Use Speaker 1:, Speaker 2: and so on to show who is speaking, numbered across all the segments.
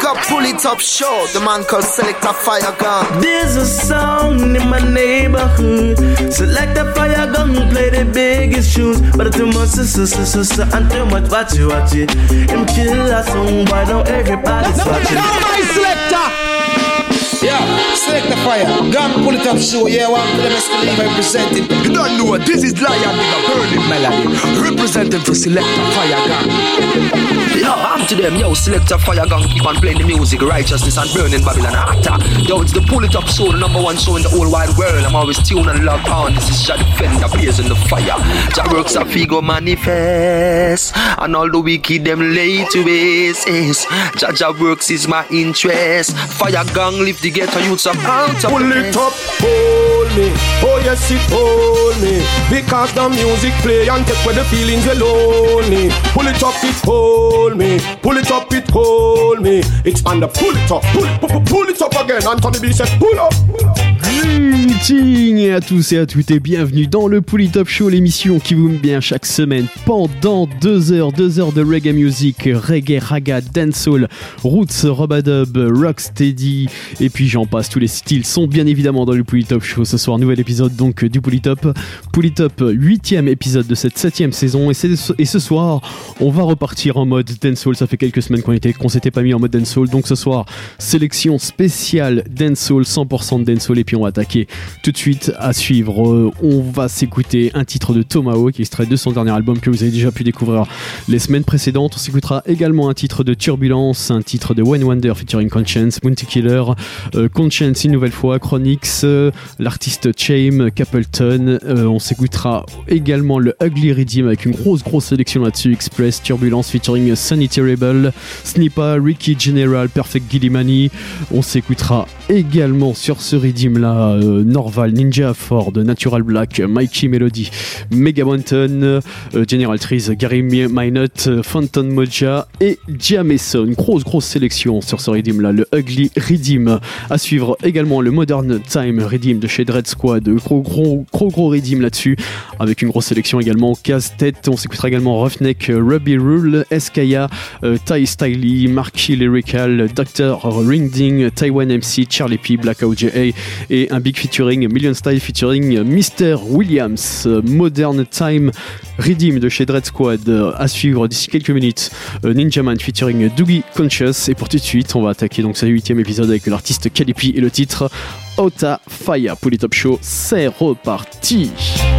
Speaker 1: up, pull it up, show. The man called Selector Fire Gun.
Speaker 2: There's a song in my neighborhood. Selector Fire Gun play the biggest tunes, but too much sister and too much watch it. Him kill a song, why don't everybody's watching?
Speaker 3: Now my selector. Yeah, Selector Fire Gun, pull it up, show. Yeah, one for the best believe I present it.
Speaker 1: You don't know, this is Lion with a burning melody, representing for Selector Fire Gun. Yo, I'm to them, yo, Selector Fire Gun, keep on playing the music, righteousness and burning Babylon actor. Yo, it's the Pull It Up Show, the number one show in the whole wide world. I'm always tuned and locked on. This is Jah Defender, blazing the fire. Jah works a figo manifest, and all the wicked them lay to waste. Jah works is my interest. Fire Gun lift the ghetto youths up out of
Speaker 4: pull it up, hold me. Oh yes, it hold me. Because the music play and take away the feelings alone. Pull it up, it hold me. Pull it up, it hold me. It's on the pull it up, pull it up again. Anthony B said pull up.
Speaker 5: Greetings à tous et à toutes et bienvenue dans le Pull It Up Show, l'émission qui vous met bien chaque semaine pendant 2 heures de reggae music, reggae, raga, dancehall, roots, robadub, rocksteady et puis j'en passe, tous les styles sont bien évidemment dans le Pull It Up Show. Ce soir, nouvel épisode donc du Pull It Up, 8e épisode de cette 7e saison et ce soir, on va repartir en mode dancehall. Ça fait quelques semaines qu'on s'était pas mis en mode dancehall, donc ce soir, sélection spéciale dancehall, 100% de dancehall et puis on va attaquer tout de suite à suivre. On va s'écouter un titre de Tomahawk, extrait de son dernier album que vous avez déjà pu découvrir les semaines précédentes. On s'écoutera également un titre de Turbulence, un titre de Wayne Wonder featuring Conscience, Bounty Killer, Conscience une nouvelle fois, Chronix, l'artiste Chame, Capleton. On s'écoutera également le Ugly Redeem avec une grosse sélection là-dessus, Express, Turbulence featuring Sunny Terrible, Snipa, Ricky General, Perfect Gillimani. On s'écoutera également sur ce Redeem là Norval, Ninja Ford, Natural Black, Mikey Melody, Mega Mountain, General Trees, Gary Minot, Phantom Moja et Jameson. Grosse sélection sur ce Redeem là, le Ugly Redeem. À suivre également le Modern Time Redeem de chez Dread Squad, gros Redeem là-dessus avec une grosse sélection également. Casse-tête, on s'écoutera également Roughneck, Ruby Rule, Eskaya, Ty Stiley, Marky Lyrical, Dr. Ringding, Taiwan MC, Charlie P, Black OJA et un big featuring Million Style featuring Mr. Williams. Modern Time Redeem de chez Dread Squad. À suivre d'ici quelques minutes, Ninja Man featuring Doogie Conscious. Et pour tout de suite, on va attaquer donc ce 8e épisode avec l'artiste Calipi et le titre Ota Fire. Pull It Up Show, c'est reparti.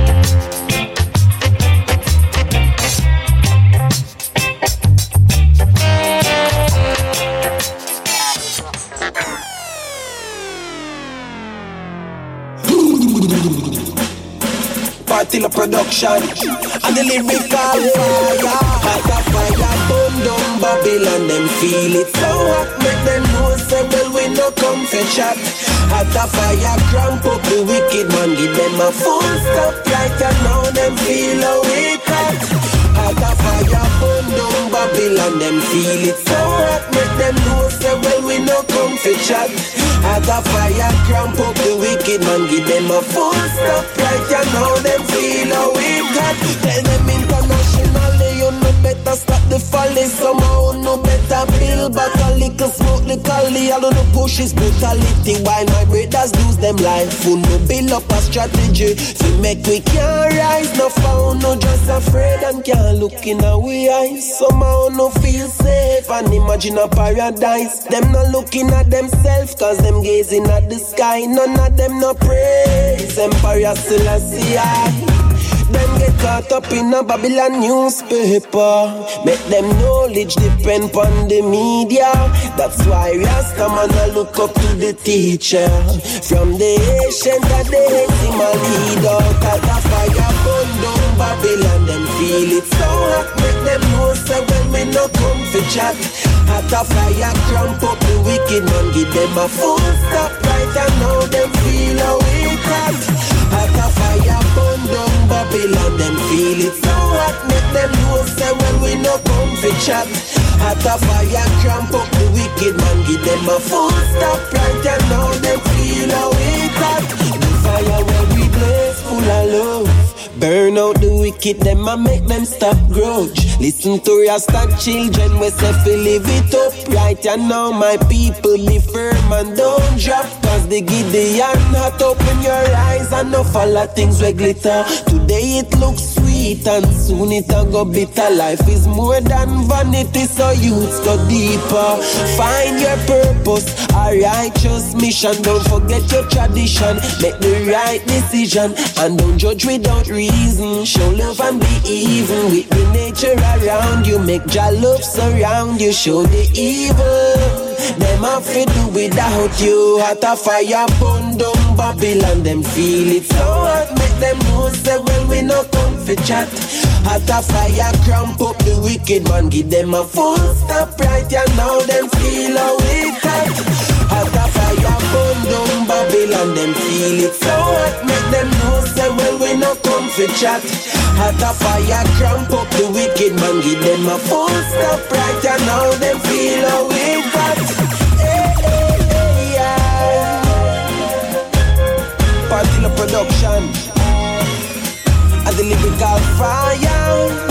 Speaker 6: Partilla production and the lyrical fire. Like a fire burn down Babylon, them feel it so hot. Make them know say well we no come for chat. At a fire cramp up the wicked man, give them a full stop. Like you know them feel how we cut. At a fire burn down Babylon, them feel it so hot. Make them know say well we no come for chat. At a fire cramp up the wicked man, give them a full stop. Like you know them feel how we got. Tell them internationally you no better stop the folly. Somehow no better build back a little smoke the cali. All of the push is brutality while my brothers lose them life. Who no build up a strategy to make we can't rise. No found, no just afraid and can't look in our eyes. Somehow no feel safe and imagine a paradise. Them not looking at themselves cause them gazing at the sky. None of them no praise Empire Selassie I. Them get caught up in a Babylon newspaper. Make them knowledge depend on the media. That's why Rastaman a look up to the teacher. From the ancient that they hate him a leader. Cause a fire burn down Babylon. Them feel it so hot. Make them know say when we no come for chat. At a fire cramp up the wicked man. Give them a full stop right and now them feel how we got. At a fire burn down Babylon, them feel it so hot. Make them know say when we no come for chat. At a fire cramp up the wicked man. Give them a full stop right and now them feel how we got. The fire where we blaze full of love. Burn out the wicked, them and make them stop grudge. Listen to Rasta children, we say fi live it up right. And now my people be firm and don't drop. Cause the Gideon hot open your eyes and no follow things we glitter. Today it looks sweet and soon it a go bitter. Life is more than vanity, so youths go deeper. Find your purpose, a righteous mission. Don't forget your tradition, make the right decision. And don't judge without reason. Show love and be even with the nature around you. Make your love surround you. Show the evil them have to do without you. Hot a fire burn down Babylon. Them feel it so hot. Make them know say well we no come for chat. Hot a fire cramp up the wicked man. Give them a full stop right. And now them feel how it hot. Hot a fire burn down Babylon. Them feel it so hot. Make them know say well we no come for chat. Hot a fire cramp up the wicked man. Give them a full stop right. And now them feel how it hot. Partilla production and the lyrical fire.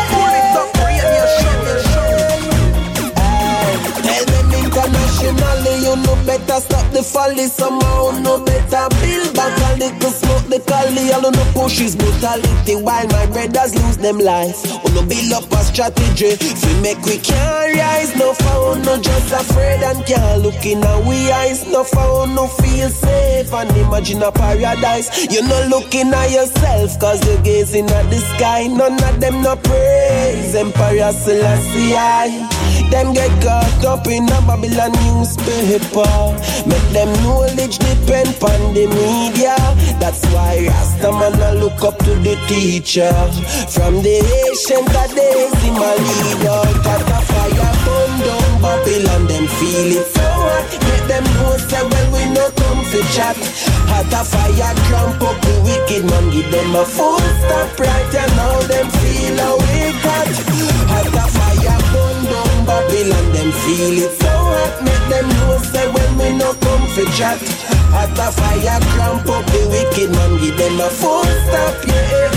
Speaker 6: Tell them internationally, you know better stop the folly somehow. No better build back a little smoke the cali. I don't know push his brutality while my brothers lose them life. Oh no build up a strategy. If we make we can't rise, no found, no just afraid and can't look in our eyes. No found, no feel safe and imagine a paradise. You're not looking at yourself cause you're gazing at the sky. None of them no praise Emperor Selassie. Them get caught up in a Babylon newspaper. Make them knowledge depend on the media. That's why Rastaman a look up to the teacher. From the ancient days in my leader. Got a fire burn down Babylon. Them feel it so hot. Make them know say well we no come for chat. Hot a fire cramp up the wicked man. Give them a full stop right. And now them feel how it hot. Hot a fire burn down Babylon. Them feel it so hot. Make them know say when we no come for chat. Hot a fire cramp up the wicked man. Give them a full stop.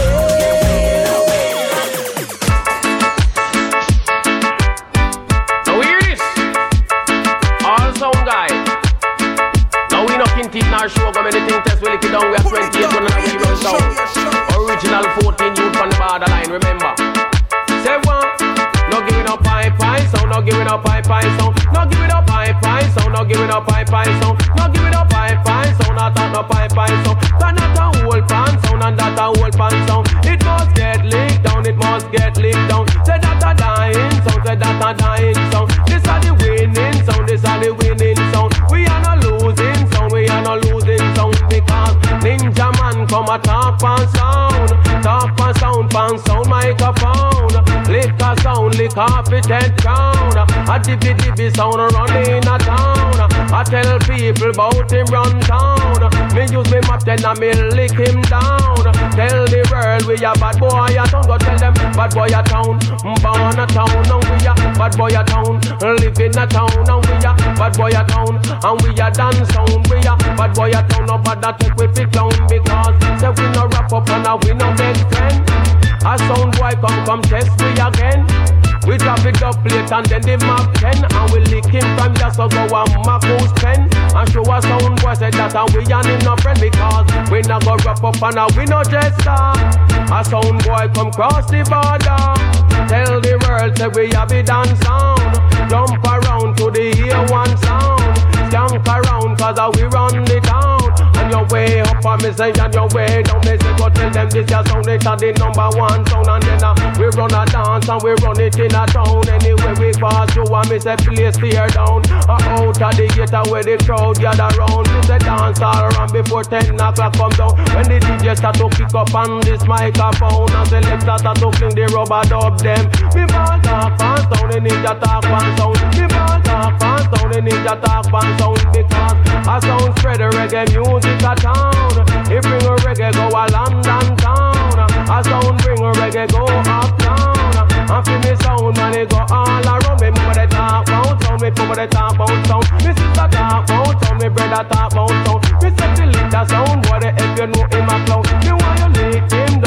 Speaker 7: Now hear this. All sound guy. Now we not in teeth nor show. Go many things test we lick it down. We are 28 when I give you sound. Original 14 youth from the borderline. Remember. Say one. No giving up pie sound, no giving up pie sound, no giving up pie sound, no giving up pie sound, no giving up pie sound, not no pie sound. That not a whole pan sound and that a whole pan sound. It must get licked down, it must get licked down. Say that a dying sound, say that a dying sound. This are the winning sound, this are the winning sound. We are not losing sound, we are not losing sound because Ninja Man come a talk pan sound microphone. Lick a sound, lick off it 10 crown. A dibby sound running a town. I tell people about him run town. Me use me map then I me lick him down. Tell the world we a bad boy a town. Go tell them bad boy a town. Born a town and we a bad boy a town. Live in a town and we a bad boy a town. And we a dance sound. We a bad boy a town. No bad that take we fi clown because say we no wrap up and we no best friend. A sound boy come test we again. We drop it up late and then the map 10. And we lick him from just so go and Marco's pen. And show a sound boy say that and we and him no friend. Because we not go wrap up and we no jester. A sound boy come cross the border. Tell the world say we have it dance sound. Jump around to the A1 sound. Skank around cause we run the town. And your way up and me say and your way down. Me say go tell them this your sound. It are the number one sound. And then we run a dance and we run it in a town. Anyway we pass through and me say place tear down. Out of the gate where the crowd gather round. Me say dance all around before 10 o'clock come down. When the DJ start to kick up on this microphone. And selector start to fling the rubber dub them. Me ball talk and sound, the ninja talk and sound. Me ball talk and sound, the ninja talk and sound. Because a sound spread the reggae music a town. It bring a reggae go a London town. A sound bring a reggae go uptown. And feel me sound man it go all around. Me mama they talk about sound, me mama they talk about sound. Me sister talk about sound, me brother talk about sound. Me say the leader sound, boy the heck you know him a clown. Me want you lick him down, me want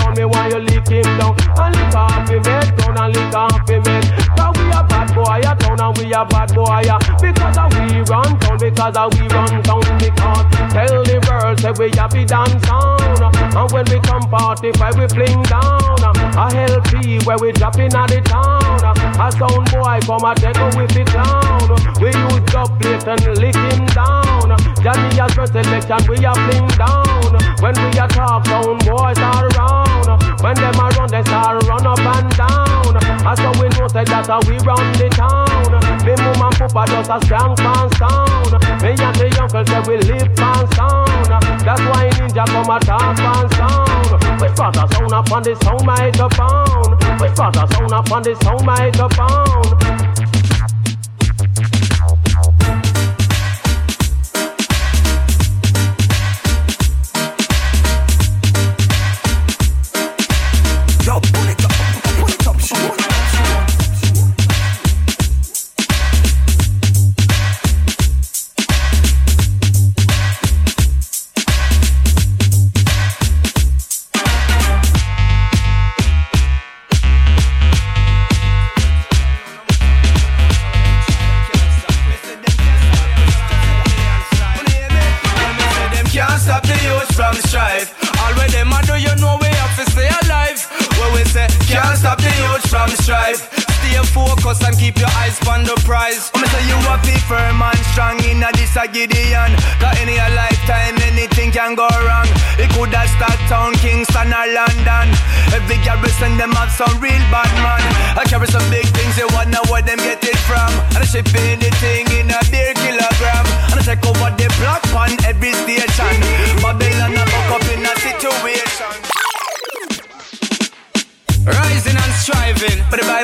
Speaker 7: you lick him down. And lick off him head, down and lick off him head. Cause we a bad boy a town and we a bad boy a. Because we run town, because we run town. Because tell the world say we a be dance sound. And when we come party, where we fling down. A LP where we drop in at the town. A sound boy come a take with the clown. We use dub plate and lick him down. Johnny has first selection, we a fling down. When we a talk, sound boys are around. When them a run, they start run up and down. That's how we know say that we run the town. Me mum and papa just a strong pan sound. Me and the uncle say we live pan sound. That's why Ninja come a talk pan sound. We start a sound up on the sound microphone. We start a sound up on the sound microphone.
Speaker 8: Gideon, got any a lifetime, anything can go wrong. It could have start town, Kingston or London. Every garrison them have some real bad man. I carry some big things, you wanna where them get it from. And I ship anything in a beer kilogram. And I take over the block on every station. Babylon I buck up in a situation. Rising and striving, but bye.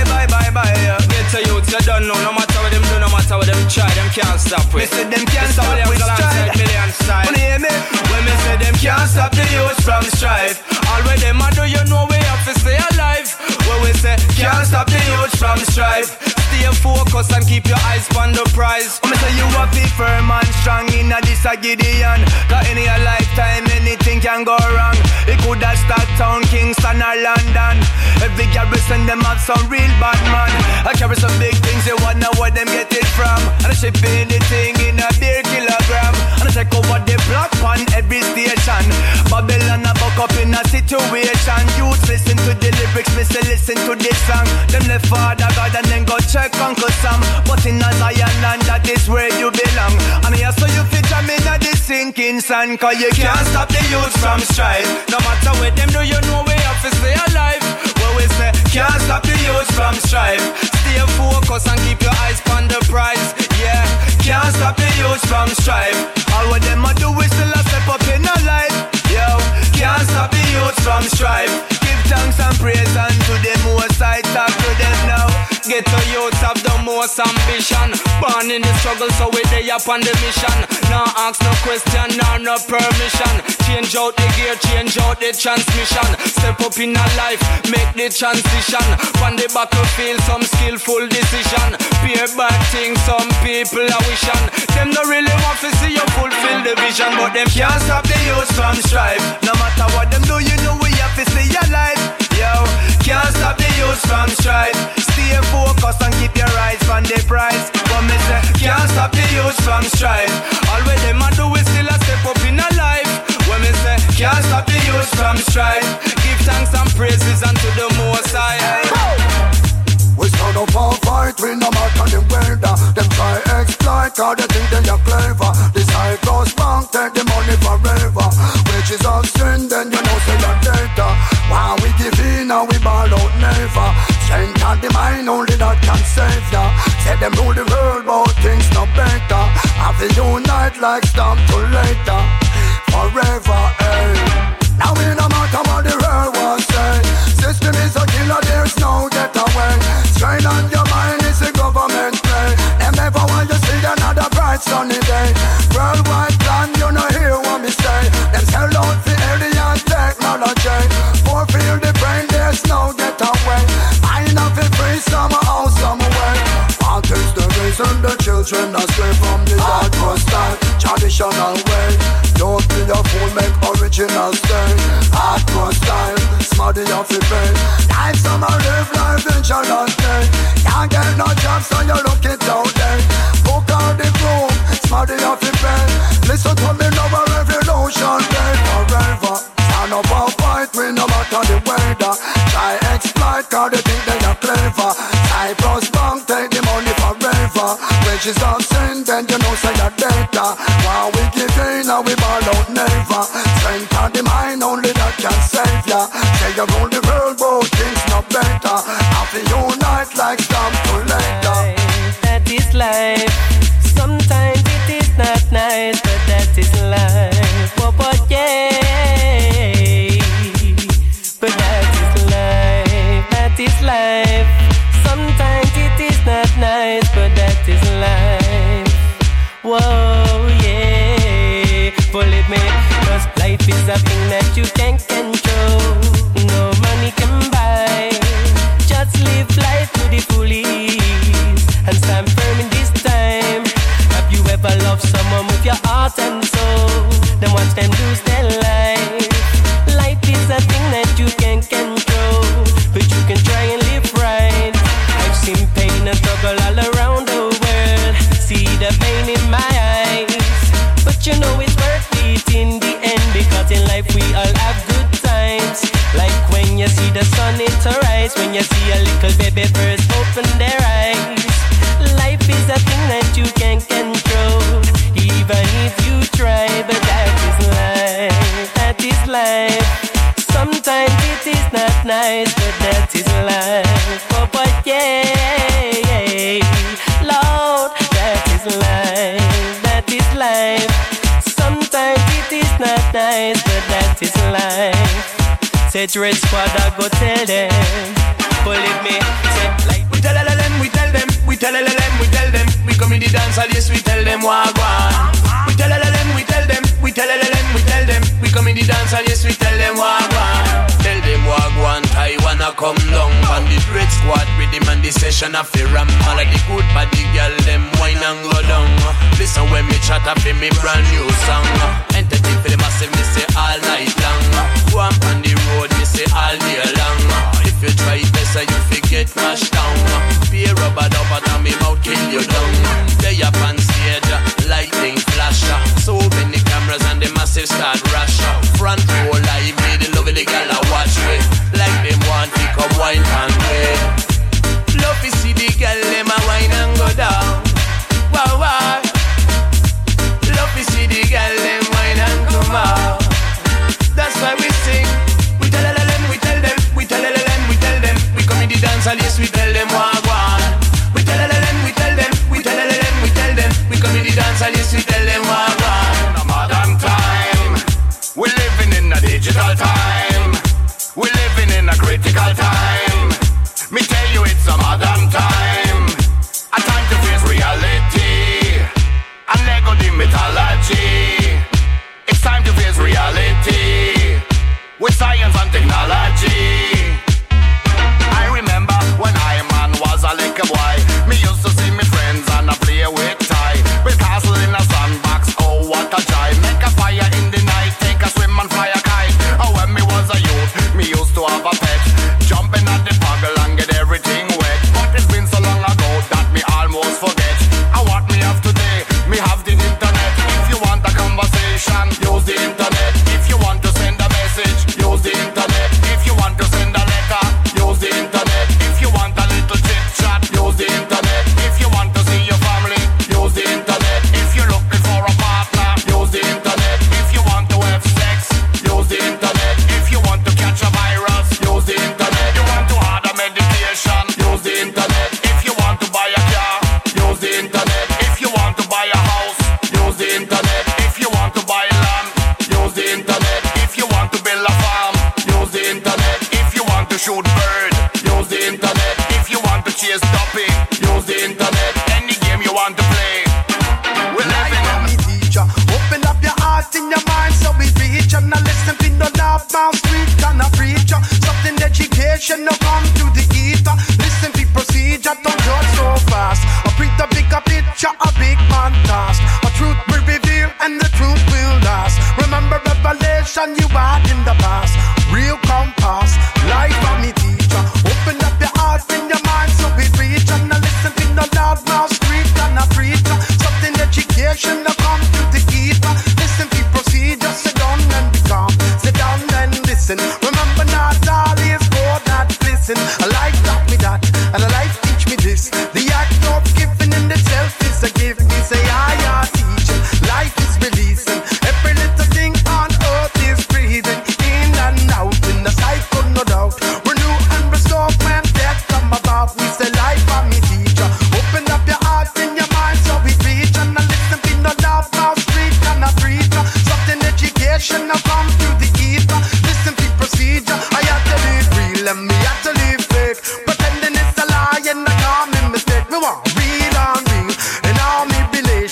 Speaker 8: Yeah. Get to youth, you don't know. No matter what them do, no matter what them try, them can't stop it. Me say them can't stop with strive. When you hear me? When me say them can't stop the youth from strive. All where them a do, you know we have to stay alive. When we say can't stop the youth from strive. Stay focused and keep your eyes on the prize. When me say you a be firm and strong in a this a Gideon. Got any a lifetime, anything can go wrong. It could have start town, Kingston or London. Every garrison them have some real bad man. I carry some big things, you wanna where them get it from. And I ship anything in a beer kilogram. And I take over the block on every station. Babylon I buck up in a situation. Youths listen to the lyrics, me say listen to this song. Them left Father God and then go check Uncle Sam. But in a Zion land, that is where you belong. And here so you fit jam in a this sinking sand. Cause you can't stop the youth from strive. No matter what them do, you know we have to stay alive. Where we say can't stop the youth from strive. Stay focused and keep your eyes on the prize. Yeah, can't stop the youth from strive. All what them a do is still a step up in a life. Yo, can't stop the youth from strive. Give thanks and praise unto the most I talk to them now. Get to youths have the most ambition. Born in the struggle so we day up on the mission. Now ask no question, no permission. Change out the gear, change out the transmission. Step up in a life, make the transition. On the battlefield, some skillful decision. Peer back things, some people are wishing. Them no really want to see you fulfill the vision. But them can't stop the youth from strive. No matter what them do, you know we have to stay alive. Yo, can't stop the youth from strive. Stay focused and keep your eyes on the prize. But me say, can't stop the youth from strive. All what them a do is still a step up in a life. When me say, can't stop the youth from strive. Give thanks and praises unto the Most High.
Speaker 9: We stand up and fight, we no matter the weather. Them try exploit, cause they think they are clever. This high class bank take the money forever. Wages of sin, then you know say that data. While we give in and we ball out never. Strength and the mind, only that can save ya. Say them rule the world, but things no better. Have to unite like storm to later. Forever, eh. Now we no matter what the world wants say. System is a killer, there's no getaway. Strain on your mind, it's a government play. Them never want you see another bright sunny day. Worldwide plan, you know hear what me say. Them sell out for alien technology. Fulfill the brain, there's no getaway. I know for free, somehow, some way. What is the reason the children are stray from the hardcore style? Traditional way. Don't be a fool, make original style. Hardcore style. Smarty off the bed. Life summer live life in Charlotte. Can't get no job so you look it out there. Book out the room, smarty off the bed. Listen to me love a revolution day forever. Stand up and fight me no matter the weather. Try exploit cause they think they are clever. Cyprus Bank take the money forever. Wages of sin then you know say you're data. While we give in and we ball out never. Strength of the mind only that can save ya. Say you rule the world but things not better. Have to unite like storm to later.
Speaker 10: That is life. Sometimes it is not nice, but that is life. But yeah, but that is life. That is life. Sometimes it is not nice, but that is life. Whoa, yeah. Believe me, 'cause life is a thing that you can't control. No money can buy. Just live life to the fullest and stand firm in this time. Have you ever loved someone with your heart and soul? Then watch them lose their life. Life is a thing that you can't control, but you can try and live right. I've seen pain and struggle all around the world. See the pain in my eyes, but you know it's worth it in the end, because in life we all have good times. Like when you see the sun it rise, when you see a little baby first open their eyes. Life is a thing that you can't control, even if you try, but that is life. That is life. Sometimes it is not nice, but that is life. But yeah, Lord, that is life. That is life. Sometimes it is not nice, but that is life. Set Red Squad, I go tell them. Believe me, set like
Speaker 8: we tell them, we tell them, we tell them, we tell them. We come in the dance hall, yes, we tell them wagwan. We tell them, we tell them, we tell them, we tell them. We come in the dance hall, yes, we tell them wagwan. Tell them wagwan, Taiwan a come down. And the Red Squad rhythm and the session of the ram. All of the good body girl, them wine and go down. Listen when me chat up in me brand new song. Entertain for the massive, me say all night long. Go up on the road, me say all day long. If you try it better, you forget mashed down. Be a rubber dub out of me mouth, kill you down. They up on stage, lightning flash. So many cameras and the massive start rush. Front row live, me the lovely girl I watch me. Like them want to come wine and play. Love to see the girl, them a wine and go down. Wow, wow. Love to see the girl, them wine and come out. That's why we sing. We tell them, we tell them, we tell them, we tell them. We come in the dance hall, yes, we tell them wagwan. We tell them, we tell them, we tell them, we tell them. We come in the dance hall, yes, we tell them wagwan.
Speaker 9: A modern time, we're living in a digital time. We're living in a critical time. Me tell you it's a modern time. A time to face reality and let go the mythology. It's time to face reality with science and technology. I remember when I man was a little boy. Me used to see me friends and I play with tie. With castle in a sandbox, oh what a joy. Make a fire in the night, take a swim and fly a kite. Oh when me was a youth, me used to have a pet. Jumping at the puggle and get everything wet. But it's been so long ago that me almost forget. And what me have today, me have the internet. If you want a conversation, use the internet. If you want to send a message, use the internet. If you want to send a letter, use the internet. If you want a little chit chat, use the internet. If you want to see your family, use the internet. If you're looking for a partner, use the internet. If you want to have sex, use the internet. If you want to catch a virus, use the internet. You want to order medication, use the internet. If you want to buy a car, use the internet. If you want to buy a house, use the internet. If you want to buy land, use the internet. If you want to build a farm, use the internet. If you want to shoot bird, use the internet. If you want to chase duppy, use the internet. Any game you want to play, we're living in
Speaker 11: me teacher. Open up your heart and your mind so we reach and now listen to the love mouth street and a preacher. Something education no come to the ether. Listen to procedure, don't judge so fast. I print a bigger picture, a big man task. A truth will reveal and the truth will last. Remember revelation you had in the past. Real compass,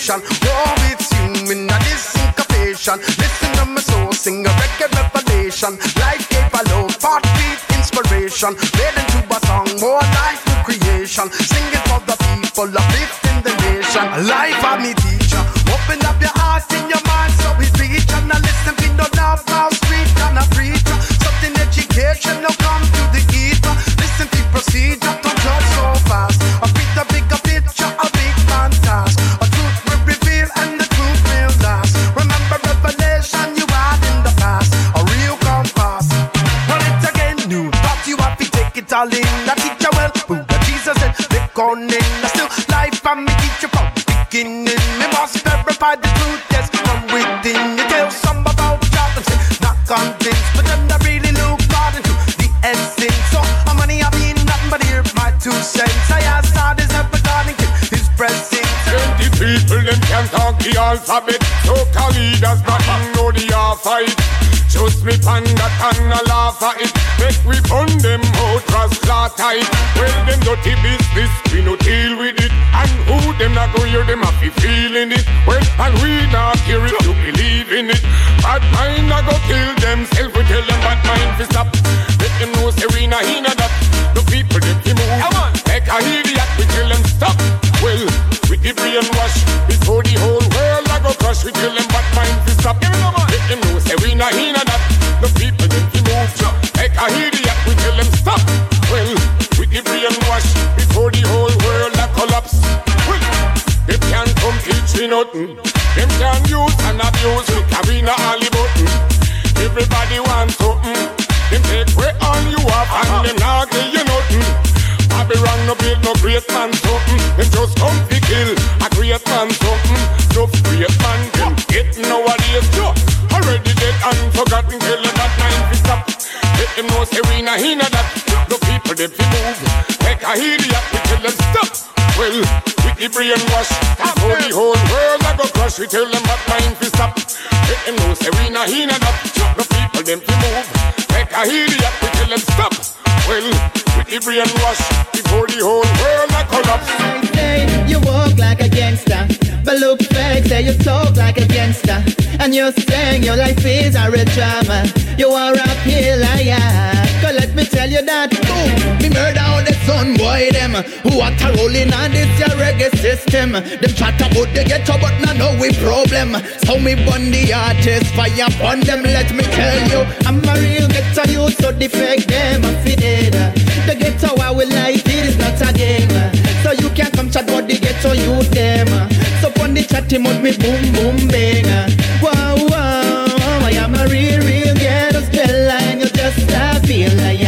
Speaker 11: vibration. War with you in a syncopation. Listen to my soul sing a record revelation. Life gave a low heartbeat inspiration. Made into a song, more life new creation. Sing it for the people, uplifting the nation. Life of me teacher. Open up your heart and your mind so we reach. And I listen to no love, house street and a preacher. Something education, no come to the ether. Listen to procedure, don't judge so fast. I pick a bigger picture, a big man task. A truth will reveal and the truth will last. Remember revelation you had in the past. A real compass. Well, it's again new. Thought you have to take it all in. That teacher well, Buddha Jesus and Nick on in. Still life and me teacher from the beginning. Me must verify the truth, yes, from within. You tell some about God and say, not convinced, but then I really look hard into the essence. So how many have been nothing but hear my 2 cents. I ask God is never regarding his presence.
Speaker 4: 20 people them can talk the alphabet. So call leaders nothing know the fight. Just me pan that and a laugh at it. Make we burn them out, cross claw tight. Well, them dirty business, we no deal with it. And who them not go hear them happy feeling it. Well, and we not hear it to believe in it. Bad mind not go kill themselves, we tell them bad mind to stop. Let them know say we not in that. The people them to move. Make a idiot, we tell them stop. Well, with the brainwash, before the whole world I go crush, we tell them bad mind to stop. Let them know say we not in that. The people them to move. Make a idiot, we tell them stop. Well, with the brainwash, before the whole world I collapse. Well, they can't come teach me nothing. Them can use and abuse me, Karina Ali button. Everybody wants something. Them take away all you have and them not give you nothing. Babylon no build no great man something. Them just come to kill a great man something. No great man them get nowadays. Already dead and forgotten. Tell them that mind to stop. Let them know say we not in that. The people them to move. Make a idiot, we tell them stop. Well, with the brainwash, before the whole world I go crush, we tell them that mind to stop. Let them know say we not in that. The people them to move. Make a idiot, we tell them stop. Well, with the brainwash, before the whole world I collapse.
Speaker 12: Say you walk like a gangster, but look fake, say you talk like a gangster. And you're saying your life is a real drama. You are a real liar. Cause let me tell you that boom, me murder all the son boy them who want to roll in on this your reggae system. Them chat about the ghetto but not know we problem. So me burn the artist, fire upon them. Let me tell you, I'm a real ghetto youth, so the fake them a fit it. The ghetto I will like it is not a game. So you can't come chat about the ghetto youth them. So on the chatty mode me boom boom bang. Wow wow, I am a real ghetto Stella and you just a feel like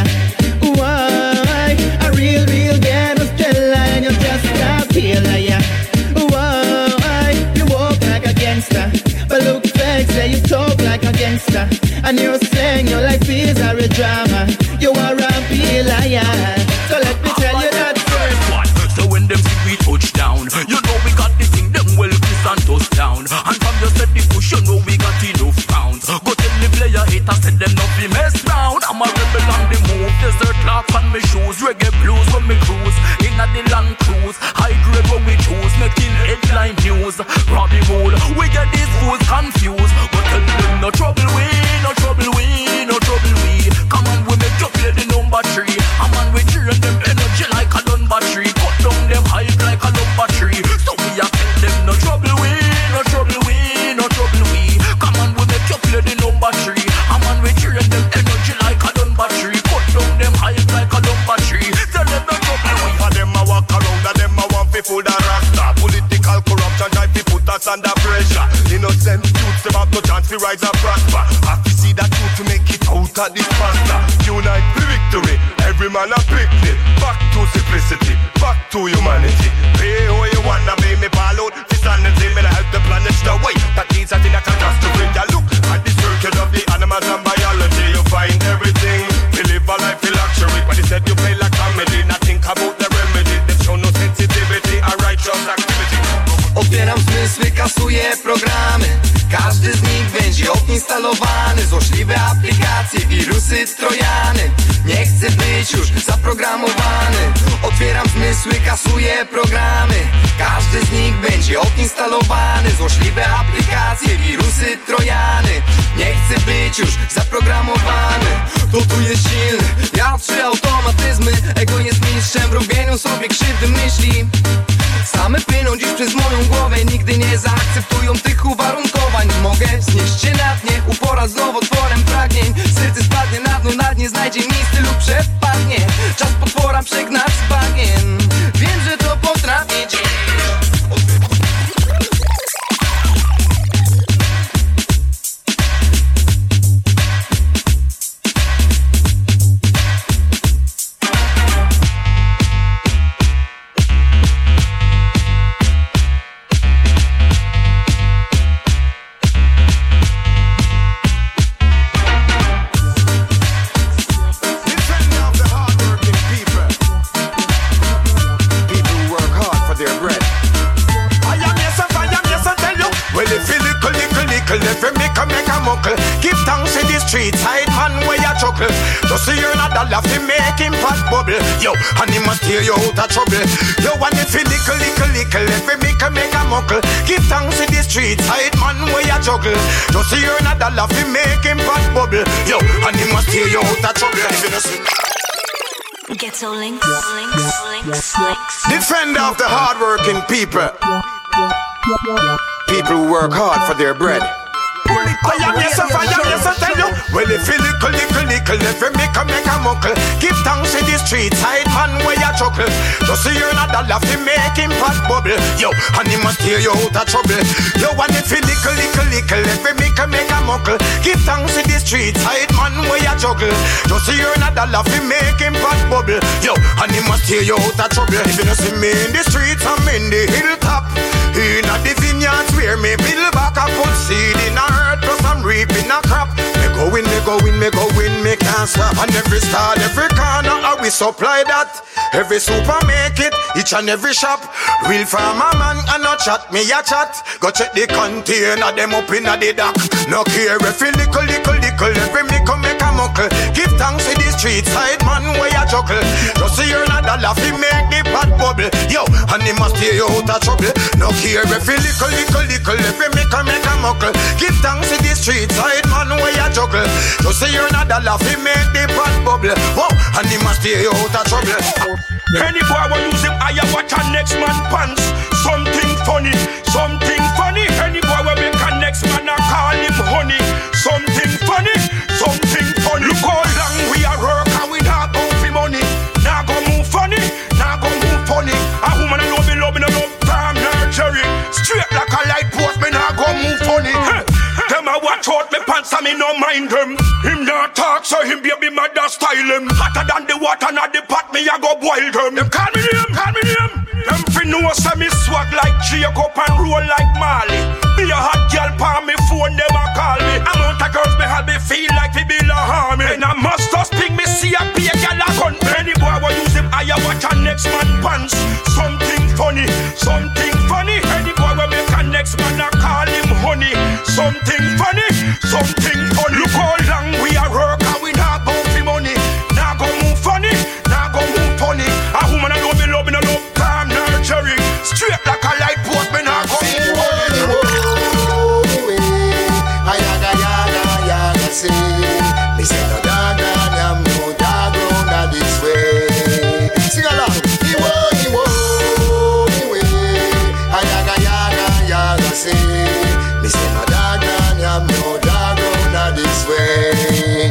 Speaker 12: why a real ghetto Stella and you just a feel like why you walk like a gangster but look fake, say you talk like a gangster. And you're saying your life is a real drama. You are a real liar. So let me tell you that first one.
Speaker 1: So when them see we touch down, you know we got the thing them well kiss and toss down. And from you set the push, you know we got enough pounds. Go tell the player haters, said them not be messed round. I'm a rebel on the move, desert clock on my shoes, reggae blues when me cruise, in a the land cruise, high grade when we choose, making headline news. Robbie Wool, we get these fools confused. But tell them no trouble we, no trouble we, no trouble we. Come on, we make you play the number 3. I'm on we cheering them energy like a dun battery. Cut down them hype like a lumber tree. So we a tell them no trouble we, no trouble we, no trouble we. Come on, we make you play the number 3. I'm on we cheering them energy like a dun battery. Cut down them hype like a lumber tree. Tell them no trouble we.
Speaker 13: For them a walk around and them a want fi full the rasta. Political corruption try fi put us under pressure. Innocent youths them have no chance fi rise and prosper. Have to see that youth to make it out of this pasta. Unite for victory, every man a picnic. Back to simplicity, back to humanity. Pay who you wanna be, me ball out fi sanity. Me help the planet the way that needs a thing that can just to bring ya. Look at the circuit of the animals and biology. You find everything, we live a life in luxury. But instead you play like comedy, not think about the remedy. They show no sensitivity and righteous activity.
Speaker 14: Otwieram zmysły, kasuję programy. Każdy z nich będzie odinstalowany. Złośliwe aplikacje, wirusy, trojany. Nie chcę być już zaprogramowany. Otwieram zmysły, kasuję programy. Każdy z nich będzie będzie odinstalowany. Złośliwe aplikacje, wirusy, trojany. Nie chcę być już zaprogramowany. To tu jest silny, ja 3 automatyzmy. Ego jest mistrzem w robieniu sobie krzywdy myśli. Same płyną dziś przez moją głowę. Nigdy nie zaakceptują tych uwarunkowań. Mogę znieść się na dnie, upora z nowotworem pragnień. Serce spadnie na dno, na dnie znajdzie miejsce lub przepadnie. Czas potwora przegnać z bagien. Wiem, że to potraficie.
Speaker 15: Give thanks to the street side man where you chuckle. Just see you're not a laugh to make him pot bubble. Yo, and he must steer you out of trouble. Yo, and if you lickle, every make a muckle. Give thanks to the street side man where you juggle. Just see you're not a laugh to make him pot bubble. Yo, and he must steer you out of trouble. If you don't see
Speaker 16: Ghetto links.
Speaker 15: Defender of the hard-working people. People who work hard for their bread. I am yes, I tell you. Well, if you lickle, every make a muckle. Give thanks to the street side man where you chuckle. Just see you're not a laugh to make him pot bubble. Yo, and he must steer you out of trouble. Yo, and if you lickle, every make a muckle. Give thanks to the street side man where you juggle. Just see you're not a laugh to make him pot bubble. Yo, and he must steer you out of trouble. If you don't see me in the streets, I'm in the hilltop. In a the vineyards where me build back, I put seed in a earth, plus I'm reaping a crop. Me go win, me can't stop. And every star, every corner, how we supply that. Every super make it, each and every shop. Real farmer man, and no chat, me a chat. Go check the container, them up in the dock. No care if you lickle, every me come make a muckle. Give thanks to the street side man where you juggle. Just see you're not a laugh, he make the pot bubble. Yo, and he must steer you out of trouble. No care if you lickle, every me come make a muckle. Give thanks to the street side man where you juggle. Just see you're not a laugh, he make the pot bubble. Whoa, and he must steer you out of trouble.
Speaker 17: Any boy will use him higher, watch a next man pants. Something funny. Any boy will make a next man a call him honey. Something funny. Look how long we are work and we not go for money. Now go move funny. A woman I love me, no love time nurturing. Straight like a light post, me now go move funny. Them a watch out me pants and me no mind them. Him not talk so him baby mother style him. Hotter than the water and the pot me a go boil them. Them call me name. Them fi know say me swag like Jacob and roll like Marley. Be a hot girl pa me phone them a call me. Amount of girls me have me feel like we be la harmony. And I must just ping me see a be a gal a gun. Any boy will use him higher watch a next man pants. Something funny. Any boy will make a next man a call him honey. Something funny. Look how long we are work and we not go for money. Now go move funny. A woman I love me, no love time nurturing. Straight like a light post, me now go move funny.
Speaker 9: Ayaga, say, me say no dog, I'm no dog, not this way. Sing along. Ayaga, say, me say no dog, I'm no dog, not this way.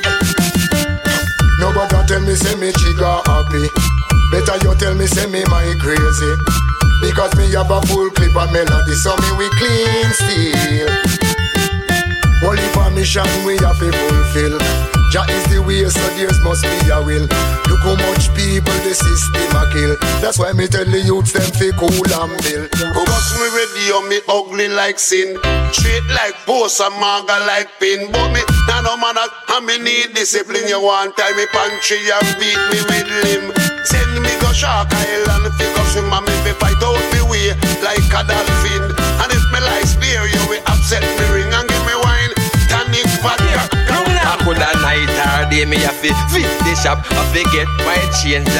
Speaker 9: Nobody tell me say me chica happy. Better you tell me say me my crazy. Because me have a full clip of melody, so me we clean steel. Only permission we have to fulfill. Jah is the way, so there's must be a will. Look how much people the system a kill. That's why me tell the youths them fi cool and bill.
Speaker 18: Cause me ready on me ugly like sin. Straight like post and manga like pin. But me nah no man and me need discipline. You want tie me pantry and beat me with limb. Send me go Shark Island fi go swim and me fi fight out me way like a dolphin. And if me like spear you will upset me ring and give me wine. Tonic vodka.
Speaker 19: I could a night or day me have to fit the shop. I forget my change that me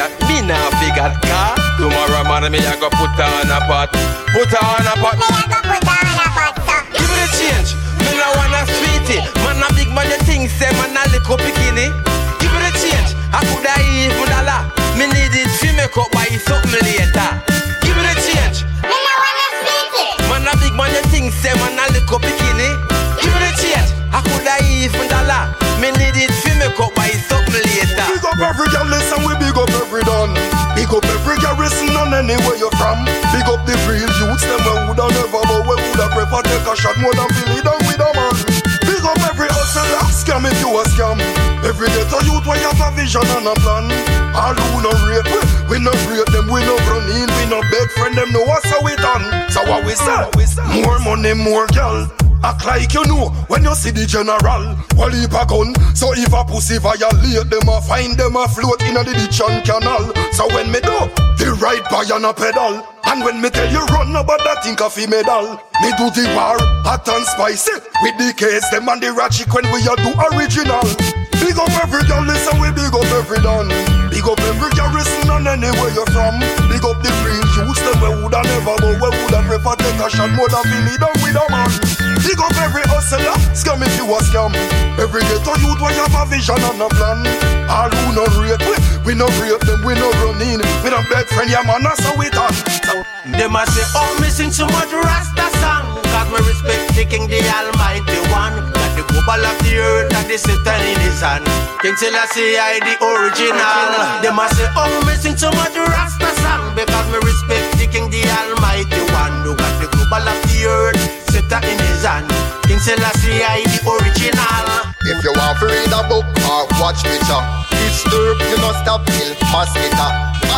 Speaker 14: now figure car. Tomorrow man me I go put her on a pot. Put her on a pot. Me I go put her on a pot. Give me the change. Me no wanna sweetie. Man a big man you think say man a little bikini. Give me the change. I coulda even dollar. Me need it fi make up buy something later. Give me the change. Me no wanna sweetie. Man a big man you think say man a little bikini. Give me the change. I coulda even dollar. Me need it fi make up buy something later.
Speaker 15: Big up every girl, listen, we big up every done. Big up every garrison on anywhere you're from. Big up the real youths, them we woulda never, but we woulda prefer take a shot more than feel it done with a man. Big up every hustler, scam if you a scam. Every ghetto youth where you have a vision and a plan. All who no rape, we no rape them, we no run in, we no beg friend them, know what's how we done. So what we say? More money, more girl. Act like you know when you see the general. Well, heap a gun, so if a pussy violate them, I find them a float in a the ditch and canal. So when me do, the right by on a pedal. And when me tell you run about that think of a medal. Me do the war, hot and spicy. With the case, them and the ratchet when we a do original. Big up every girl, listen, we big up every done. Big up every garrison and anywhere you're from. Big up the real youths, them we woulda never, but we woulda prefer take a shot more than feel it done with a man. Big up every hustler, scam if you a scam. Every ghetto youth where you have a vision and a plan. All who no rate, we no rate them, we no run in. We no beg friend, yeah man, that's how we done.
Speaker 19: They must say, oh, me sing so much Rasta song. Cause me respect the King, the Almighty One. That the global of the earth, that the Satan in his hand. King Selassie, I the original. They must say, oh, me sing so much Rasta song. Because me respect the King, the Almighty One. Who got the global of the earth, Satan in his hand. King Selassie, I the original.
Speaker 9: If you want to read a book or watch picture, disturb, you must stop kill mosquito.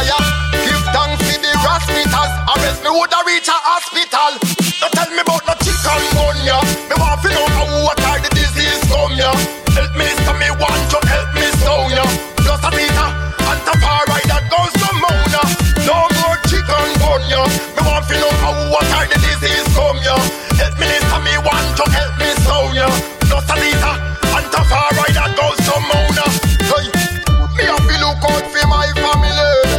Speaker 9: Give thanks to the hospitals, or else me woulda reach a hospital. Don't tell me about no chicken gun, yeah. Me want to know how water the disease come, yeah. Help me, so me want to help me so, yeah. Just a Peter, and the far right that goes to Mona. No more chicken gun, yeah. Me want to know how water the disease come, yeah. Help me, so me want to help me so, yeah. Just a Peter, and the far right that goes to Mona. Hey, me have to look out for my family.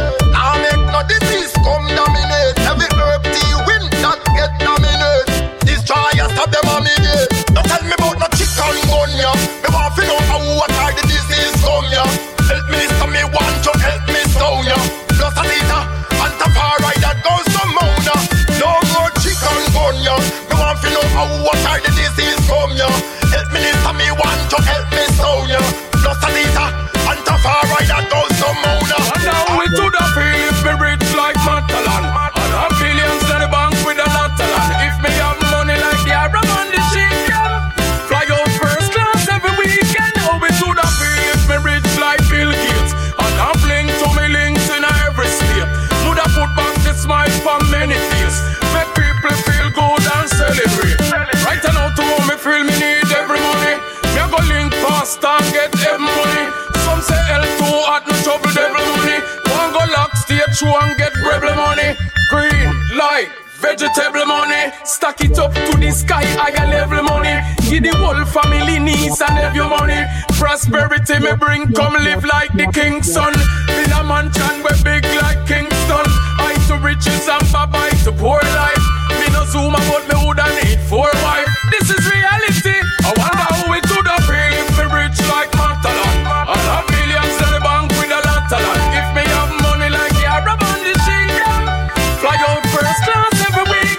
Speaker 9: Now make no disease come dominate. Every herb tea win that get dominate. Destroy and stop them on me gate. Don't tell me about no chicken gun, yeah. Me want to know how water the disease come, yeah. Help me, so me want to help me so, yeah. Plus a liter and the far right that goes to Mona. No more chicken gun, yeah. Me want to know how water the disease come, yeah. Help me, so me want to help me so, yeah. Plus a liter and the far right that goes to Mona.
Speaker 17: And now we to the field, me rich like Matalan. And have billions in the bank with a lot of land. If me have money like the Arab and the chicken, fly out first class every weekend. Now we to the field, me rich like Bill Gates. And have link to me links in every state. Woulda put back the smile for many days. Make people feel good and celebrate. Right now to home me feel me need every money. Me go link fast and get every money. Some say L2 at no trouble devil money. One go lock stage show and get rebel money. Green light, vegetable money. Stack it up to the sky, higher level money. Give the whole family niece and have your money. Prosperity me bring, come live like the king's son. In a mansion we big like Kingston. I to riches and bye to poor life. Me no zoom about me woulda need 4 wife. This is reality. I wonder how we do the feel if me rich like Matalan. I have millions in the bank with a lot of land. If me have money like the Arab and the chicken, fly out first class every week.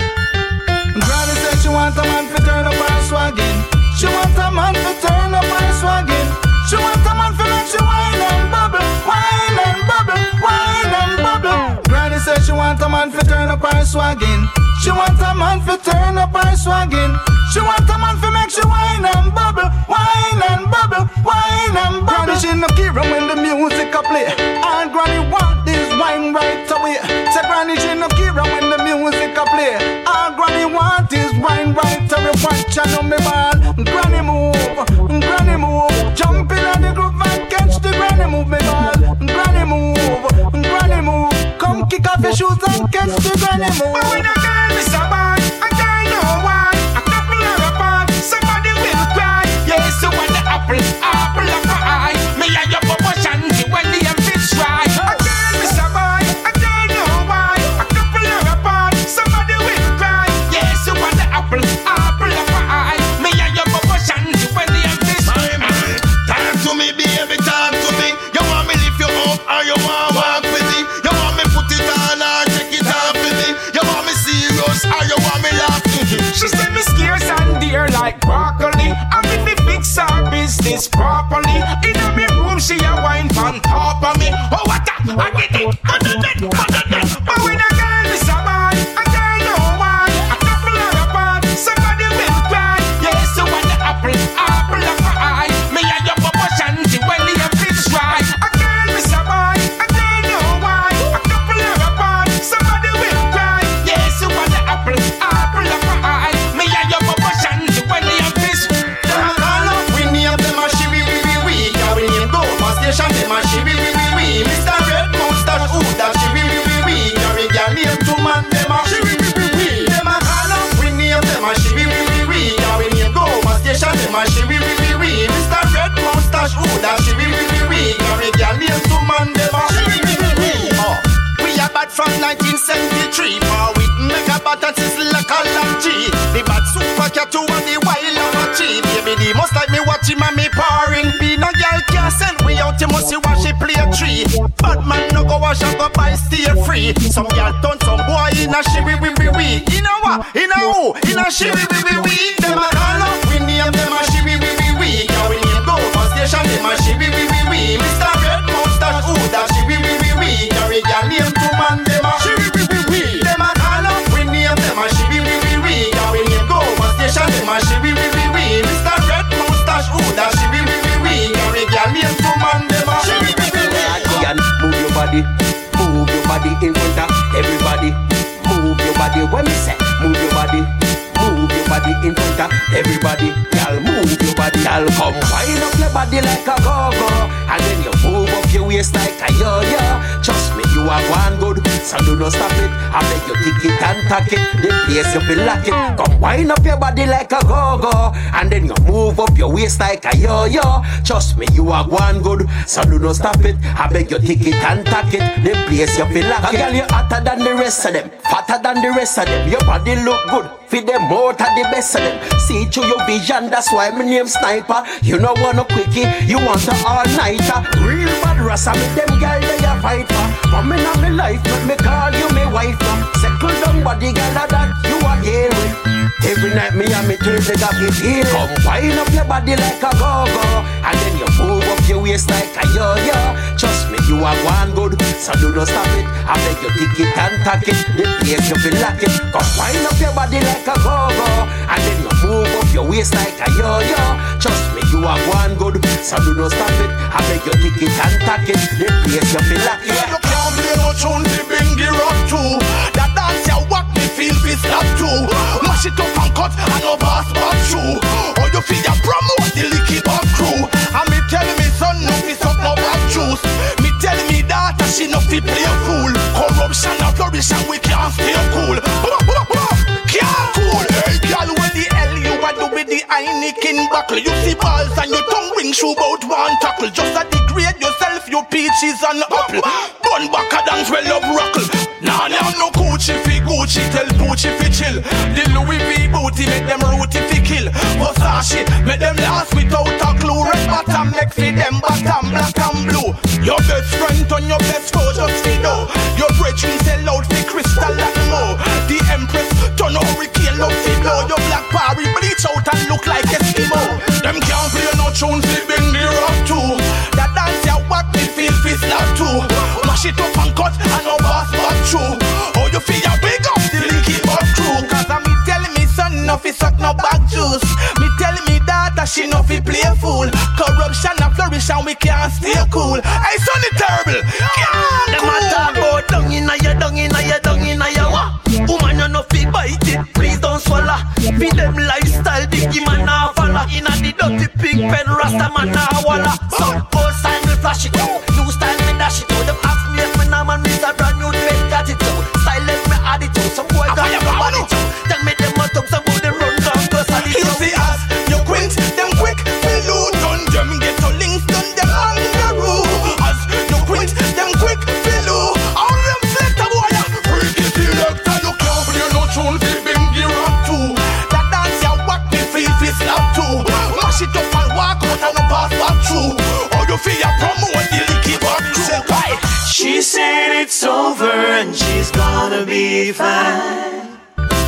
Speaker 11: Granny said she want a man to turn up her swaggin'. She want a man to turn up her swaggin'. She want a man to make she wine and bubble, wine and bubble, wine and bubble. Granny said she want a man to turn up her swaggin'. She want a man to turn up her swaggin'. She want a man to make she wine and bubble, wine and bubble, wine and bubble. Granny she no care when the music a play. All Granny want is wine right away. Say Granny she no care when the music a play. All Granny want is wine right away. Watch and on me ball. Granny move, jump in on the groove and catch the Granny move me ball. Granny move, come kick off your shoes and catch the Granny move. But when a girl is a boy, a girl know why. A couple of apart, somebody will cry. Yes, so when the apple of my eye, me and your Papa Shanti when the fish fry. A girl is a boy.
Speaker 15: serious, or you want me laughing?
Speaker 17: She said me scarce and dear like broccoli. And if me fix her business properly, in me room she a wine on top of me. Oh what that? I get it, but when a girl is a man, a girl no one, a couple are apart, somebody will cry. Yes, you want the apple of my eye. Me and your papa shanty when the fish right. A girl is a man, a girl no one, a couple are apart, somebody will cry. Yes, you want the apple of my eye. Me and your papa shanty when the fish.
Speaker 19: We name them a shiwi we. Yeah, we name go my station them a shiwi we. Mr. Red Moustache, who that shiwi we. Carry girl name to man them a shiwi we. Them a call up, we name them a shiwi we. Yeah, we name go my station them a shiwi we. Mr. Red Moustache, who that shiwi we. Carry girl name to man them a shiwi we. Oh, we are bad from 1973. For with mega bad and sizzle like a lunchie. The bad super cat to and the wild Apache. Baby, the most like me watching and me pouring. Be no girl can't send we out, you must see watch she play a tree. Bad man no go wash up up and stay free. Some girl done some boy in a shiwi we. In a what? In a who? In a shiwi we. Them a call up, we name them a shiwi we. Yeah, we name go for station, them a shiwi we. Mr. Red Moustache, who that shiwi we. Carry girl name to man, them a shiwi we. Them a call up, we name them a shiwi we. Yeah, we name go for station, them a shiwi we. Mr. Red Moustache, who that shiwi we. Carry girl name to man, them a shiwi we.
Speaker 1: Move your body in front of everybody. Move your body when me say move your body in front of everybody. Y'all move your body, y'all come wind up your body like a go-go, and then you move up your waist like a yo-yo. Trust me, you are one good, so do not stop it. I beg you tick it and tack it, the place you feel like it. Come wind up your body like a go-go, and then you move up your waist like a yo-yo. Trust me, you are one good, so do not stop it. I beg you tick it and tack it, the place you feel like it. Girl, you hotter than the rest of them, fatter than the rest of them. Your body look good, feed them out of the best of them. See through your vision, that's why my name Sniper. You know want a quickie, you want a all-nighter. Real bad rasta, me them girl they a fight for. Come in on me life, let me call you me wife for. Settle down body girl that you are here with. Every night me and me turn they got me feel. Come wind up your body like a go-go, and then you move up your waist like a yo-yo. Trust me, you are one good, so do not stop it. I beg you tick it and tack it, the place you feel like it. Come wind up your body like a go-go, and then you move up your waist like a yo-yo. Trust me, you are one good, so do not stop it. I beg you tick it and tack it, the place you feel like it.
Speaker 17: You can't play no tune to bring the rock to. That dance you walk me feel this slap too. Mash it up and cut and no pass back through. Or you feel ya promote the licky back crew. And me tell me son no piss up no back juice. Me tell me daughter she no fit play fool. Corruption and flourish and we can't stay cool. Can't cool. Hey girl, when the hell you a do with the Heineken buckle? You see balls and your tongue ring shoe bout one tackle. Just a degrade yourself, your peaches and apple. Bun back a dance well up rockle. Nah, no Gucci fi Gucci, tell Gucci fi chill. The Louis V booty make them rooty fi kill. Versace make them last without a clue. Red bottom make fi them bottom black and blue. Your best friend on your best foe just fi know. Your brethren sell out fi Crystal and more. The Empress turn hurricane love fi blow. Your black parry bleach out and look like Eskimo. Them can't play no tunes fi bring the rock too. That dance ya what me feel fi slap too. Mash it up and cut and no pass back through. Oh you feel ya big up the licky back crew. Cause me telling me son no fi suck no back juice. Me telling me daughter she no fi play fool. Corruption and flourish and we can't stay cool. Hey son it terrible. Them a talk about dung inna ya what? Woman you no fi bite it, please don't swallow. Feed them lifestyle, biggie man a follow. Inna the dirty pig pen, rasta man a walla. Some old style me flash it out, new style me dash it out. Them ask me if me now man miss a brand new trend attitude. Silent me attitude, some boy got your body too. Tell me them must up, some boy them run down cause I need you. You see us, you quint, them quick, we loot. Done them get to links, done them kangaroo. Us, you quint, them quick, we loot. All them select a boy, freaky selector. You can't play no tune, fi bring the rock too. That dance ya walk me feel fi slap too. Mash it up and walk out and no pass back through. Or you feel ya promote the licky back crew.
Speaker 20: She said it's over and she's gonna be fine.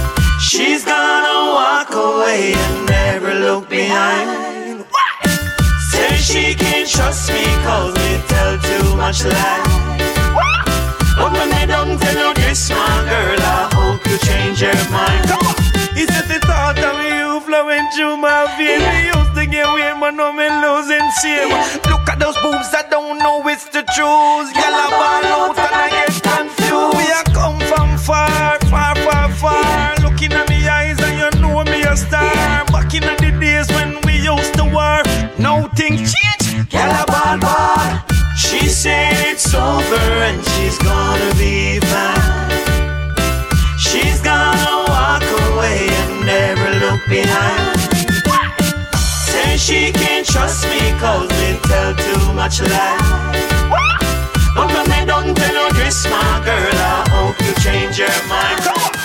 Speaker 19: She's gonna walk away and never look behind. Say she can't trust me cause me tell too much lies. But when I don't tell you this, my girl, I hope you change your mind. He said the thought of you flowing through my veins. Me used to get weird, but now me losing shame. Look at those boobs, I don't know it's the truth. Yellow ball out and I get confused. We are come from far, far, far, far. Looking at me eyes and you know me a star. Back in the days when we used to war, now things change. Yellow ball, ball. She said it's over and she's gonna be fine. She's gonna walk away and never look behind. Say she can't trust me cause we tell too much lies. But when they don't tell you this, my girl, I hope you change your mind.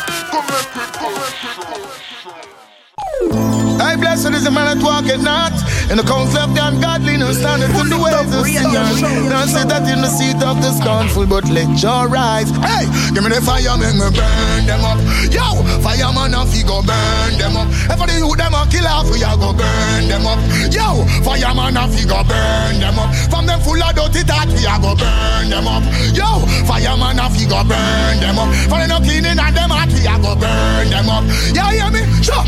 Speaker 20: I blessed is the man that walketh not in the counsel of the ungodly, no standeth in the ways of sinners. Don't sit that in the seat of the scornful, but let your rise. Hey, give me the fire, make me burn them up. Yo, fireman off, he go burn them up. If the youth them a kill off, we a go burn them up. Yo, fireman off, he go burn them up. From them full of dirty thought, we a go burn them up. Yo, fireman off, he go burn them up. For them no cleaning and them heart, we a go burn them up. Yeah, hear me? Sure.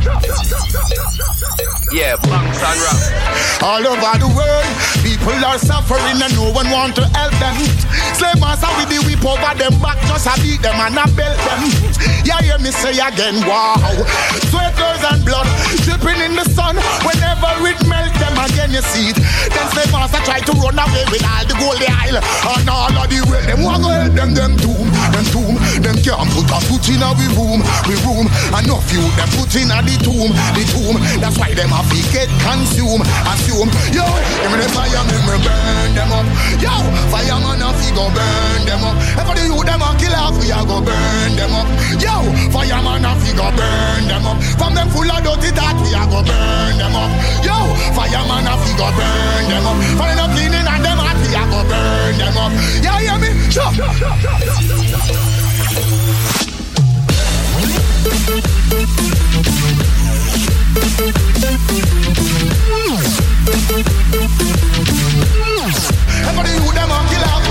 Speaker 1: Yeah, banks and rap.
Speaker 20: All over the world, people are suffering and no one want to help them. Slave master with the whip over them back, just a beat them and a belt them. Yeah, hear me say again, wow. Sweat, tears and blood dripping in the sun. Whenever it melt them again, you see it. Then slave master try to run away with all the gold they isle. And all of the way, them want to help them, them tomb. Them can't put a foot in a we room. And no few them put in a the tomb. That's why them have to get consumed. Assume, yo, give me the fire, make me burn them up. Yo, fireman off, he go burn them up. If the youth them a kill off, we a go burn them up. Yo, fireman off, he go burn them up. From them full of dirty thought, we a go burn them up. Yo, fireman off, he go burn them up. For them cleaning and them heart, we a go burn them up. Yeah, hear me? Sure. Everybody who them a kill off.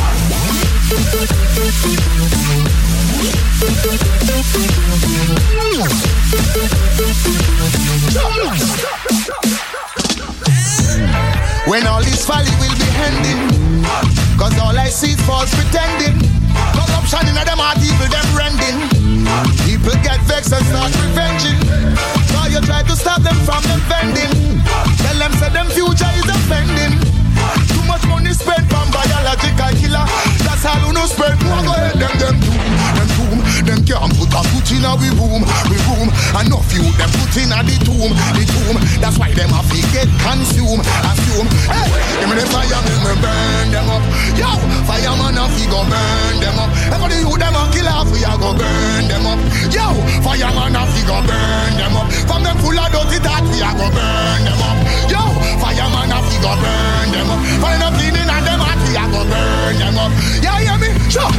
Speaker 20: When all this folly will be ending, cause all I see is false pretending. Corruption in them heart, evil them rending. People get vexed and start revenging. So you try to stop them from them vending. Tell them say them future is offending. Too much money spent from biological killer. That's all who no spend. More go ahead them tomb. Them can't put a foot in a we room. And no few them put in a the tomb. That's why them have to get consumed. Assume, hey, give me the fire, make me burn them up. Yo, fireman off, he go burn them up. Everybody who them a kill off, we a go burn them up. Yo, fireman off, he go burn them up. From them full of dirty thought, we a go burn them up. Yo, fireman off, he go burn them up. For them cleaning and them heart, we a go burn them up. Yeah, hear me? Sure.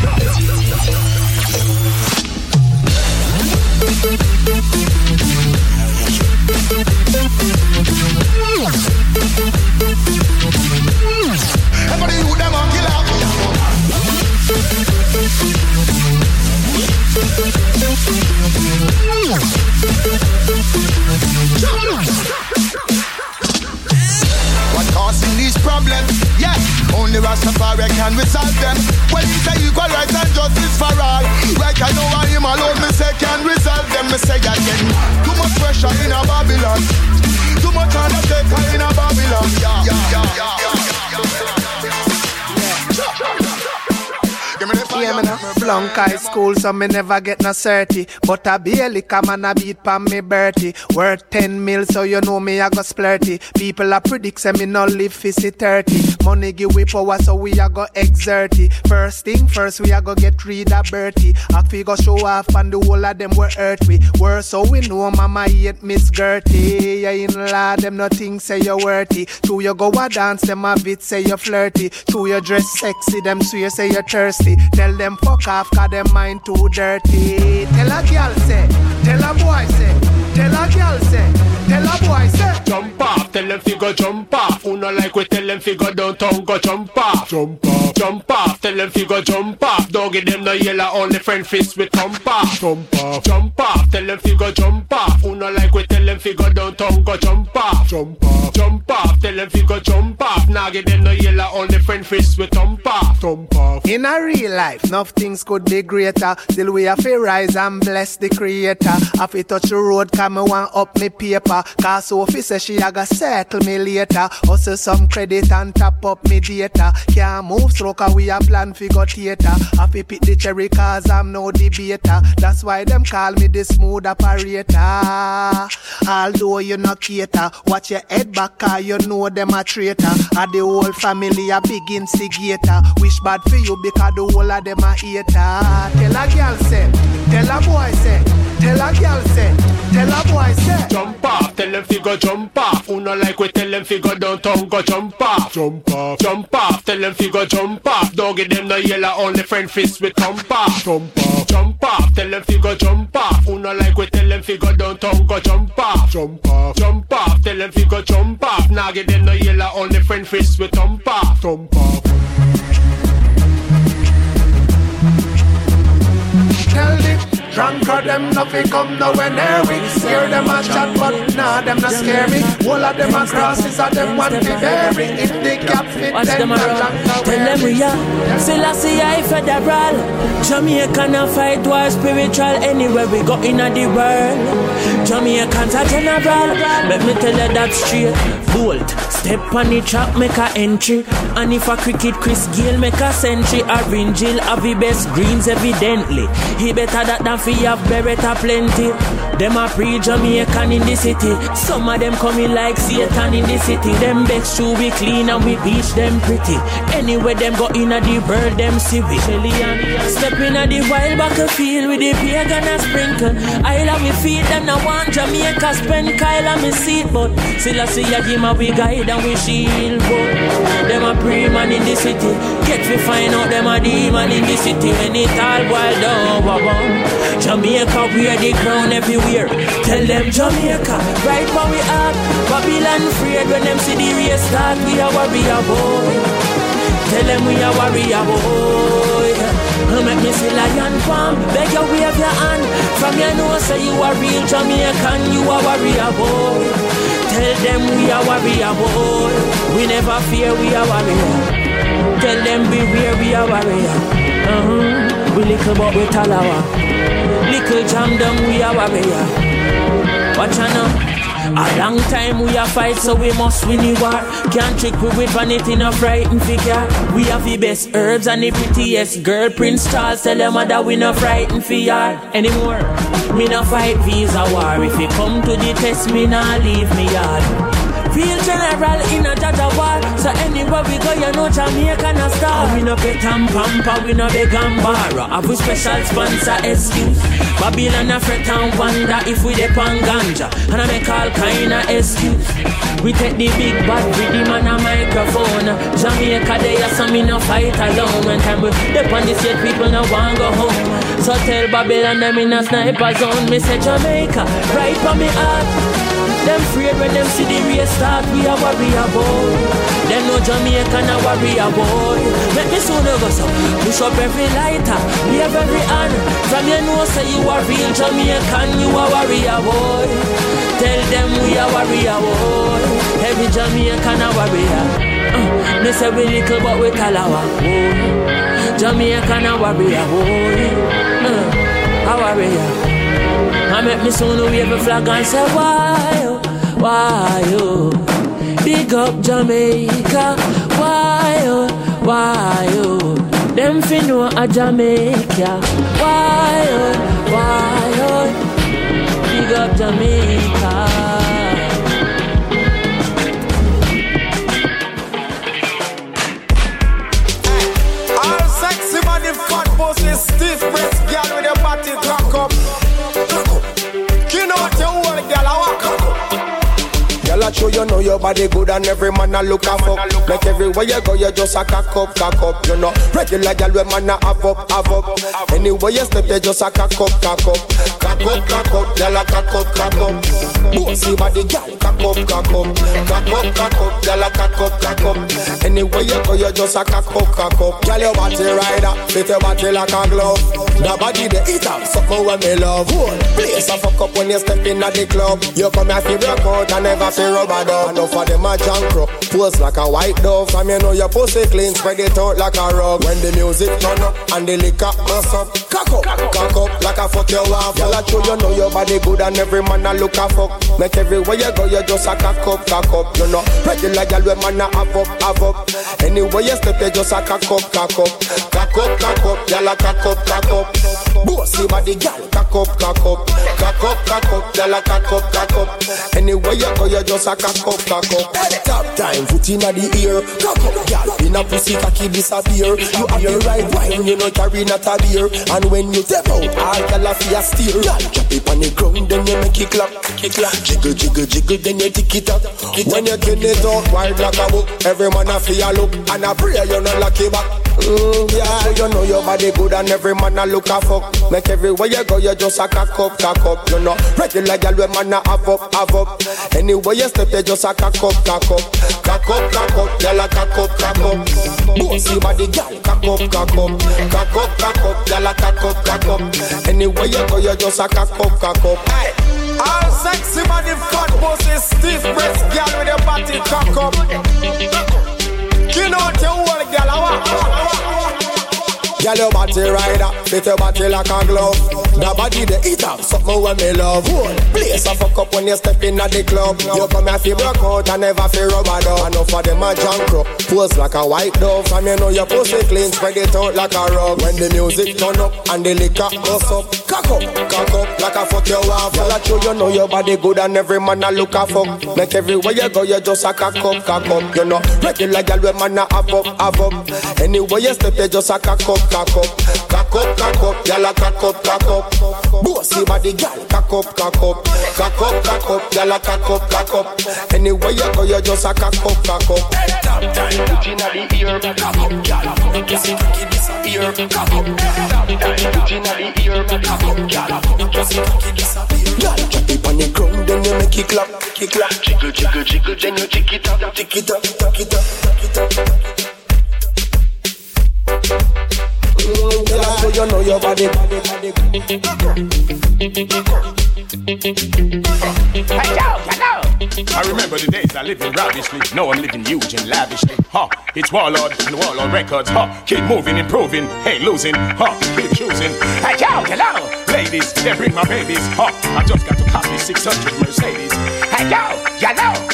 Speaker 20: Everybody who them a kill off. What causing these problems? Yes, only Rastafari can resolve them. Well, he say equal rights and justice for all. Right, I know I him alone, me say can resolve them. Me say again, too much pressure in a Babylon. Too much undertaker in a Babylon.
Speaker 19: Yeah, me no flunk high school, so me never get no 30. But I barely come and I beat pan me Bertie. Worth 10 mil, so you know me I go splurty. People a predict say me no live 50-30. Money give we power, so we a go exert it. First thing first, we a go get rid of Bertie. I figure show off and the whole of them were hurt we. Worse, so we know mama hate Miss Gertie. Yeah, in law, them nothing say you worthy. True, you go a dance, them a bit say you flirty. True, you dress sexy, them swear say you thirsty. Tell them fuck off, cause them mind too dirty. Tell a girl say,
Speaker 17: go jump off. Who no like we tell them fi go downtown, go jump off. Jump off, jump off. Tell them fi go jump off. Don't give them no yellow, only friend fist with thump off. Jump off, jump off. Tell them fi go jump off. Who no like we tell them fi go downtown, go jump off. Jump off, jump off. Tell them fi go jump off. Now give them no yellow, only friend fist with thump off. Thump off.
Speaker 11: In a real life, enough things could be greater. Still we have to rise and bless the creator. Have to touch the road, come me want up me paper. Cause Sophie say she a go settle me later. Hustle some credit and top up me data. Can't move slow cause we a plan fi go theater. Have to pick the cherry cause I'm no debater. That's why them call me the smooth operator. Although you no cater, watch your head back cause you know them a traitor. And the whole family a big instigator. Wish bad for you because the whole of them a hater. Tell a girl say, tell a boy say, tell a girl say, tell a boy say.
Speaker 17: Jump off, tell them fi go jump off. Who no like we tell them fi go downtown, go jump off. Jump off, jump off. Tell them fi go jump off. Don't give them no yellow, only friend fist with thump off. Jump off, jump off. Tell them fi go jump off. Who no like we tell them fi go downtown, go jump off. Jump off, jump off. Tell them fi go jump off. Now give them no yellow, only friend fist with thump off. Thump off.
Speaker 11: Tell the drunker them nothing come nowhere near me. Hear them a chat but nah them not scare me. All of them a crosses of them want to bury. If they cap fit them no longer
Speaker 10: tell them we are Selassie I federal. Jamaican a fight war spiritual. Anywhere we go in the world, Jamaicans are general. Let me tell you that straight. Bolt, step on the track, make a entry. And if a cricket Chris Gayle make a century, Orange Hill have the best greens evidently. He better that than fi have Beretta plenty. Them a pre-Jamaican in the city. Some of them coming like Satan in the city. Them best shoe we clean and we beach them pretty. Anywhere them go in a the world, them see we. Step in a the wild battlefield with the pagan and sprinkle. I love me feet them no want Jamaica spend Kyle and me seat. But still I see a give my we guide and we shield. But them a pre-man in the city. Get we find out them a demon in the city. When it all boiled down. Jamaica wear the crown everywhere. Tell them Jamaica, right where we at. Babylon afraid when them see the race start. We a warrior boy. Tell them we a warrior boy. Make me see lion palm. Beg you wave your hand. From your nose say you a real Jamaican. You a warrior boy. Tell them we a warrior boy. We never fear, we a warrior. Tell them beware, we a warrior. We little but we talawa. Little jam them, we a warrior. Watch out now. A long time we a fight, so we must win the war. Can't trick we with vanity, no frightened figure. We have the best herbs and the prettiest girl. Prince Charles tell them that we no frightened for yard anymore. Me no fight visa war. If you come to the test, me no leave me yard. Real general in a Jaja war. So anywhere we go, you know Jamaica no star. We no pet and pamper, we no beg and borrow. Have we special sponsor excuse. Babylon a fret and wonder if we dep on ganja. And I make all kind of excuse. We take the big bad rhythm and a microphone. Jamaica there, so me no fight alone. When time we dep on the state, people no want go home. So tell Babylon them in a sniper zone. Me say Jamaica, right for me heart. Them afraid when them see the race start. We a warrior boy. Them know Jamaican a warrior boy. Make me soon go so. Push up every lighter, wave every hand. From your nose say you a real Jamaican. You a warrior boy. Tell them we a warrior boy. Every Jamaican a warrior. Me say we little but we talawa boy. Jamaican a warrior boy. A warrior. I make me soon wave a flag and say why oh, big up Jamaica, why oh, them fi know a Jamaica, why oh, big up Jamaica.
Speaker 20: All sexy body, fat pussy, stiff breast, girl with your body cock up. You know what you want, girl, I walk up. Girl,
Speaker 15: I show you know your body good and every man a look a fuck. Like everywhere you go, you just a cock up. You know, regular gal when man a have up. Anywhere you step, you just a cock up. Gal a cock up. Bossy body gal, cock up. Gal a cock up. Anywhere you go, you just a cock up. Gal your body rider, fit your body like a glove. The body the eat up, something when me love. Place a fuck up when you step in at the club. You come here for break out and never feel rubber dub. Enough for them a junk crow, pose like a white dove. From you know your pussy clean, spread it out like a rug. When the music turn up and the liquor mess up, cock up like a fuck you off. Y'all a show you know your body good and every man a look a fuck. Make everywhere you go you just a cock up. You know, regular gal when man a have up. Anywhere you step you just a cock up. Y'all a cock up. Bossy body gal, cock up. Y'all a cock up. Anywhere you go you just a cock up. Top time, foot inna the ear, cock up, gal. In a pussy cocky disappear. You have the right wine, you know carry not a beer. And when you step out, all gal a fear steer. Gal, drop it on the ground, then you make it clap. Jiggle, then you tick it up. When you get it out, wild like a book. Every man a fear look, and a prayer you not lucky back. Yeah, you know your body good and every man a look a fuck. Make everywhere you go, you just a cock up. You know, regular gal when man a have up. Anywhere you step, you just a cock up. Y'all a cock up. Bossy body gal, cock up. Y'all a cock up. Anywhere you go, you just a cock up. Hey.
Speaker 4: All sexy body fat bosses, stiff breast gal with your body cock up. You know what you want, gal.
Speaker 15: Gal your body rider, fit your body like a glove. The body the eat up, something when me love. Place a fuck up when you step in at the club. You come here fi broke out and never fi rubber dub. Enough for them a junk crow, pose like a white dove. And you know your pussy clean, spread it out like a rug. When the music turn up and the liquor goes up, cock up like a fuck you off. Y'all a show you know your body good and every man a look a fuck. Make everywhere you go you just a cock up. You know, regular gal when man a have up. Anywhere you step you just a cock up. Y'all a cock up. Bossy body gal, cock up. Y'all a cock up. Anywhere you go, you just a cock up. Top time, put inna the ear, cock up, gal. Pussy cocky disappear, cock up. Top time, put inna the ear, cock up, gal. Pussy cocky disappear. Gal, drop it on the ground, then you make it clap. Jiggle, then you tick it up. So you know your body.
Speaker 17: Hey, yo. I remember the days I lived in ravishly. Now I'm living huge and lavishly. It's Warlord and Warlord Records. Keep moving, improving, hey, losing. Keep choosing. Hey, yo. Ladies, they bring my babies. I just got to copy 600 Mercedes. Hey, yo.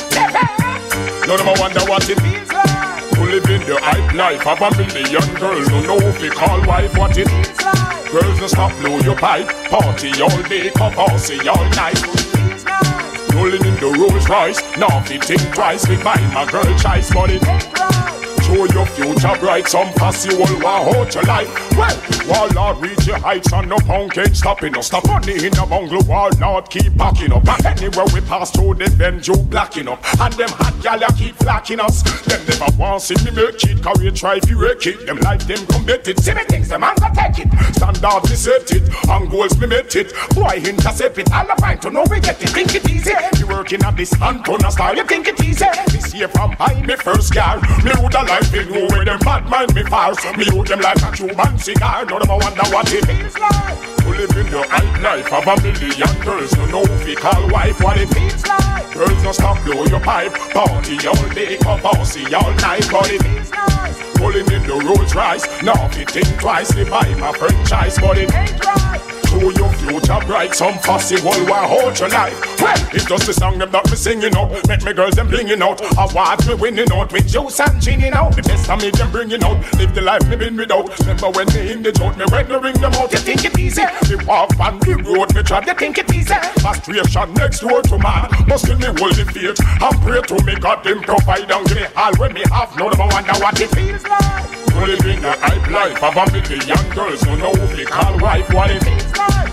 Speaker 17: None of them wonder what it feels like to live in the hype life of a million girls. Don't know if they call wife what it is like. Girls don't stop, blow your pipe. Party all day, come party all night. Rolling in the Rolls Royce, now if you think twice, we buy my girl choice money. Show your future bright, some pussy will want hold your life. Well, Warlord reach your heights and no punk ain't stopping us. Stop money in the bungle, Warlord keep backing up. Anywhere we pass through the bend, you blacking up. And them hot gala keep flacking us. Them never want see me make it, cause we try if you wreck it. Them like them committed, see me things, them man go take it. Standards we set it, and goals we met it. Boy intercept it, all the find to know we get it. Think it easy, you working at this Antonia style, you think it easy. This year from high, me first car, me would have like they know where them bad mind me far. So me hold them like a Cuban cigar. None of them wonder what it feels like to live in the hype life of a million girls. No know if we call wife what it feels like. Girls don't stop blow your pipe. Party all day, come party all night. But it feels like rolling in the Rolls Royce. Now if you think twice, they buy my franchise. But it ain't right. Show your future bright, some fussy will want hold your life. Well, it's just a song them that me singing out. Make me girls them blinging out. I watch me winning out with juice and gin out. The best of me them bringing out. Live the life me been without. Remember when me in the joint, me when me ring them out. You think it easy? Me walk on the road, me try. You think it easy? Frustration next door to man. Must kill me hold the faith and pray to me God them provide and give me all when me have. No them wonder what it feels like. Living a hype life of a million girls. No know if they call wife what it feels like.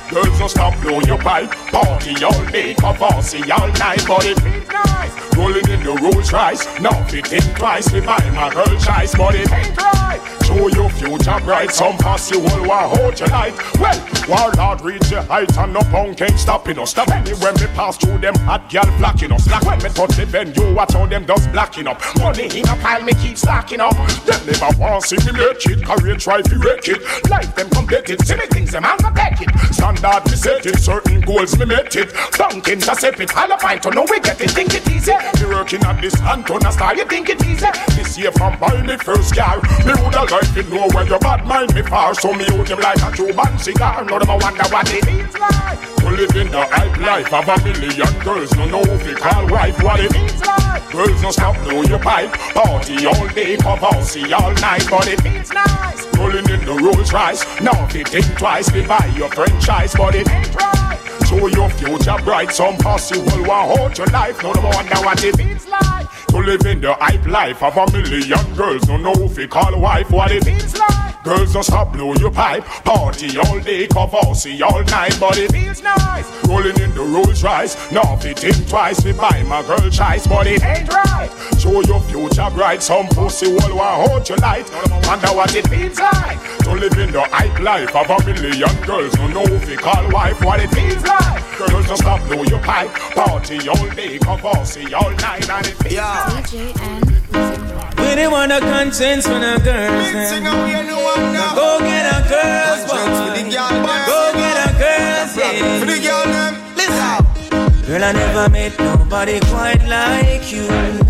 Speaker 4: Girls don't stop, blow your pipe. Party all day, Cavassy all night. But it feels nice. Rolling in the Rolls Royce. Now fit think twice. We buy my girl choice. But it ain't right. Show your future bright. Some posse will want hold you light. Well, Warlord reach your height. And no punk ain't stopping us. Stop anywhere me pass through them hot gal flocking us. Like when me touch the venue, watch how them does blacking up. Money in a pile, me keep stacking up. Them never want see me make it. Career try to wreck it. Life them complete it. See me things them and protect it. Standard me set it. Certain goals me met it. Dunk intercept it. All a find to know we get it. Think it easy. Me working at this Antona style. You think it easy? This year from buying the first car. Me woulda like to know where your bad mind me far. So me out them like a Cuban cigar. Now them a wonder what it means like. To live in the hype life of a million girls. No know if you call wife what it means like. Girls don't stop, blow your pipe. Party all day, Cavassy all night. But it means nice. Rolling in the Rolls Royce. Now if you think twice, we buy your franchise. But it ain't right. Show your future bright. Some posse will want hold your life. No wonder what it means like. To live in the hype life of a million girls. No know if you call wife what it means like. Girls don't stop, blow your pipe. Party all day, Cavassy all night. But it feels nice. Rolling in the Rolls Royce. Now if you think twice, we buy my girl choice. But it ain't right. Show your future bright. Some pussy will want hold your light. Wonder what it feels like. To live in the hype life of a million girls. No know if you call wife what it feels like. Girls don't stop, blow your pipe. Party all day, Cavassy all night. And it feels like
Speaker 21: we didn't want a conscience when a girl's them. Go get a girl's boy. Go get a girl's yeah. Listen. Girl, I never met nobody quite like you.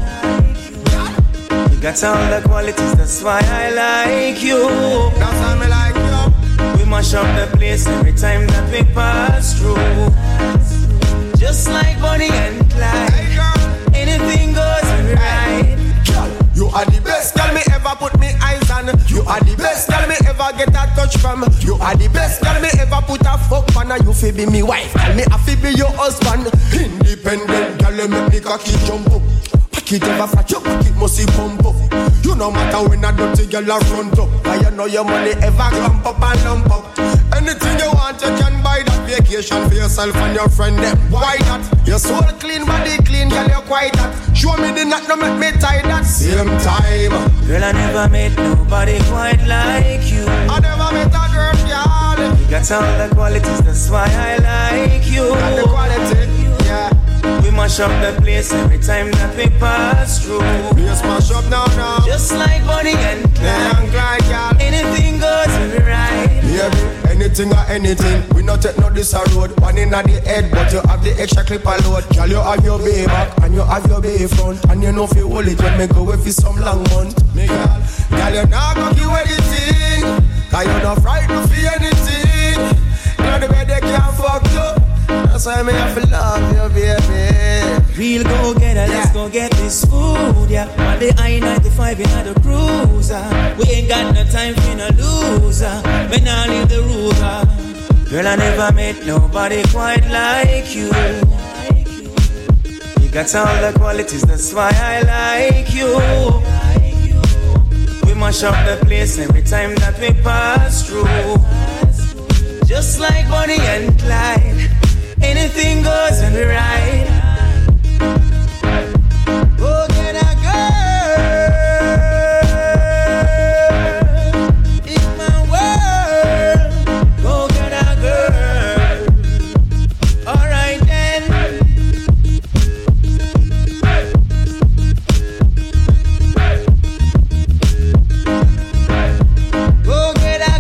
Speaker 21: You got all the qualities, that's why I like you. That's why I like you. We mash up the place every time that we pass through. Just like Bonnie and Clyde. Anything goes right.
Speaker 22: You are the best girl me ever put me eyes on. You are the best girl me ever get a touch from. You are the best girl me ever put a fuck on. You fi be me wife, and me a fi be your husband. Independent girl, you make me cocky jump up. Pack it ever fat, your pocket must be pump up. You no matter when a dirty girl a front up. I you know your money ever clump up and lump up. Anything you want, you can buy that vacation for yourself and your friend. Them. Why that? Your soul clean, body clean, girl you quite that. Show me the knot, no make me tie that. Same time.
Speaker 21: Girl, I never met nobody quite like you.
Speaker 22: I never met a girl, girl.
Speaker 21: You got all the qualities, that's why I like you.
Speaker 22: Got the quality, yeah.
Speaker 21: We mash up the place every time that we pass through.
Speaker 22: We smash up now.
Speaker 21: Just like Bonnie and Clyde,
Speaker 22: girl.
Speaker 21: Anything goes right.
Speaker 22: Baby, anything or anything. We not take no this a road. One in at the head, but you have the extra clip a load. Girl, you have your bay back and you have your bay front. And you know if you hold it when me go away for some long month. Me girl, you not gonna give anything. Cause you not frightened for anything. You know the way they can't fuck you. That's why me have to love you, baby.
Speaker 21: Real go-getter, let's go get this food, yeah. On the I-95 in the cruiser. We ain't got no time for no loser. We now leave the ruler. Girl, I never met nobody quite like you. You got all the qualities, that's why I like you. We mash up the place every time that we pass through. Just like Bonnie and Clyde. Anything goes right. Go get a girl in my world. Go get a girl. Alright then. Go get a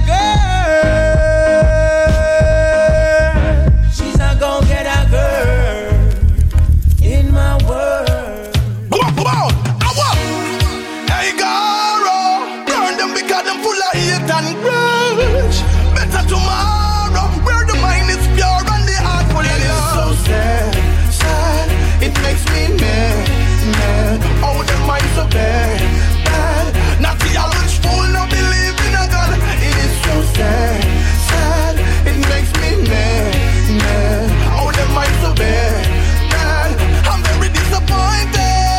Speaker 21: girl. She's a go get a girl in my world.
Speaker 15: Come on, hey girl, burn them because them full of hate and grudge. Better tomorrow, where the mind is pure and the heart full of love. So sad, it makes me mad. Oh, the mind so bad. Not the average fool no believe in a God. It is so sad, it makes me mad. Oh, the mind so bad. I'm very disappointed.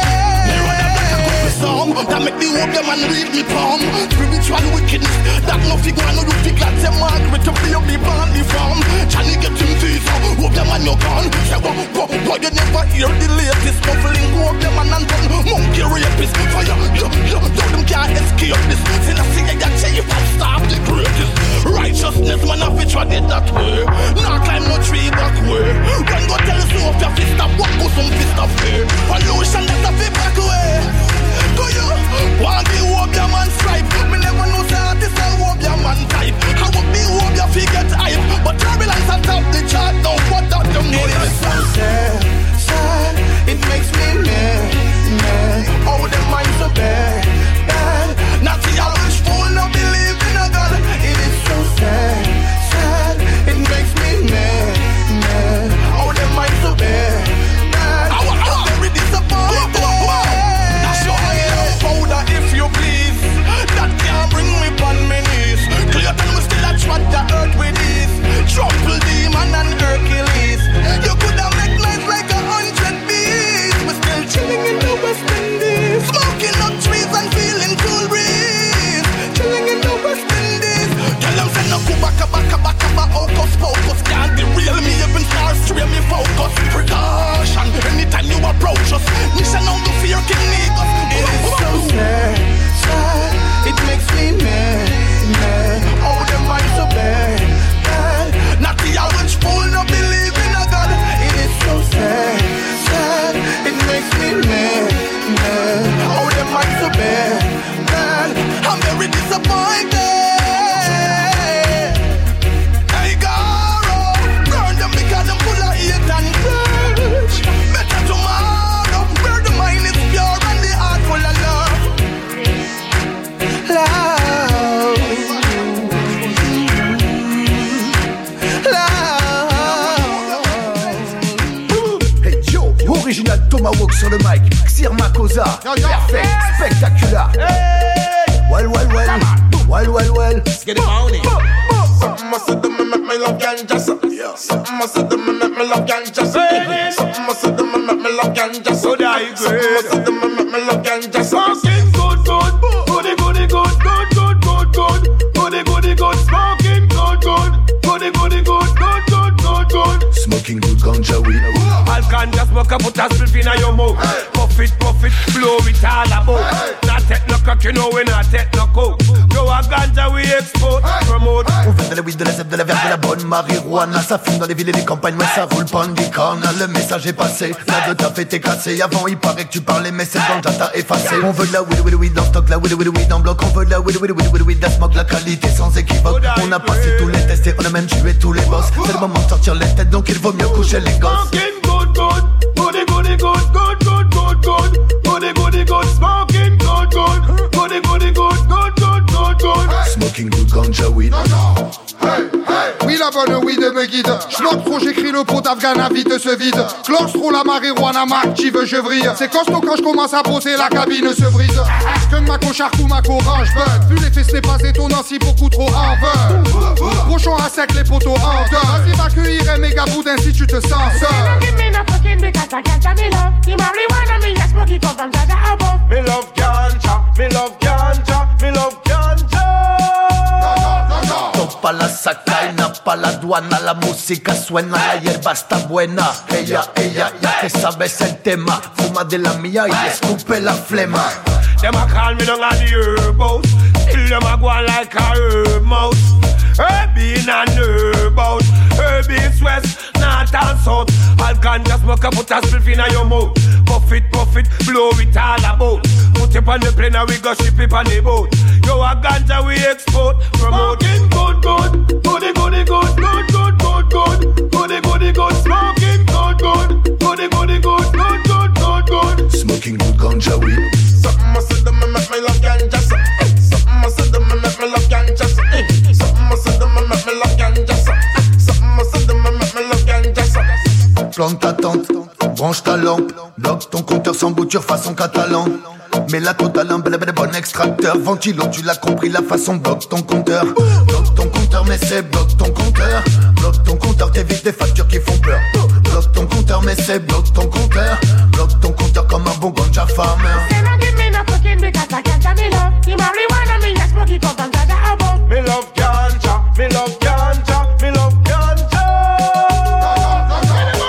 Speaker 15: That make me hope them and read me palm. Spiritual wickedness, that no figure, no you figure. Say Margaret to be up the band from. Johnny get
Speaker 20: you gone. Say what you never hear the latest muffling go up them and gun. Monkey rapist, fire, yo, them can't escape this. Till I see that chief and stop the greatest. Righteousness, man, I fit what did that way. Now climb no tree back way. When go tell us no of your fist up, what go some fist up here. Pollution that I fit back away. Go you, want the hope your man stripe. Me never know say artist I hope your man type. I hope me hope your figure hype. But turbulence on top the chart, don't what that them know. It is so sad, it makes me mad. Oh, them minds so bad. Not the average fool, no believe in a God. It is so sad, it makes me mad. Oh, them minds so bad. I'm very disappointed. That's why I powder if you please. That can't bring me on my knees. Clear than we still a trot the earth with ease. Trample demon and Hercules. You could have make nice like 100 bees. We're still chilling in the West Indies. Smoking up trees and feeling cool breeze. Chilling in the West Indies. Tell them say no kubaka hocus pocus. Can't be real, me even stars stream me focus. Precaution, anytime you approach us. Mission on the fear King Negus. It is so sad, it makes me mad. Oh, them minds so bad. Not the average fool, no believe in a God. It is so sad, it makes me mad. Oh, them minds so bad. I'm very disappointed. Hey, Garo, burn them because them full of hate and grudge. Better tomorrow, where the mind is pure and the heart full of love.
Speaker 2: Hey Joe, original Tomahawk sur le mic. Xir Makosa, perfect, spectaculaire. Well. Let's get it on it.
Speaker 22: Something must have done me make me love ganja. Something must have done me make me love ganja. Something must have done me make me love ganja. Something must have done me make me love ganja. Smoking good. Smoking good ganja weed.
Speaker 17: All ganja smoke a put a spliff inna your mouth. Puff it, blow it all about. Not take no cock, you know we not take no coke. Go a ganja we export, promote.
Speaker 2: On fait de la weed, de la zèbre, de la verre, de la bonne marijuana. Ça fume dans les villes et les campagnes, ouais ça roule pas en licorne. Le message est passé, la de ta fête est cassée. Avant il paraît que tu parlais mais c'est ganja t'as effacé. On veut de la weed en stock, la weed en bloc. On veut de la weed, la smoke, la qualité sans équivoque. On a passé tous les tests et on a même tué tous les boss. C'est le moment de sortir les têtes donc il vaut mieux coucher les gosses.
Speaker 22: Smoking good. Smoking good.
Speaker 2: Smoking good ganja weed.
Speaker 3: Hey. Oui, la bonne weed me guide. J'noque trop, j'écris le pot d'Afghana, vite se vide. Clore trop la marijuana, m'active, je vrille. C'est costaud quand j'commence à poser, la cabine se brise. Que ma cocharque ou ma corange bug. Vu les fesses, n'est pas étonnant si beaucoup trop en veulent. Cochon à sec, les poteaux en deuil. Vas-y, va cueillir un méga boudin si tu te sens seul.
Speaker 22: Me love ganja.
Speaker 2: Topa la sacaina, pa la aduana, la música suena, la hierba está buena. Ella, ya que sabes el tema, fuma de la mía y escupe la flema.
Speaker 17: Them a call me down on the herb house. Till them a go on like a herb mouse. Herb in and herb out. Herb east, west, north and south. All ganja smoke a put a spliff inna your mouth. Puff it, blow it all about. Put it on the plane and we go ship it on the boat. Yo a ganja we export, promote. Smoking good. Smoking good.
Speaker 2: Smoking good ganja weed.
Speaker 22: Something must have done me make me love ganja. Something must have done me make me love ganja. Something must have done me make me love ganja. Something must have done me make me love ganja.
Speaker 2: Plante ta tente, branche ta lampe. Bloque ton compteur sans bouture façon catalan. Mets la côte à l'imble, bon extracteur. Ventilo, tu l'as compris, la façon bloque ton compteur. Bloque ton compteur, mais c'est bloque ton compteur. Bloque ton compteur, t'évites des factures qui font peur. Bloque ton compteur, mais c'est bloque ton compteur. Bloque ton compteur comme un bon ganja farmer.
Speaker 22: Me love ganja.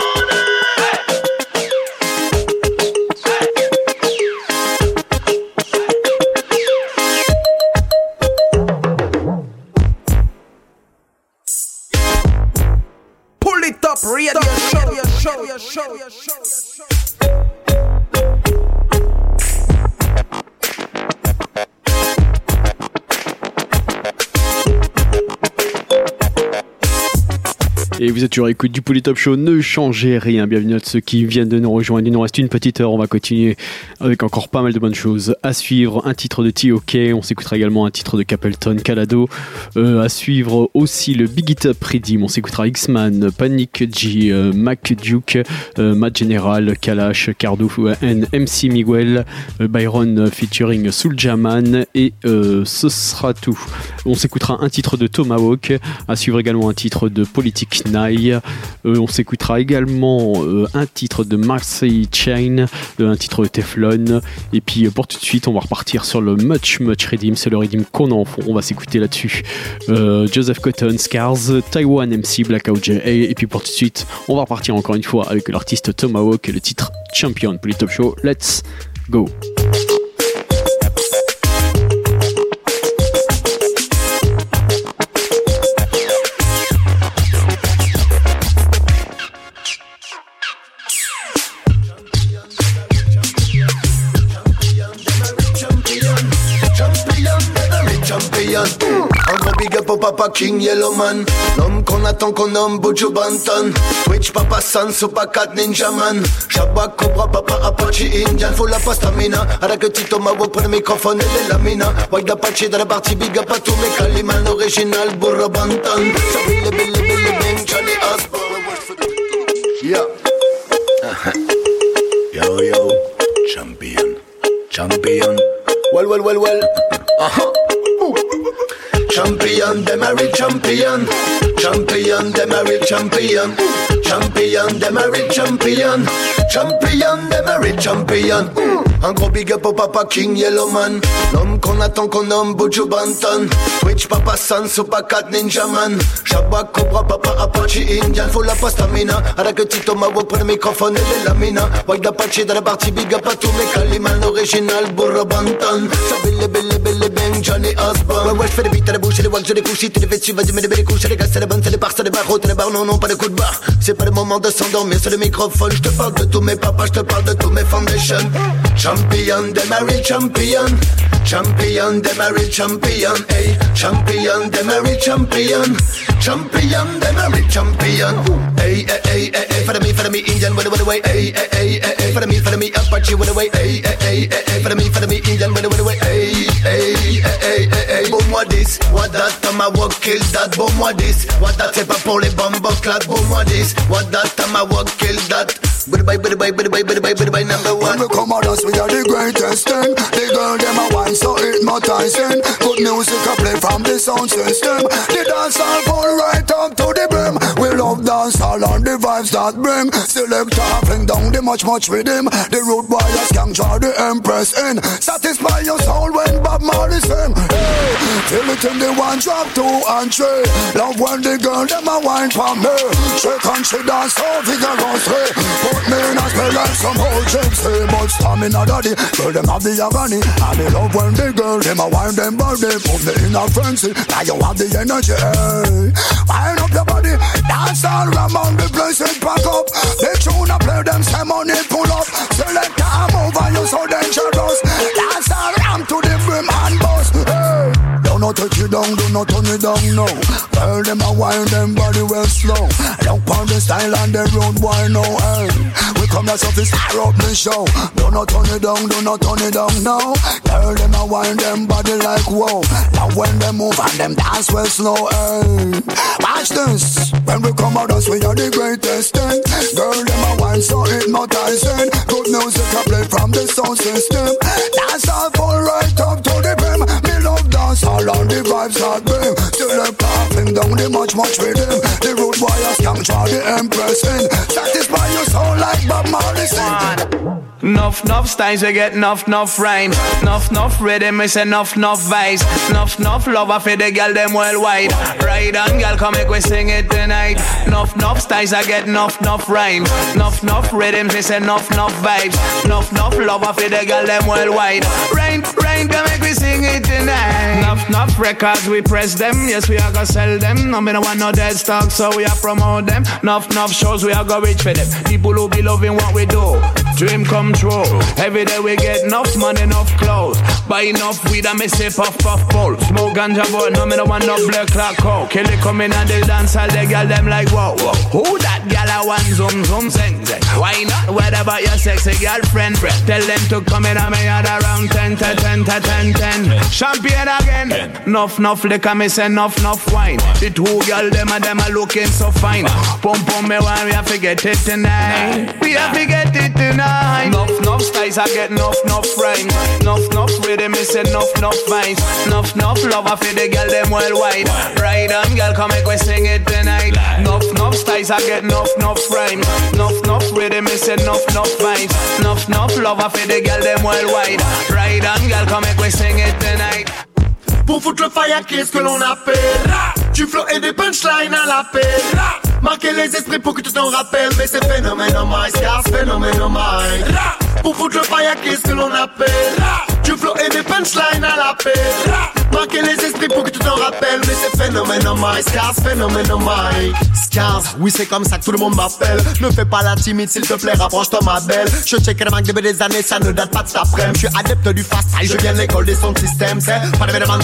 Speaker 5: Et vous êtes toujours à l'écoute du Polytop Show, ne changez rien. Bienvenue à ceux qui viennent de nous rejoindre. Il nous reste une petite heure, on va continuer avec encore pas mal de bonnes choses. À suivre, un titre de T.O.K, on s'écoutera également un titre de Capleton, Calado. À suivre aussi le Big It Up Redeem, on s'écoutera X-Man, Panic G, Mac Duke, Matt General, Kalash, Cardo, MC Miguel, Byron featuring Soulja Man et ce sera tout. On s'écoutera un titre de Tomahawk, à suivre également un titre de Politic Nye. On s'écoutera également un titre de Marseille Chain, un titre de Teflon. Et puis pour tout de suite, on va repartir sur le Much Redeem. C'est le Redeem qu'on a en fond. On va s'écouter là-dessus. Joseph Cotton, Scars, Taiwan MC, Blackout J. Et puis pour tout de suite, on va repartir encore une fois avec l'artiste Tomahawk et le titre Champion pour les Top Show. Let's go!
Speaker 2: Un gros big up au papa King Yellowman, l'homme qu'on attend qu'on nomme Buju Banton. Twitch papa San, Super Cat Ninja Man, Shabba Cobra papa Apache Indian. Faut la pastamina, avec le petit Tomahawk pour le microphone et les lamina. White Apache dans la partie big up à tous mes calimans. Original Burra Banton, Sabile Billy Bang Johnny Osborne. Yeah. Yo yo, champion. Well. Champion, them a real champion. Champion, them a real champion. Champion, them a real champion. Champion, them a real champion. Un gros big up au papa King Yellowman, l'homme qu'on attend qu'on nomme Buju Banton. Twitch papa San, Super Cat Ninja Man, Shabba Cobra papa Apache Indian. Faut la pastamina, avec le petit Tomahawk pour le microphone et les lamina. White Apache dans la partie big up à tous mes calimans. Original Burra Banton, Sabile Billy Bang Johnny Osborne. Ouais, j'fais des beats à la bouche et les walks, je les couche. Si tu les fais dessus, vas-y mets des belles couches. Les gars c'est les bonnes, c'est les bars, c'est les barreaux, c'est les barres. Non, pas de coup de barre. C'est pas le moment de s'endormir sur le microphone. Je te parle de tous mes papas, je te parle de tous mes foundations. Champion, them a real champion. Champion, them a real champion. Hey, champion, them a real champion. Champion, them a real champion. Hey, follow me, Indian, with the way. Hey, follow me, Apache, with the way. Hey, follow me, Indian, with the way. Hey, boom, what this? What that? Tomahawk kill that. Boom, what this? What that? C'est pas pour les bomboclats. Boom, what this? What that? Tomahawk kill that. Bye, number one.
Speaker 9: When we come out, we are the greatest thing. The girl, them a wine, so hypnotizing. Good music I play from the sound system. The dance all fall right up to the brim. We love dance all and the vibes that bring. Selector fling down the much rhythm. The road warriors can draw the empress in. Satisfy your soul when Bob Marley sing. Hey, feel it in the one drop, 2 and 3. Love when the girl, them a wine for me. Shake and she dance so vigorously. Put me in a spell like some old chicks. Hey, but stamina daddy, girl them have the agony. And they love when the girl them a wine them body. Put me in a frenzy, now you have the energy. Hey, wind up your body, dance all around the place and pack up. The tune I play them, say money pull up. Select a move and you so dangerous. Dance all around to the brim and bust. Hey, don't not touch you down, do not turn it down, no. Girl them a wine them body well slow. Look on the style and the road wine, no. Hey, we come here so to stir up the show. Do not turn it down, no. Girl them a wine them body like wow. Now when they move and them dance well slow. Hey, watch this. When we come out us we are the greatest thing. Girl them a wine so hypnotizing. Good music I play from the sound system. Dance all fall right up to the brim. Me love dance all on the vibes that bring. Still like laughing down the much rhythm. The road warriors can draw the empress in. Satisfy your soul like Bob Marley sing.
Speaker 21: Enough styles, we get enough rhyme. Enough rhythm, we say enough vibes. Enough lover for the girl them worldwide. Ride on, girl, come make we sing it tonight. Enough styles, I get enough rhymes. Enough rhythms, we say enough vibes. Enough lover for the girl them worldwide. Rain, come make we sing it tonight. Enough records, we press them. Yes, we are gonna sell them. No, me no want no dead stock, so we are promote them. Enough shows, we are gonna reach for them. People who be loving what we do, dream come true. Every day we get enough money, enough clothes. Buy enough weed and me say puff bowl. Smoke ganja but no me no want no black clock coke. Kill it coming and they dance all the girl them like whoa. Who that girl I want zoom sing. Why not? What about your sexy girlfriend? Tell them to come in and me at around 10. Champagne again. Enough liquor, me say enough wine. The two girl them are looking so fine. Pum me one, we have to get it tonight. We have to get it tonight. Enough styles, I get enough rhymes. Enough rhythm, me say enough vibes. Enough lover for the girl them worldwide. Ride on, girl, come make we sing it tonight. Enough styles, I get enough rhymes. Enough rhythm, me say enough vibes. Enough lover for the girl them worldwide. Ride on, girl, come make we sing it tonight.
Speaker 2: Pour foutre le fire, qu'est-ce que l'on appelle? Du flow et des punchlines à l'appel. Marquer les esprits pour que tu t'en rappelles. Mais c'est phénoménomais, car c'est phénoménomais. Pour foutre le fire, qu'est-ce que l'on appelle? Du flow et des punchlines à l'appel. Marquer les esprits pour que tu t'en rappelles. Mais c'est phénoménomais, car c'est phénoménomais. Scars, oui c'est comme ça que tout le monde m'appelle. Ne fais pas la timide s'il te plaît, rapproche-toi ma belle. Je check les manques depuis des années, ça ne date pas de cet après-midi. Je suis adepte du fast style, je viens de l'école des sons de système. C'est pas de védéman.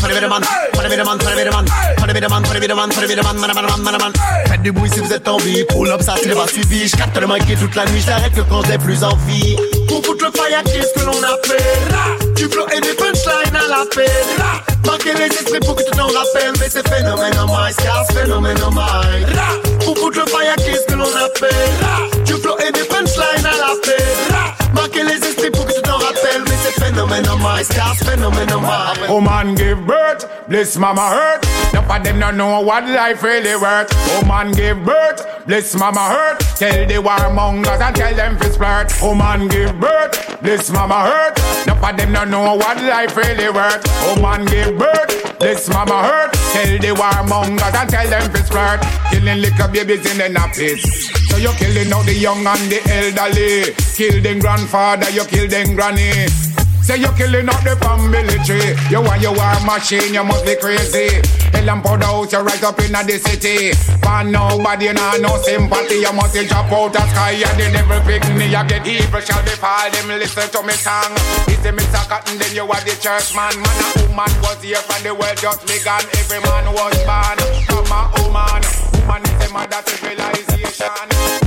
Speaker 2: Faites du bruit si vous êtes en vie. Pull up ça s'il pas suivi. Je capte le manqué toute la nuit, j'arrête que quand j'ai plus envie. Pour foutre le fire, qu'est-ce que l'on appelle? Du flow et des punchlines à l'appel. Marquer les esprits pour que tu t'en rappelles. Mais c'est phénoménomais, car c'est phénoménomais. Pour foutre le fire, qu'est-ce que l'on appelle? Du flow et des punchlines à l'appel. Marquer les esprits pour que tu t'en rappelles. Mais c'est phénoménomais, car c'est phénoménomais.
Speaker 6: Oh man give birth, bliss mama hurt. None of them don't know what life really worth. Oh man give birth, bliss mama hurt. Tell the warmongers and tell them to splurt. Oh man give birth, bliss mama hurt. None of them don't know what life really worth. Oh man give birth, bliss mama hurt. Tell the warmongers and tell them to splurt. Killing little babies in the nappies. So you're killing out the young and the elderly. Kill them grandfather, you kill them granny. Say you're killing up the family tree. You are machine, you must be crazy. Hell and powder house, you right up in the city. For nobody, no sympathy. You must drop out the sky. And the devil pick me, you get evil shall befall them. Listen to me tongue. It's a Mr. Cotton, then you are the church man. Man, a woman was here from the world just began. Every man was born from a woman. Woman is a mother civilization.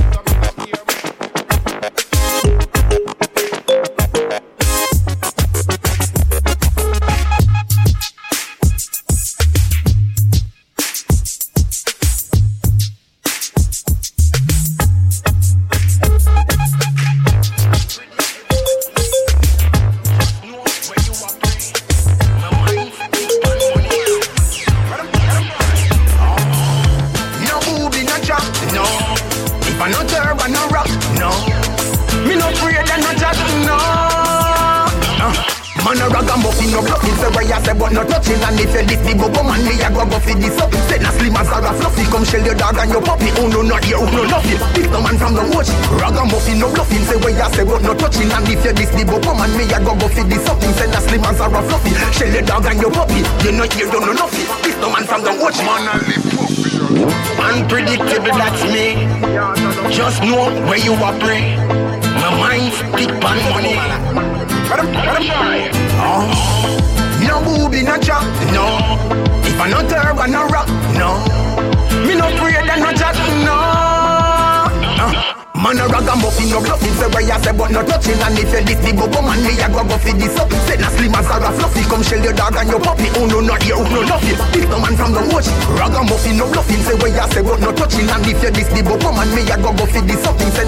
Speaker 7: Man a ragamuffin, no bluffing, say where you say but no touching. And if you this big go man, me a go for this up. Say na slim as a fluffy, come shell your dog and your puppy. Oh no, not here, oh no, nothing. Pick the man from the watch. Ragamuffin. muffin, no bluffing. Say where you say but no touching. And if you this the book woman, me I go for this something. Say na slim as a rough fluffy. Shell your dog and your puppy. You know you don't know nothing. This the man from the watch. Man and live unpredictable, that's me. Just know where you operate. My mind stick on money. Oh, no booby, no chop, no. If I not herb, I no rock, no. Me no afraid and no chat, no. Man a ragamuffin, no bluffing. Say where you say but no touching. And if you this the go man, me a go for this up. Say na slim as a fluffy. Come shell your dog and your puppy. Oh no, not here, oh no, nothing. Pick the man from the watch. Ragamuffin, no bluffing. Say where you say but no touching. And if you this the go man, me a go for this something. Say na slim as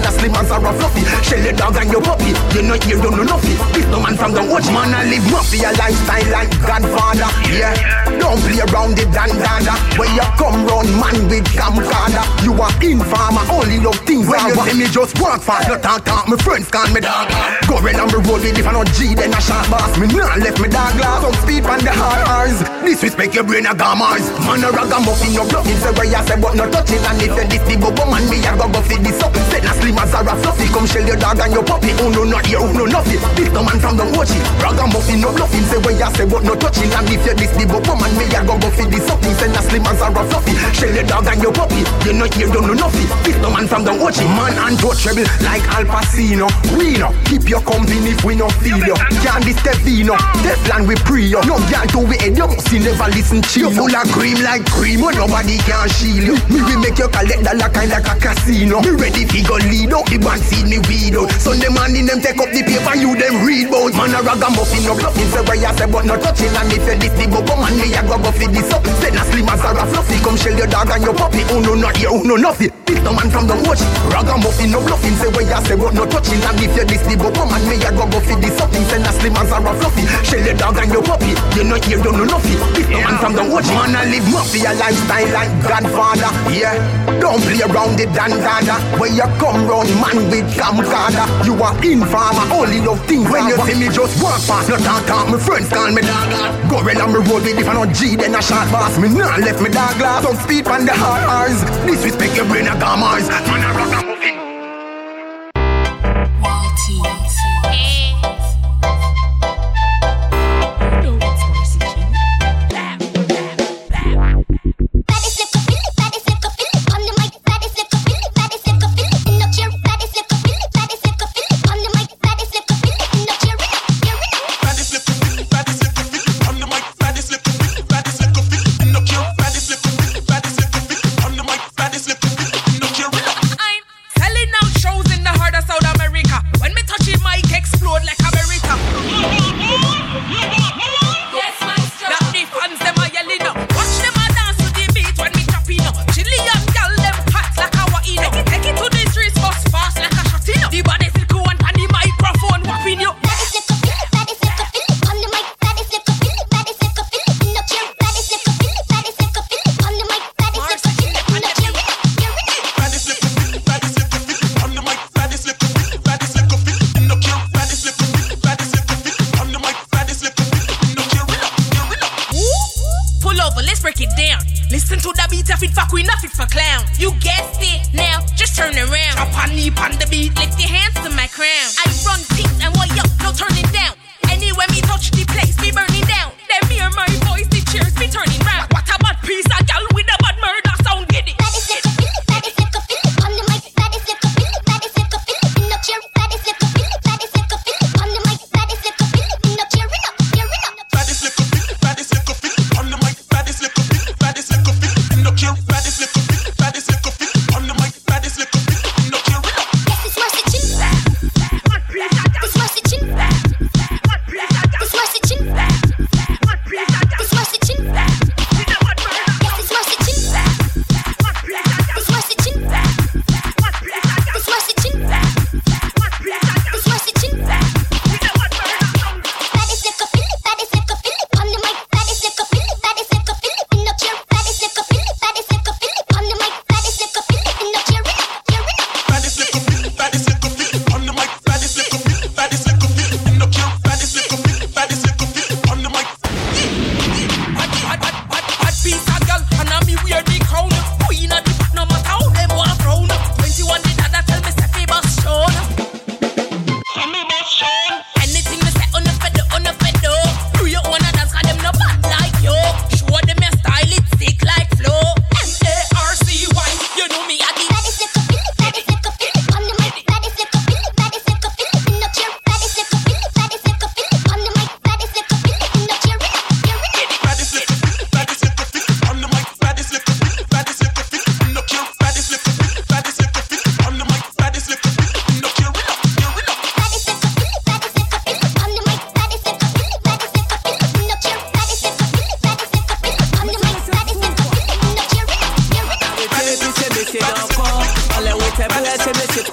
Speaker 7: slimmers are a fluffy. Shell your dog and your puppy. You know you don't know nothing. This no man from the watch. Man I live mafia lifestyle like Godfather. Yeah, don't play around it and dada. When you come round man with camcorder, you are informer. Only love things when you see me just walk fast. No talk. My friends call me dog. Go around on the road with if I not G then a shot boss. Me nah left me dog glass. Some speed on the hard R's. Disrespect your brain a gammers. Man a ragamuffin no bluffing. Say where you say but no touching. And if you this the bubble man me a go fit this up. Say na slim as a fluffy. Come shell your dog and your puppy. Oh no not here, oh no nothing. This the man from the watch it. Ragamuffin no bluffing. Say where you say but no touching. And if you this the bubble man me a go fit this up. Say na slim as a fluffy. Shell your dog and your puppy. You know here don't know nothing. This the man from the watch it. Man untouchable like Al Pacino. We know keep your company if we no feel you. Can't this Stevino. This land we pre you. No girl to we head you must never listen to you. Full of cream like cream when nobody can shield you. Me will make you collect the like a casino. Me ready fi go lead out the band see me weed out. Sunday morning them take up the paper you them read bout. Man a ragamuffin no bluffing say where you say but no touching. And if you this the bubble man me a go fit this up. Say na slim as a fluffy. Come shell your dog and your puppy. Oh no not here, oh no nothing. This the man from the watch. Ragamuffin no bluffing say where you say but no touching. And if you this the bubble man me a go fit this up. Say na slim as a fluffy. Shell your dog and your puppy. You know here don't know nothing. This the man from the watch. Man I live mafia lifestyle like Godfather. Yeah, don't play around it and dada. When you come round man with camcorder, you are informer. Only love things when you see me just walk past. No talk. My friends call me dog. Go around on the road with if I not G then a shot boss. Me nah left me dog glass. Some speed on the hard R's. Disrespect your brain a gammers. Man a rock a muffin.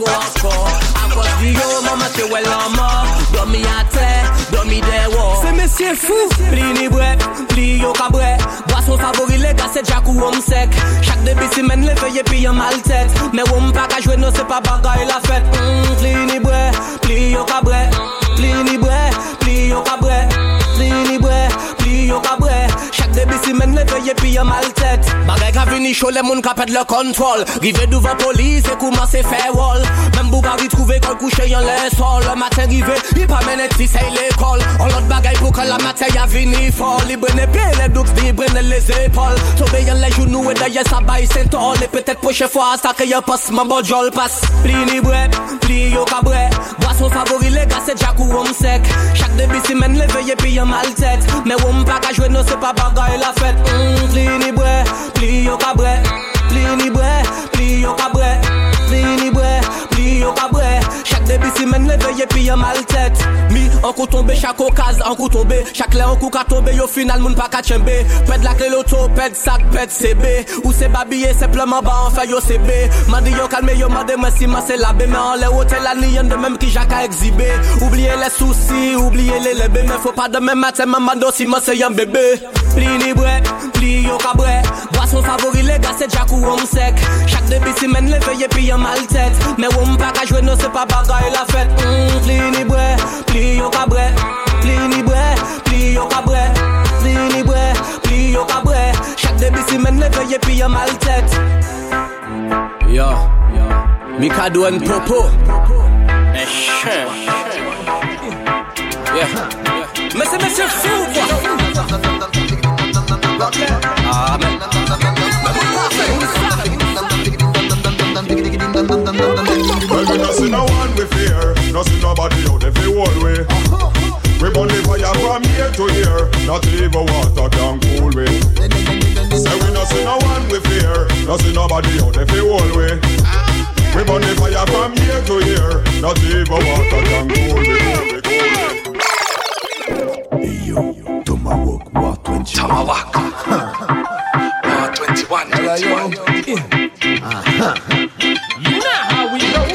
Speaker 21: go hardcore. Across the yo, mama te well en mort. Dormi à terre, dormi des walls. C'est messieurs fous, pli ni bret, pli yo cabret. Boisson favori les gars c'est Jack ou homme sec. Chaque début semaine les feuilles puis en mal tête. Mais on pas qu'à jouer non c'est pas bagaille la fête. Pli ni bret, pli yo cabret. Pli ni bret, pli yo cabret. Pli ni bret, pli yo cabret. Chaque début semaine les feuilles puis en mal tête. Bagay ka vini chaud les moun ka pète le contrôle. Rive devant police et commence faire wall. Même Bougari trouvé qu'on couché en les sol. Le matin rive, il pas mené si c'est l'école. On l'autre bagaille pour que la matin y'a vini fort. Il brenne pied, les douks, il brenne les épaules. Sauvé y'en les genoux et d'ailleurs ça baille Saint-Ol. Et peut-être prochaine fois ça qu'il y a passe, mon bon jol passe. Pli ni bret, pli yo cabret. Boisson favori les gars c'est Jack ou homme sec. Chaque début semaine les veillées puis en mal tête. Mais on pas qu'à jouer non c'est pas bagaille la fête. Pli ni bret, pli yo cabret. Pli ni bret, pli yo cabret. Pli ni bret, pli yo cabret. Chaque début semaine les veillées puis en mal tête. Mi en coup tombé chaque occasion en coup tombé. Chaque lait en coup qu'a tombé au final moun pas qu'à tchembe. Pède la clé l'auto, pède sac, pède CB. Ou c'est babillé simplement bas en fait yo CB. M'a dit yo calme yo m'a dit moi si moi c'est la B. Mais en les hôtels la nian de même qui Jacques a exhibé. Oubliez les soucis, oubliez les lébés. Mais faut pas demain matin maman si moi c'est un bébé. Pli ni bret, pli yo cabret. Boisson favori les gars c'est Jack ou homme sec. Chaque début semaine les veillées puis en mal tête. Mais on pas qu'à jouer non c'est pas bagaille la fête. Pli ni bret, pli yo cabret. Pli ni bret, pli yo cabret. Pli ni bret, pli yo cabret. Chaque début semaine les veillées puis en mal tête. Yo, Mikado and Popo. Yeah. Mais c'est monsieur fou quoi. Ah mais
Speaker 6: well, we not see no one we fear, not see nobody out there fi hold we. We burn the fire from here to here, not even water can cool we. Say we not see no one we fear, not see nobody out there fi hold we. We burn the fire from here to here, not even water can cool we.
Speaker 2: Hey yo, Tomahawk, War 21.
Speaker 1: Tomahawk. War 21, 21.
Speaker 21: You know how we roll.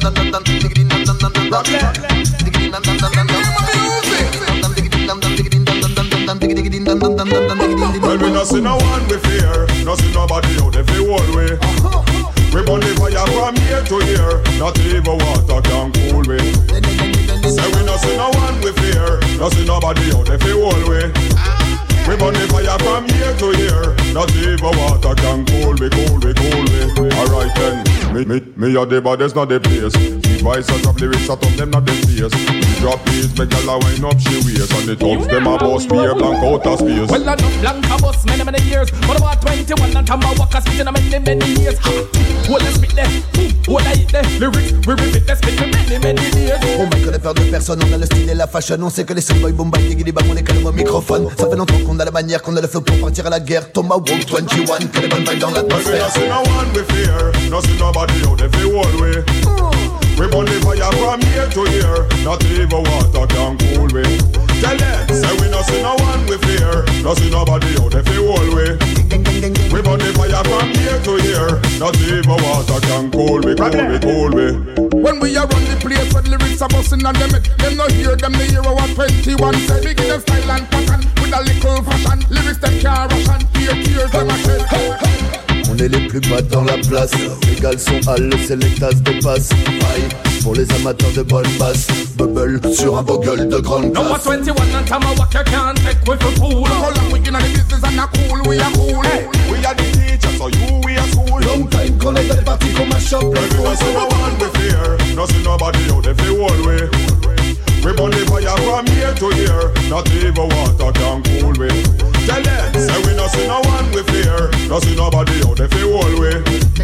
Speaker 6: Well, we not see no one we fear, not see nobody out there fi hold we. We burn the fire from here to here, not even water can cool we. Say we not see no one we fear, not see nobody out there fi hold we. We burn the fire from here to here, not even water can cool me, cool me, cool me. Alright then, me a the baddest, not the place. The voice of the lyrics, I told them not the face. Drop beats, make a la wind up she waist. And the thugs, them a boss, be a blank out of space.
Speaker 21: Well, I know blank a boss, many years. But about 21 and time I walk a spit in a many years. Well, let's spit there, well, I eat there. Lyrics, we repeat, let's spit for many years.
Speaker 2: On va connaître peur de personne, on a le style et la fashion. On sait que les soundboys, boom, bang, diggy, bang, on est calme au microphone. Ça fait longtemps qu'on a la manière, qu'on a le flow pour partir à la guerre. Tomahawk 21, que les bonnes vibes dans l'atmosphère.
Speaker 6: We no one we fear, no see nobody out there fi hold we. We burn the fire from here to here, not even water can cool we. Tell them, say we no see no one we fear, no see nobody out there fi hold we. We burn the fire from here to here, not even water can cool we, cool we, cool we.
Speaker 3: When we are on the place where lyrics are busting on them, them no hear them, they hear what 21 say. Big in the style and pattern, with a little fashion. Lyrics them can't ration, tears them a shed.
Speaker 2: On est les plus bas dans la place. Les gals sont hal, c'est les tasses dépassent. Aïe, pour les amateurs de bonne basse. Bubble sur un bogle de grande
Speaker 21: classe. Number 21 and Tomahawk, you can't take with the fool.
Speaker 3: How long we in the business and a cool, we are cool.
Speaker 6: Hey, we are the teachers, so you we are school.
Speaker 2: Long time qu'on est dans les parties qu'on mash up.
Speaker 6: We no see no one we fear, no see nobody out there fi hold we. We burn the fire from here to here, not even water can cool we. Tell them, say we no see no one we fear, no see nobody out there fi hold we.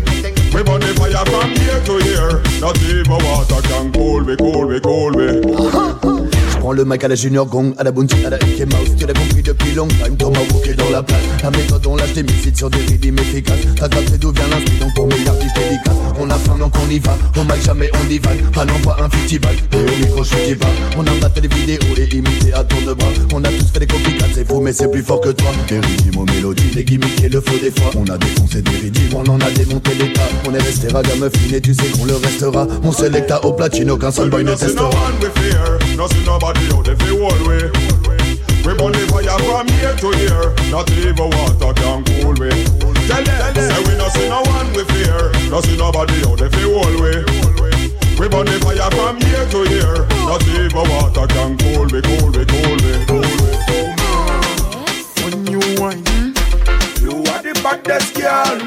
Speaker 6: We burn the fire from here to here, not even water can cool we, cool we, cool we.
Speaker 2: rends le mic à la Junior Gong, à la Bounty, à la Mickey Mouse. Tu l'as compris depuis long time, Thomas Walker dans la place. La méthode on lâche des missiles sur des rythmes efficaces. T'as capté d'où vient l'inspire, donc pour mes artistes dédicaces. On a faim donc on y va, au mic jamais on divague. Pas n'envoie un festival, et au micro je dis pas. On a battu les vidéos et imité à tour de bras. On a tous fait des copycats, c'est faux mais c'est plus fort que toi. Des rythmes aux mélodies, des gimmicks et le flow des fois. On a défoncé des rythmes, on en a démonté l'état. On est resté ragamuffin et tu sais qu'on le restera. On sélecta au platine, aucun seul boy ne testera.
Speaker 6: No see nobody out there fi hold we. We burn the fire from here to here. Not even water can cool we. Tell them, say we no see no one we fear. No see nobody out there fi hold we. We burn the fire from here to here. Not even water can cool we, cool we, cool we, cool we. When you whine, you are the baddest girl.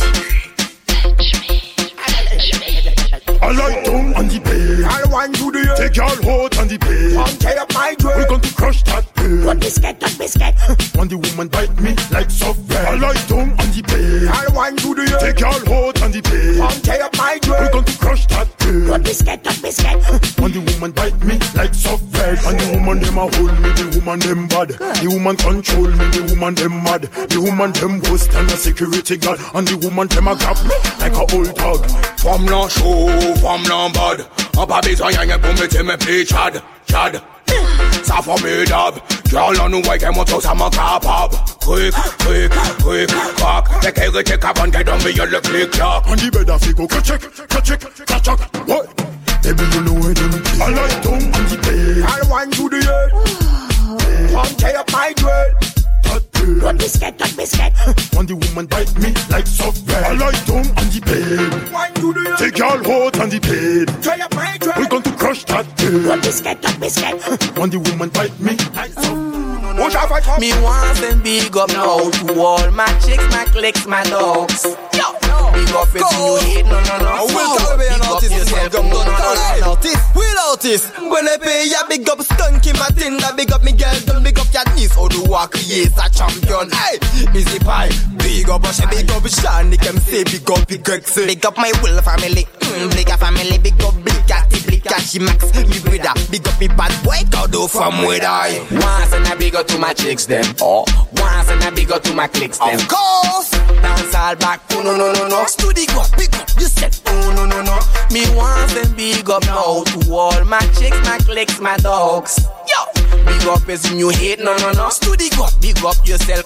Speaker 6: I like tongue on the bed. I want you to take your hold on the bed. I'll tear up my dread. We're going to crush that bed. What biscuit, what biscuit? When the woman bite me like soft bread. I like tongue on the bed. I want you to take your hold on the bed. I'll tear up my dread. We're going to crush that bed. What biscuit, what biscuit? When the woman bite me like soft bread. And the woman them a hold me, the woman them bad. The woman control me, the woman them mad. The woman them ghost and a security guard. And the woman them a grab me like a old dog. From no show. Femme lambade, en pas besoin rien pour mettre mes pieds Chad, Chad. Ça formidable, girl on nous voit qu'elle montre ça m'en capable. Quick, quick, quick, crack. Dès qu'elle était cabane, qu'elle donne beyond le click-clack. On dit bed a figo, ka-check, ka-check, ka-check. What? Baby you know it don't I like tongue on the bed. I want you to hear. Come tear up my dread. What biscuit, what biscuit? When the woman bite me like soft bread. I like tongue on the bed. Take your hold on the bed. We're going to crush that bed. What biscuit, what biscuit? When the woman bite me like soft bread.
Speaker 21: Me wants and big up now to all my chicks, my clicks, my dogs. Yo, big up if you hate, no.
Speaker 14: Will Caribbean artist is welcome, no. Will artist. When they pay ya, big up Stunky Matinda, big up me girl, don't big up your niece. How do I create a champion? Hey, Easy Pie, big up Usher, big up Shani, can say big up the Gexy. Big up my Will family, big up family, big up Big Catty, Big Catchy Max, me brother, big up me bad boy, Kodo from where I.
Speaker 21: Once and I big up to my chicks them. Oh, once and I big up to my clicks them.
Speaker 14: Of course.
Speaker 21: Dance all back, oh no.
Speaker 14: Studio go, big up, you said,
Speaker 21: oh no. Me once and big up now to all my chicks, my clicks, my dogs. Yo, big up as in you hate, no.
Speaker 14: Studio go,
Speaker 21: big up yourself.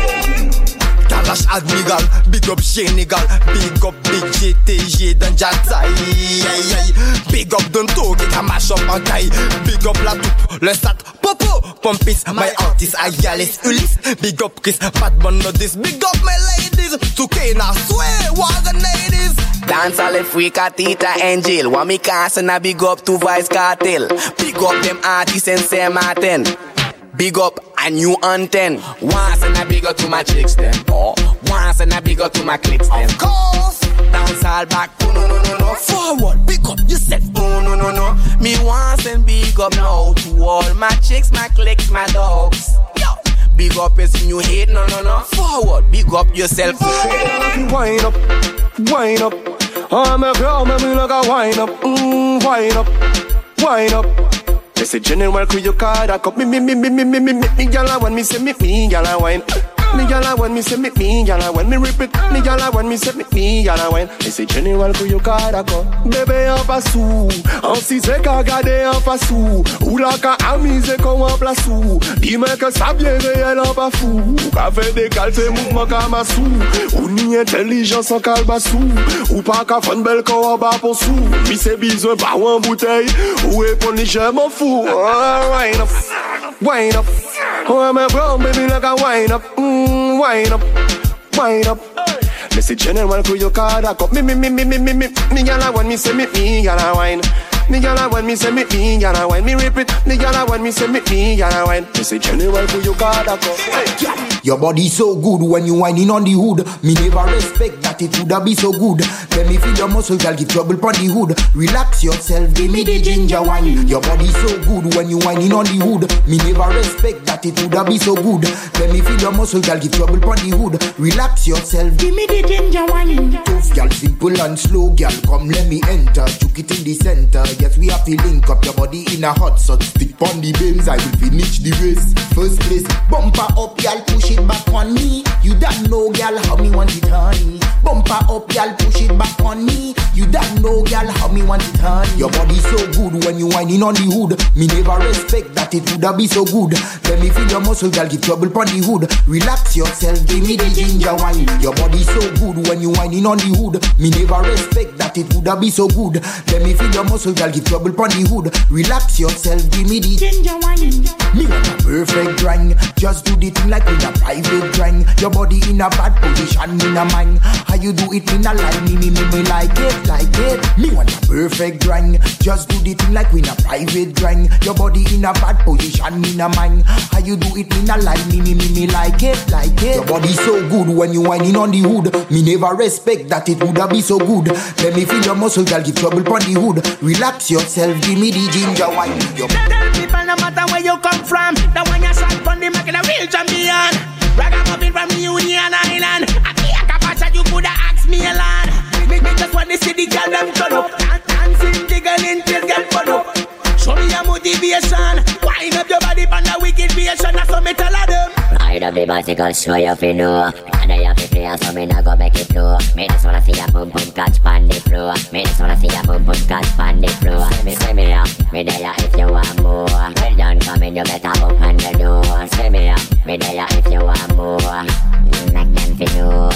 Speaker 14: Kalash Admiral, big up Shenigal, big up Big GTG dan Jatai. Big up Don Togi, ka mash up en taille. Big up La Toupe, le Sat, Popo, Pompis, my artist Ayalis, Ulysse. Big up Chris, Batman Nodis, big up my ladies. 2K na swear, what the ladies.
Speaker 21: Dance all the freak Tita Angel. Want me cast and I big up to Vice Cartel. Big up them artists in Saint Martin. Big up a new antenna. Once and I big up to my chicks them. Oh, once and I big up to my clicks them.
Speaker 14: Of course.
Speaker 21: Dance all back, oh no.
Speaker 14: Forward, big up yourself.
Speaker 21: Oh no. Me once and big up now to all my chicks, my clicks, my dogs. Yo, big up as in you hate, no. Forward, big up yourself.
Speaker 4: Wind up. I'm a girl, me like a wind up. Wind up. They say general crew your card a cup. Me gyal when me say me gyal a wine. Me gyal when me say me gyal a wine. Me repeat me gyal when me say me gyal a wine. They say general crew your card a cup. Bébé en passou, en si c'est qu'à garder en passou. Ou la qu'à amuser qu'on en place ou. Dis-moi que ça bien réel en pas fou. Ou qu'à faire des calces mouvements comme massou. Ou ni intelligence en calbassou. Ou pas qu'à faire une belle qu'on en bas pour sou. Mi c'est besoin pas ou en bouteille. Ou répondre je m'en fous. Wind up. Oh, I'm a brown baby like a wind up. Wind up. Me say general crew your card a cup. Me gyal when me say me gyal a wine. Me gyal when me say me gyal a wine. Me repeat me gyal when me say me gyal a wine. Me say general crew your card a cup.
Speaker 8: Your body so good when you whining on the hood. Me never respect that it woulda be so good. Let me feel your muscle, girl, give trouble pon the hood. Relax yourself, give me the ginger wine. Your body so good when you whining on the hood. Me never respect that it woulda be so good. Let me feel your muscle, girl, give trouble pon the hood. Relax yourself, give me the ginger wine. Tough girl, simple and slow girl, come let me enter. Chook it in the center. Yes, we have to link up your body in a hot shot. Stick pon the beams, I will finish the race. First place, bumper up, girl, push it back on me. You don't know, girl, how me want it honey. Bumper up, girl, push it back on me. You don't know, girl, how me want it honey. Your body so good when you whining on the hood. Me never respect that it woulda be so good. Let me feel your muscle, girl, give trouble pon the hood. Relax yourself, give me the ginger wine. Your body so good when you whining on the hood. Me never respect that it woulda be so good. Let me feel your muscle, girl, give trouble pon the hood. Relax yourself, give me the ginger wine. Me want a perfect grind. Just do the thing like in a private grind. Your body in a bad position, in a mind. How you do it in a line, me like it, like it. Me want a perfect grind. Just do the thing like in a private grind. Your body in a bad position, in a mind. How you do it in a line, me like it, like it. Your body so good when you whining on the hood. Me never respect that it woulda be so good. Let me feel your muscle, girl, give trouble pon the hood. Relax yourself, give me the ginger wine.
Speaker 21: Tell people no matter where you come from, the one you shot from the market, a real champion. Ragamuffin from Union Island. I can't capture you coulda asked me a lot. Me just want to see the girl them turn up, dancing, jiggling, till get fun up. Show me your motivation. Wind up your body on the wicked creation. That's what me tell them.
Speaker 12: Ride up the bicycle, show you fi know. And I have to play, so me nah go make it flow. Me just wanna see your boom boom catch pon the floor. Me just wanna see your boom boom catch pon the floor. Say me up, me there if you want more. Well done coming, you better open the door. Say me up, me there if you want more. Like them fi know.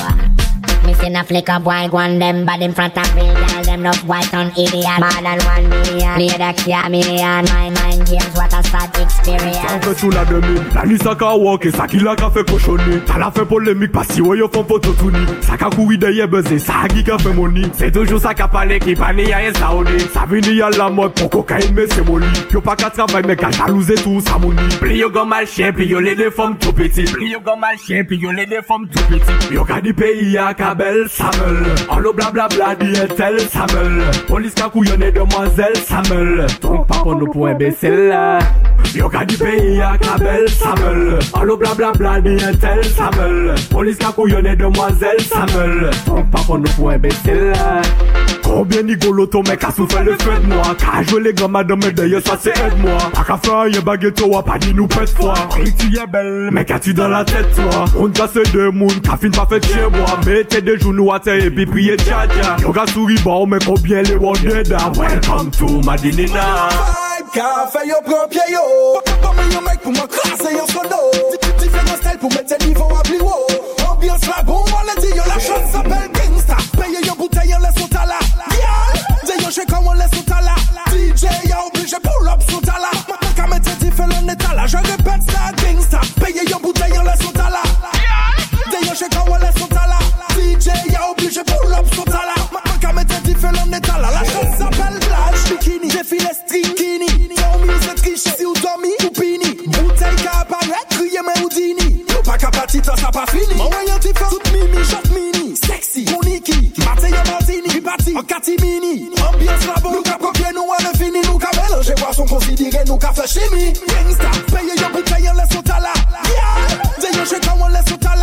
Speaker 12: Me seen a flick up white one them bad in front of real girl. Them love white on idiot. More than 1 million. Play the kia million. My mind games, what a sad experience.
Speaker 23: On fait tout la demi. La nuit ça ka walk et ça qui la ka fait cochonner. Ça la fait polémique parce que yo font photo tout ni. Ça ka couru derrière buzzer. Ça a qui ka fait money. C'est toujours ça ka parler qui pani y'a un saoudi. Ça vini à la mode pour cocaïne mais c'est molly. Yo pas qu'à travailler mais qu'à jalouser tout ça money. Pli yo go mal chien puis yo les deux femmes tout petites. Pli yo go mal chien puis yo les deux femmes tout petites. Yo ka di pays à Kabel, Samuel. En l'eau blablabla di etel, Samuel. Police ka couillonne demoiselle, Samuel. Donc pas pour nous pour imbécile. Yo ka di pays à Kabel, Samuel. En l'eau blablabla di etel, Samuel. Police ka couillonne demoiselle, Samuel. Donc pas pour nous pour imbécile. Combien d'igolo ton mec a souffert le feu de moi. Qu'a joué les grands madame et d'ailleurs ça c'est aide-moi. Pas qu'à faire y'a baguette ou pas dit nous pète foi. Oui tu es belle, mais qu'as-tu dans la tête toi. On casse deux mounes, qu'a fin pas fait chez moi. Mettez des genoux à terre et puis priez tcha tcha. Yo gars souris bon mais combien les wonders. Welcome to Madinina.
Speaker 21: Qu'a fait yo propre yo. Pas mal yo mec pour m'crasser yo solo. Différents styles pour mettre tes niveaux à plus haut. Ambiance la bombe, on l'a dit yo la chose s'appelle gangsta. Payez yo bouteille on laisse au tala. D'ailleurs je quand on laisse au tala. DJ y'a obligé pull up son tala. Maintenant qu'à mettre différents états je répète ça gangsta. Payez yo bouteille on laisse au tala. D'ailleurs je quand on laisse au tala. DJ y'a obligé pull up son tala. Maintenant qu'à mettre différents états la chose s'appelle plage bikini. Défilé stringini. Tommy c'est triche si ou Tommy ou Pini. Bouteille qu'à apparaître, crier mais Houdini. Nous pas qu'à partir ça pas fini. Mon moyen différent, toute mimi, shot mini. Sexy, Moniki, Mathieu Martini, Ribati, en catimini. Ambiance la bombe, nous qu'a copié, nous on est fini. Nous qu'a mélangé, boisson considérée, nous qu'a fait chimie. Gangsta, payez y'a bouteille, on laisse au tala. D'ailleurs je quand on laisse au tala.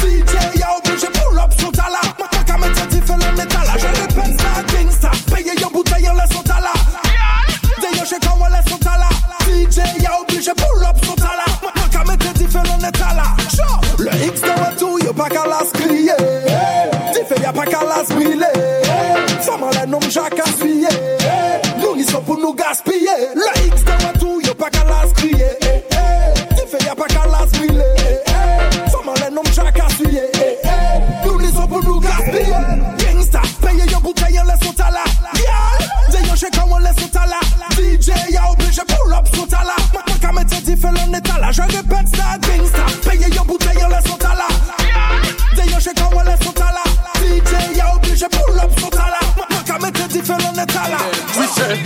Speaker 21: DJ y'a obligé pull up son tala. Maintenant qu'à mettre différents métal, je répète ça gangsta. Payez y'a bouteille, on laisse au tala. D'ailleurs je quand on laisse au tala. DJ y'a obligé pull up son tala. Maintenant qu'à mettre différents métal. Le X de retour, y'a pas qu'à las crier. Diffé y'a pas qu'à las briller. Femme en la nomme Jacques à suyer. Nous n'y sommes pour nous gaspiller. Le X de retour, y'a pas qu'à las crier. Diffé y'a pas qu'à las briller. Femme en la nomme Jacques à suyer. Nous n'y sommes pour nous gaspiller. Gangsta, payez y'a bouteille, on laisse au tala. D'ailleurs je quand on laisse au tala. DJ y'a obligé pull up son tala. Maintenant qu'à mettre différents états je répète ça gangsta. Payez y'a bouteille, on laisse au tala. D'ailleurs je quand on laisse au tala. DJ y'a obligé pull up son tala. Maintenant qu'à mettre différents états
Speaker 24: We say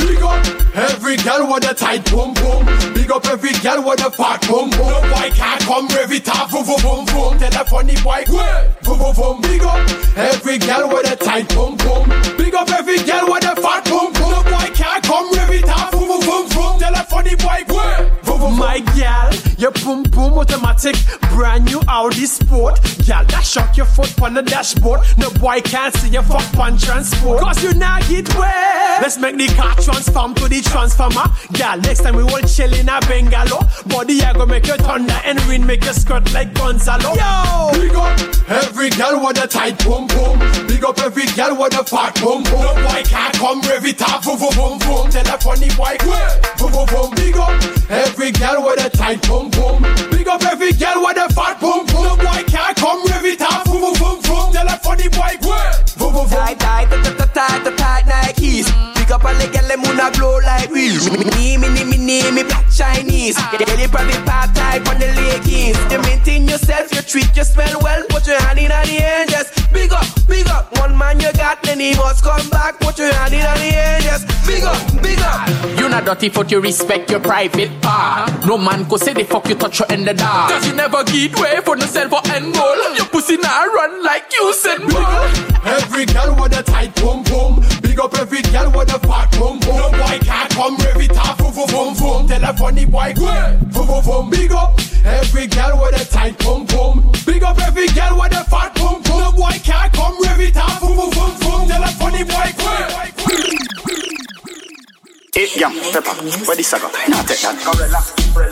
Speaker 13: Big up every girl with a tight boom boom. Big up every girl with a fat boom boom. No boy can't come rev it up, boom boom boom. Tell a funny boy, boom boom boom. Big up every girl with a tight boom boom. Big up every girl with a fat boom boom. No boy can't come rev it up, boom boom boom boom. Tell a funny boy, boom boom boom.
Speaker 22: My gal, your boom boom automatic, brand new Audi Sport. Gal, that shock your foot on the dashboard. No boy can't see your fuck on transport. Cause you not get wet. Let's make the car transform to the transformer. Gal, next time we will chill in a bungalow. Body I go make you thunder and wind make you skirt like Gonzalo. Yo!
Speaker 13: Big up every girl with a tight boom boom. Big up every girl with a fat boom boom. No boy can't come rev it up, boom boom boom boom. Tell a funny boy, boom boom boom. Big up every girl with a tight boom boom. Big up every girl with a fat boom boom. No boy can't come rev it up, boom boom boom boom. Tell a funny boy, boom boom boom.
Speaker 21: Tight Nikes. Pick up all the girl them wanna blow like wheels. Me black Chinese. Get it private part type on the leggings. You maintain yourself, you treat your smell well. Put your hand in the air, just big up. One man you got, then he must come back. Put your hand in the air, just big up.
Speaker 16: You not dirty foot, you respect your private part. No man could say the fuck you touch her in the dark. Cause you never get way for no self or end goal. Your pussy not run like you said, ball.
Speaker 13: Every girl with a tight boom boom. Big up every girl with a fat boom boom. No boy can't come rev it up, boom boom boom boom. Tell a funny boy, boom boom boom. Big up every girl with a tight boom boom. Big up every girl with a fat boom boom. No boy can't come rev it up, boom boom boom boom. Tell a funny boy,
Speaker 18: Hey, yeah, Pepper, where this go? Nah, take that.
Speaker 13: Gorilla,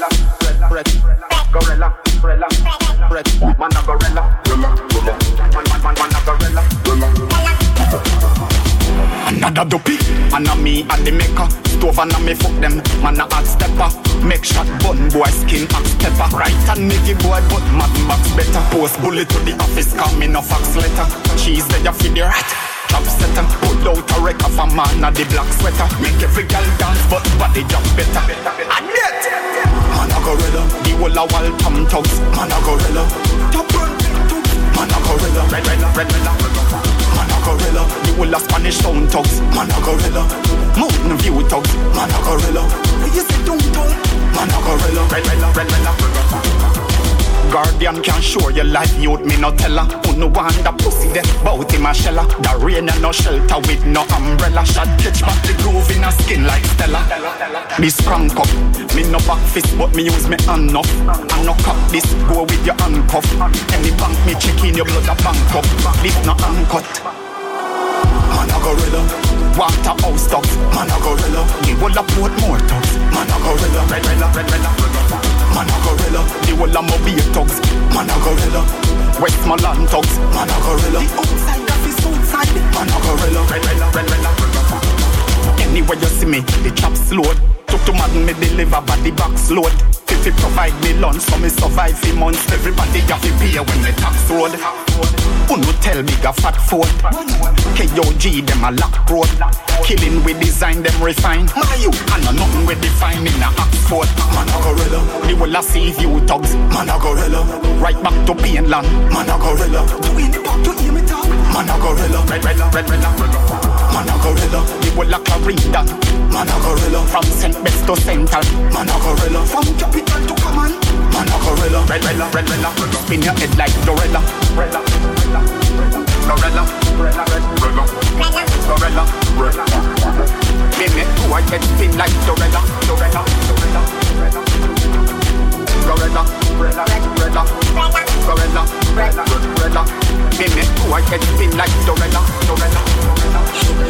Speaker 13: man a gorilla, man a gorilla.
Speaker 18: Another dopey, and a me and the maker. Stove and a me fuck them, man a hot stepper. Make shot bun boy skin axe pepper. Right and make it boy but mad max better. Post bullet to the office, call me no fax letter. Cheese there you feed the rat. Chop setter, put out a wreck of a man a the black sweater. Make every girl dance but body jump better. And yet, man a gorilla. The whole a wall tom tugs, man a gorilla. Top run, man a gorilla. Red. Man a gorilla. The whole a Spanish town tugs, man a gorilla. Mountain view tugs, man a gorilla. Where you say downtown, man a gorilla. Red. Guardian can show your life, youth me no teller. Who no want the pussy then bout him a sheller. The rain and no shelter with no umbrella. Shot catch back the groove in a skin like Stella. This crank up, me no back fist but me use me hand up. And no cup this, go with your handcuff. Any bank me check in your blood a bank up. This no uncut. Man a gorilla. Waterhouse dogs, man a gorilla. The whole a port more dogs, man a gorilla. Red. Man a gorilla. The whole a mobile thugs, man a gorilla. Westmoreland thugs, man a gorilla. The outside of his outside, man a gorilla. Red. Anywhere you see me, the chops load. Took to madden me deliver body box load. If you provide me lunch, so me survive for months. Everybody have to pay when me tax road. Who no tell me a fat phone? KOG them a lock road. Killing we design them refine. My you and no nothing we define in a Oxford. Man a gorilla. The whole a see you thugs. Man a gorilla. Right back to Painland. Man a gorilla. Do in the back to hear me talk. Man a gorilla. Red. Man a gorilla. The whole a Clarendon. Man a gorilla. From St. Best to Central. Man a gorilla. From capital to command. Man a gorilla. Red. Spin your head like Dorella. Dorella. Me make who I get spin like Dorella. Dorella. Me make who I get spin like Dorella.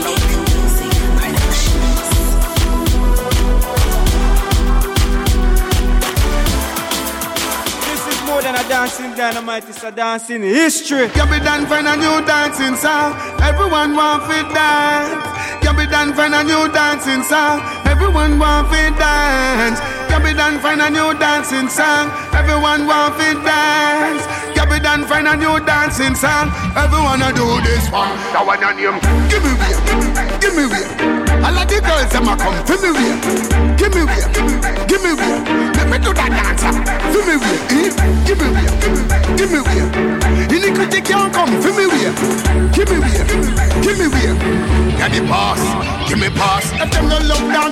Speaker 22: More than a dancing dynamite, it's a dancing history.
Speaker 20: You be done find a new dancing song. Everyone want to dance. You be done find a new dancing song. Everyone want to dance. You be done find a new dancing song. Everyone want to dance. You be done find a new dancing song. Everyone a do this one. That one your name. Give me way. All of the girls them a come to me way. Give me way. Let me do that dancer. Give me way. Give me way. Iniquity can't come. Give me way. Give me way. Get the pass. Give me pass. If them no love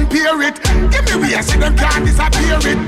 Speaker 20: compare it. Give me way, see them can't disappear it.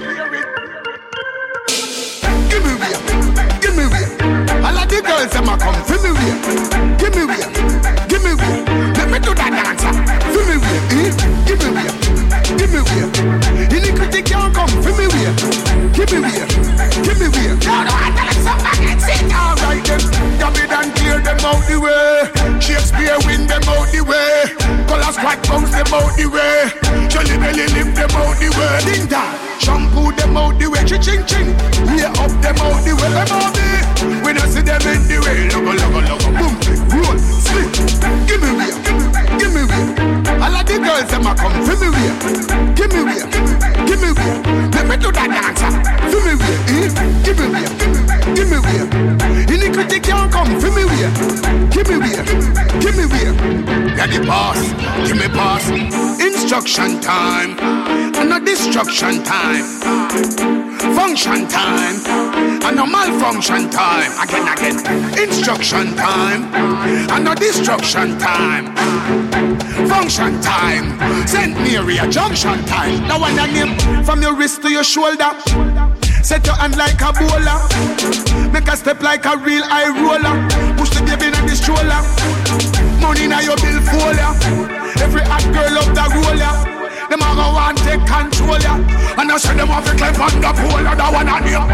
Speaker 20: Give me way, give me way. All of the girls them a come for me way. Give me way, give me way. Let me do that dancer. For me way, give me way, give me way. Iniquity can't come for me way. Give me way, give me way. No, no, I tell them something and sit down right then. David and clear them out the way. Shakespeare win them out the way. Color squad bounce them out the way. Jolly belly lift them out the way. Ding dong, shampoo them out the way. Ching ching, we up them out the way. Them out the we don't see them in the way. Logo, logo, logo, boom, roll, slip. Give me way, give me way. All of the girls them a come for me way. Give me way, give me way. Let me do that dancer. For me way, give me way, give me way. Iniquity can't come for me way. Give me way, give me way. You're the boss, give me boss. Instruction time, and not destruction time. Function time, and no malfunction time. Again, instruction time, and no destruction time. Function time, St. Mary a junction time. Now when I name from your wrist to your shoulder. Set your hand like a bowler. Make a step like a real high roller. Push the baby in the stroller. Money in your bill folder. Every hot girl love the roller. Them a go want take control ya. And I say them have to climb on the pole. That one on you.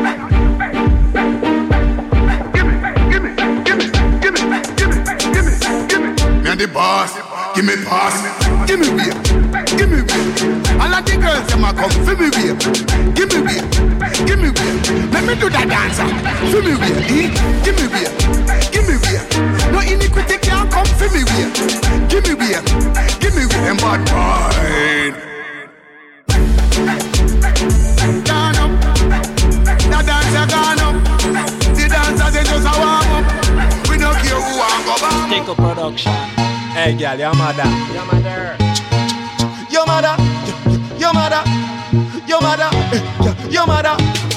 Speaker 20: Me and the boss. Give me pass. Give me way. Give me way. All of the girls them a come for me way. Give me way. Give me way. Let me do that dancer. For me way. Give me way. Give me way. No iniquity can't come for me way. Give me way. Give me way. Them bad boy. Gone up. The dancer gone up. The dancers they just a warm up. We don't care who I go back.
Speaker 21: Take a production.
Speaker 22: Hey girl, your mother.
Speaker 21: Your mother.
Speaker 22: Your mother. Your mother. Your mother. Your mother.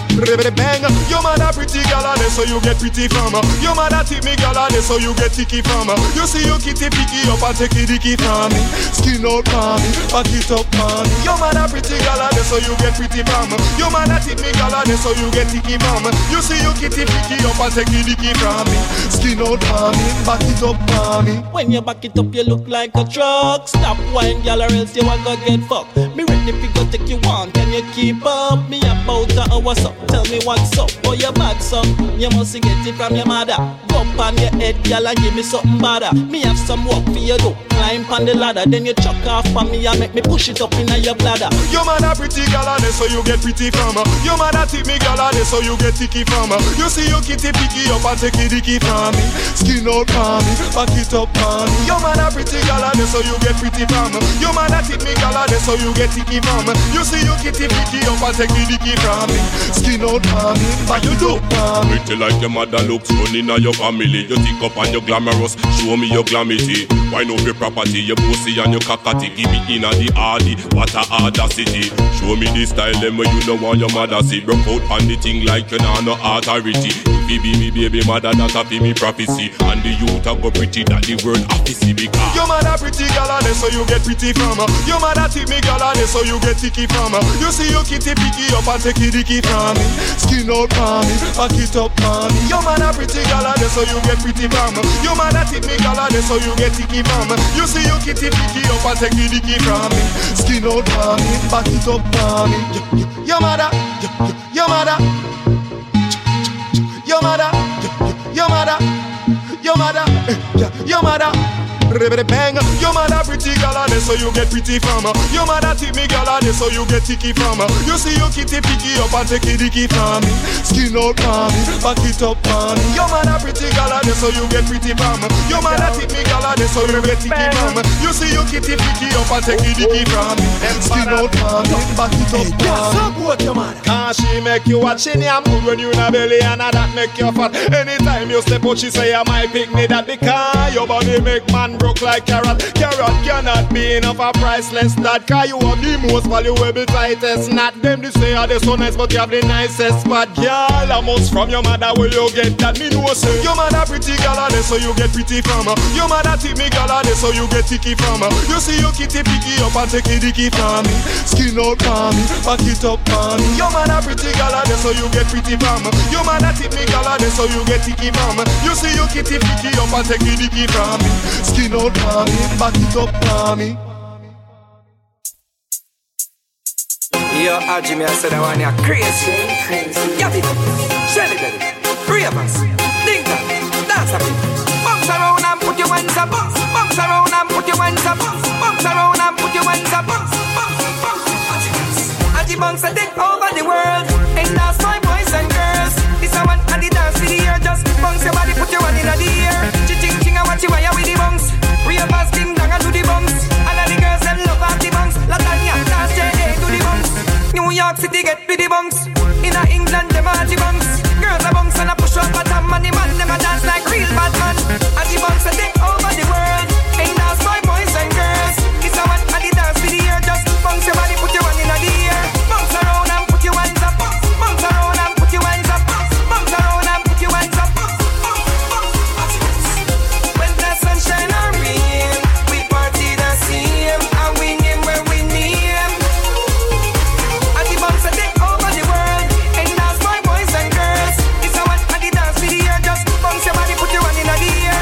Speaker 22: Bang. Your mother pretty girl and so you get pretty from her. Your mother tip me girl and so you get ticky from her. You see you kitty picky up and take it dicky from me. Skin out from me, back it up from me. Your mother pretty girl and so you get pretty from her. Your mother tip me girl and so you get ticky from her. You see you kitty picky up and take it dicky from me. Skin out from me, back it up from me.
Speaker 21: When you back it up you look like a truck. Stop wine girl or else you a go get fucked. Me ready fi go take you on, can you keep up? Me about a hour so. Tell me what's up, or your back's up. You must get it from your mother. Go up on your head, girl, and give me something better. Me have some work for you do. Climb on the ladder, then you chuck off on me and make me push it up in your bladder.
Speaker 22: Your mother pretty girl and so you get pretty from her. Your mother tip me girl and so you get ticky from her. You see you kitty picky up and take it dicky from me. Skin out from me, back it up from me. Your mother pretty girl and so you get pretty from her. Your mother tip me girl and so you get ticky from her. You see you kitty picky up and take it dicky from me. Skin out from me, but you do from me.
Speaker 17: Pretty like your mother looks funny in your family. You think up and you glamorous, show me your glamity. Why no your property, your pussy and your cockatty. Give me in the hardy, what a audacity. Show me the style them where you know want your mother see. Broke out on the thing like you know no authority. If you be me baby mother, that a be me prophecy. And the youth a go pretty that the word office because
Speaker 22: your mother pretty girl and so you get pretty from her. Your mother tip me girl and so you get ticky from her. You see you kitty picky up and take it dicky from me. Skin out from me, back it up from me. Your mother pretty girl and so you get pretty from her. Your mother tip me girl and so you get ticky from her. You see you kitty picky up and take it dicky from me. Skin out from me, back it up from me. Your mother, your mother, your mother, your mother, your mother, your mother. Bang. Your mother pretty girl and so you get pretty from her. Your mother tip me girl and so you get ticky from her. You see you kitty picky up and take it dicky from me. Skin out from me, back it up from me. Your mother pretty girl and so you get pretty from her. Your mother tip me girl and so you get ticky from her. You see you kitty picky up and take it dicky from me. Skin out from me, back it up from me. Cause she make you watch in your mood when you in a belly and that make you fat. Anytime you step out she say I'm my picnic that because your body make man broke
Speaker 10: look like carrot. Carrot cannot be enough a priceless that. Cause you have the most valuable tightest knot. Them they say are they so nice but you have the nicest spot. Girl, I must from your mother where you get that. Me know say your mother pretty girl are there so you get pretty from her. Your mother tip me girl are there so you get ticky from her. You see your kitty picky up and take it dicky from me. Skin out from me, back it up from me. Your mother pretty girl are there so you get pretty from her. Your mother tip me girl are there so you get ticky from her. You see your kitty picky up and take it dicky from me. Skin out from me, back it up from me.
Speaker 14: Yo, Jimmy, I said I want you crazy. Yeah, people, Shelly Belly, Ravens, Ding Dong, dance a bit. Bounce around and put your hands up. Bounce around and put your hands up. Bounce around and put your hands up. Aji bounce a take over the world. And that's my boys and girls. This a one and the dance for the year. Just bounce your body, put your hand in the air. Ching ching and watch you wire with the bounce. Ravens, Ding Dong and do the bounce. And all the girls them love off the bounce. Latanya, dance J.A. do the bounce. New York City get with the bunks. In England them are the bunks. Girls are bunks and a push up bottom. And the man them a dance like real bad man. And the bunks a take over the world. And that's my boys and girls. It's a one and the dance for the year. Just bounce your body, put your hand in the air. Bounce around and put your hands up. Bounce around and put your hands up. Bounce around and put your hands up. When the sunshine or rain, we party the same. And we name where we name. Bounce and take over the world. And that's my boys and girls. It's a one and the dance for the year. Just bounce your body, put your hand in the air.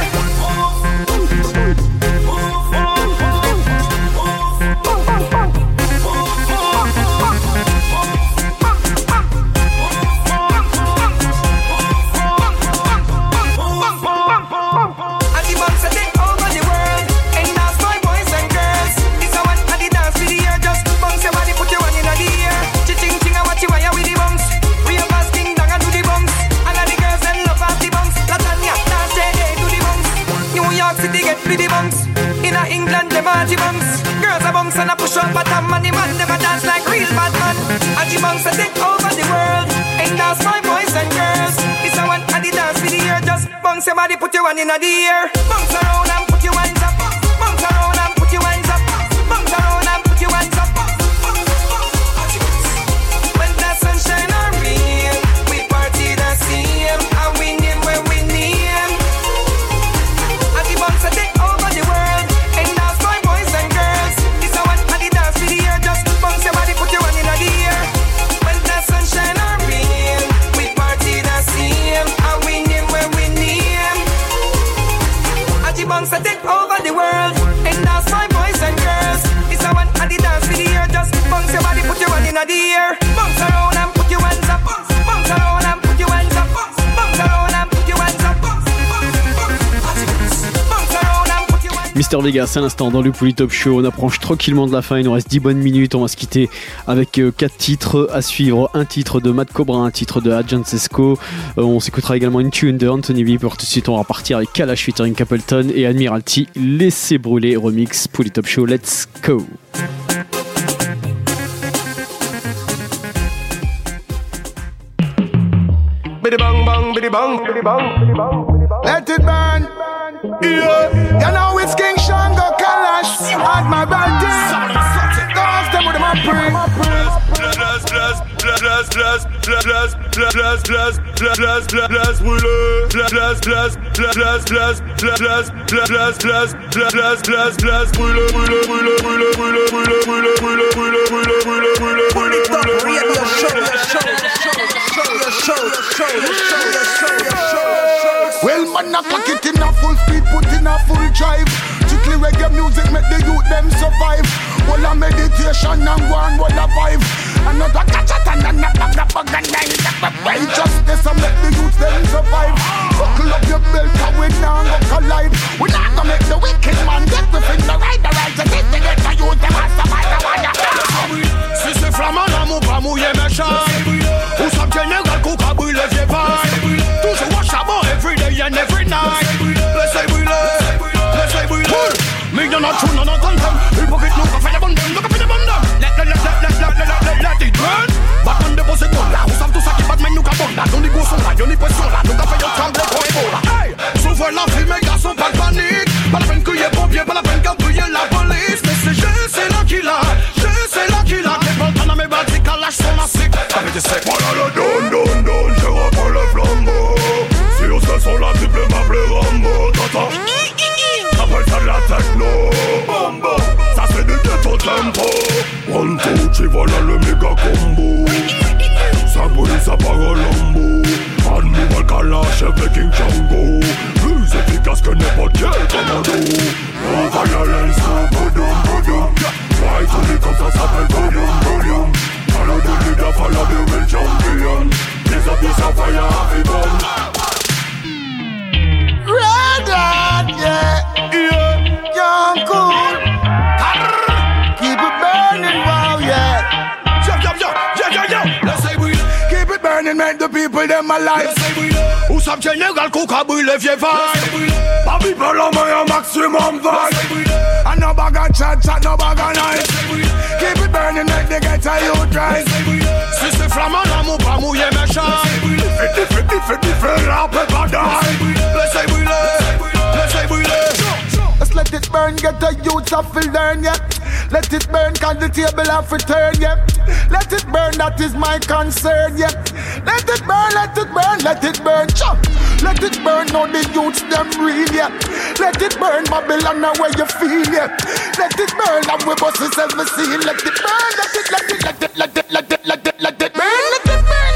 Speaker 14: And the bounce and take over the world. And that's my boys and girls. It's a one and the dance for the year. Just bounce your body, put your hand in the air. Ching ching and watch you wire with the bounce. Ravens, Ding Dong and do the bounce. And all the girls them love off the bounce. Latanya, dance J.A. do the bounce. New York City get with the bounce. In England them are the bounce. Girls a bounce and a push up bottom. And the man them a dance like real bad man. And the bounce a take over the world. And that's my boys and girls. It's a one and the dance for the year. Just bounce your body, put your hand in the air. Bounce around and put your hands up. Bounce around and put your hands up. Bounce around and put your hands up. When the sunshine or rain, we party the same. And we name where we name. And the bounce a take over the world. And that's my boys and girls. It's a one and the dance for the year. Just bounce your body, put your hand in the air. When the sunshine or rain, we party the same. And we name where we name. And the bounce a take over the world. And that's my boys and girls. It's a one and the dance for the year. Just bounce your body, put your hand in the air. Bounce around and put your hands up. Bounce around and put your hands up. Bounce around and put your hands up. Bounce around and put your hands up.
Speaker 5: Mister Vegas à l'instant dans le Polytop Show. On approche tranquillement de la fin, il nous reste 10 bonnes minutes. On va se quitter avec 4 titres à suivre. Un titre de Matt Cobra, un titre de Agent Sesco. On s'écoutera également une tune de Anthony B. Pour tout de suite on va partir avec Kalash featuring Capleton et Admiralty. Laissez brûler remix Polytop Show. Let's go.
Speaker 20: Biddy bang bang, biddy bang, biddy bang, biddy bang. Let it burn. Yeah, you know it's King Shango Kalash at my birthday. Go off them with my Well, man, I pack it in a full speed, put in a full drive. Strictly reggae music make the youth them survive. Well, a meditation and one, well, a vibe. Another catch and another bug and nine. Justice and make the youth them survive. Buckle up your belt and we now go collide. We not gonna make the wicked man get within the right. The right to get the youth them as the matter.
Speaker 11: Si c'est flamand, l'amour pas mouillé mes chailles. Où ça général qu'on a brûlé les vailles. Toujours au charbon, every day and every night. Laissez brûler, laissez brûler. Mais y'en a tout, y'en a tant d'hommes. Hypocrite, nous, qu'on fait des bonnes dames, nous, qu'on fait des bonnes dames. Let it burn. Back on the boss, là. Où savent tout ça qui bat, mais nous, qu'à bon, là. Y'en ni gros son là, y'en ni pression là. Nous, qu'à fait, y'en tremble, trop et beau là. Hey, s'ouvre la vie, mes gars sont pas de panique. Pas de peine qu'il y ait pompier, Pas la peine qu'embrouiller la police, mais c'est je, c'est là qu'il a. Je, c'est là qu'il a. Les boltons dans mes batiques, à l'âge sont massiques. Avec des secs.
Speaker 9: Voilà le don, je reprends le flambeau. Si on se sent la triple m'appeler Rambo. Tata, appelle ça de la techno. Bombo, ça c'est du ghetto tempo. One, two, three, voilà le méga combo. Ça brûle, ça part au lambeau. Animal Kalash avec King Django. Plus efficace que n'importe quel commando. On violence, boudum, boudum. Why to me comme ça s'appelle boudum, boudum. Follow the leader, follow the real champion. There's a piece of fire, happy bomb.
Speaker 20: Red hot, yeah. Young cool. Keep it burning, wow, yeah.
Speaker 11: Let's say we
Speaker 20: keep it burning, make the people them alive.
Speaker 11: Let's say we
Speaker 20: Où ça me général Kouka brûle vieux vibe. Pas people on my maximum vibe. And no bag of chat, no bag of nice. Keep it burning, make the ghetto you dry.
Speaker 11: Si c'est flamand, l'amour pas mouillé mes chats.
Speaker 20: Fait la pepper die.
Speaker 11: Laissez brûler.
Speaker 20: Let's let it burn, get the youths off to learn, yeah. Let it burn, cause the table have returned, yeah. Let it burn, that is my concern, yeah. Let it burn, let it burn, let it burn, chop. Let it burn, now the youths them real, yeah. Let it burn, Babylon, now where you feel, yeah. Let it burn, and we bust this every scene. Let it burn, let it burn, let it burn, let it burn, let it burn, let it burn.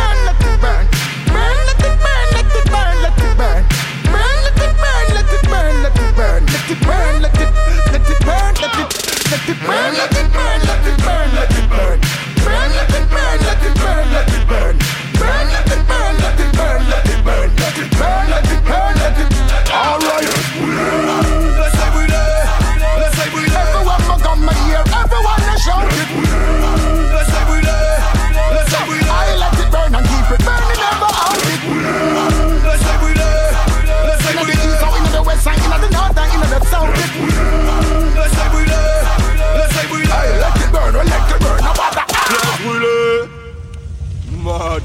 Speaker 20: Burn, let it burn, let it burn, let it burn. Burn, let it burn, let it burn, let it burn. Let it burn, let it burn, let it burn, let it burn, let it burn, let it burn. Burn, let it burn, let it burn, let it burn. Burn, let it burn, let it burn, let it burn. Let it burn, let it burn, let it. All right.
Speaker 11: Laissez brûler.
Speaker 20: Everyone will come my ear, everyone is shout it.
Speaker 11: Laissez brûler.
Speaker 20: I let it burn and keep it burning, never out it.
Speaker 11: Laissez brûler.
Speaker 20: In the east or in the west side, in the north and in the south.
Speaker 11: Laissez brûler.
Speaker 20: I let it burn, let it burn, no matter.
Speaker 11: Laissez brûler. Mad.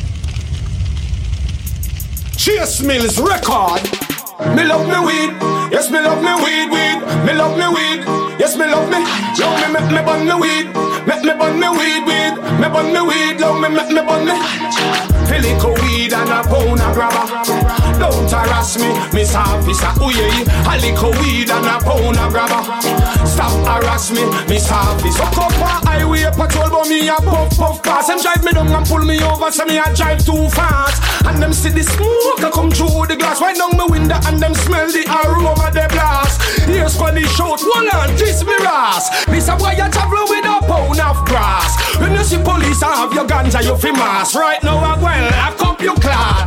Speaker 20: Chase Mills record.
Speaker 11: Me love me weed, yes me love me weed. Me love me weed, yes me love me. Love me make me bun me weed, make me bun me weed. Me bun me weed, love me make me bun me. Filico weed and a pound a grabber. Don't harass me, Miss Officer. Ooh yeah, a little weed and a pound a grabber. Stop harass me, Miss Officer. Come up a highway patrol, but me a puff pass. Them drive me down and pull me over, so me a drive too fast. And them see the smoke a come through the glass. Right down my window and them smell the aroma they blast. Here's when they shout, hold on, kiss me ass. This a boy you travel with a pound of grass. When you see police and have your ganja, you fi mass. Right now I well, I cup your clot.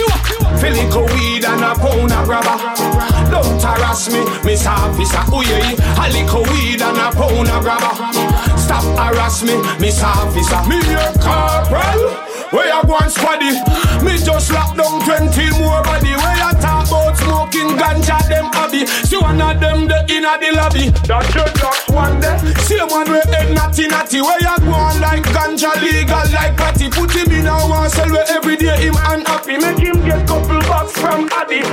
Speaker 11: Filico weed and a pound of grabber. Don't harass me, Miss Officer. Ooh yeah, a little weed and a pound of grabber. Stop harass me, Miss Officer. Me your corporal. Where you go and squaddy? Me just lock down 20 more body. Where you talk about smoking ganja, them hobby. See one of them the inna the lobby. That's your just one day. See one way head natty. Where you go on like ganja legal like patty. Put him in a one cell where every day him unhappy. Make him get couple bucks from Addy.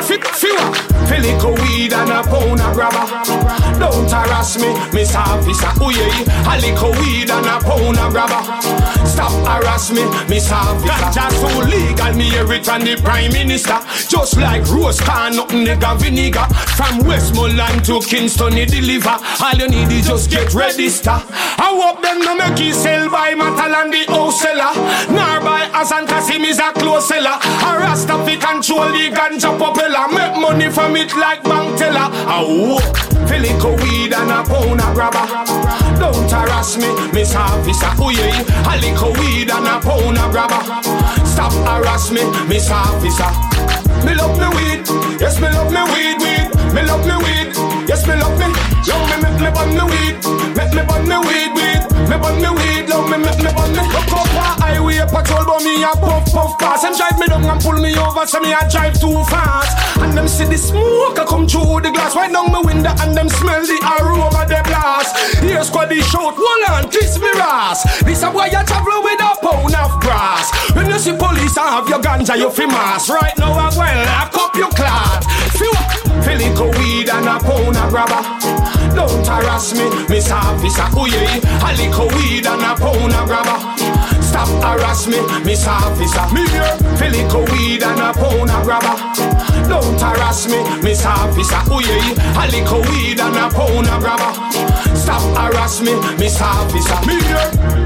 Speaker 11: Filico weed and a pound of grabber. Don't harass me, Miss Officer. Ooh yeah, a little weed and a pound of grabber. Stop harass me, Miss Officer. Ganja so legal, me hear it from the Prime Minister. Just like roast corn, nothing nigga vinegar. From Westmoreland to Kingston, he deliver. All you need is just get register. I hope them no make you sell by Matal and the house seller. Nor by Hassan Kasim is a close seller. A Rasta fi control the ganja popular. Make money from it like bank teller. I hope Filico weed and a pound of grabber. Don't harass me, Miss Officer. Ooh yeah, a little weed and a pound of grabber. Stop harass me, Miss Officer. Me love me weed, yes me love me weed. Me love me weed, yes me love me. Love me make me bun me weed, make me bun me weed. Me bun me weed, love me make me bun me. Look up a highway patrol, but me a puff pass. Them drive me down and pull me over, so me a drive too fast. And them see the smoke a come through the glass. Right down my window and them smell the aroma they blast. Here's squaddy shout, hold on, kiss me ass. This a boy you travel with a pound of grass. When you see police and have your ganja, you fi mass. Right now I well, I cup your clot. Filico weed and and a pound of grabber. Don't harass me, Miss Officer. Ooh yeah, a little weed and a pound of grabber. Stop harass me, Miss Officer. Me here, a little weed and a pound of grabber. Don't harass me, Miss Officer. Ooh yeah, a little weed and a pound of grabber. Stop harass me, Miss Officer. Me here.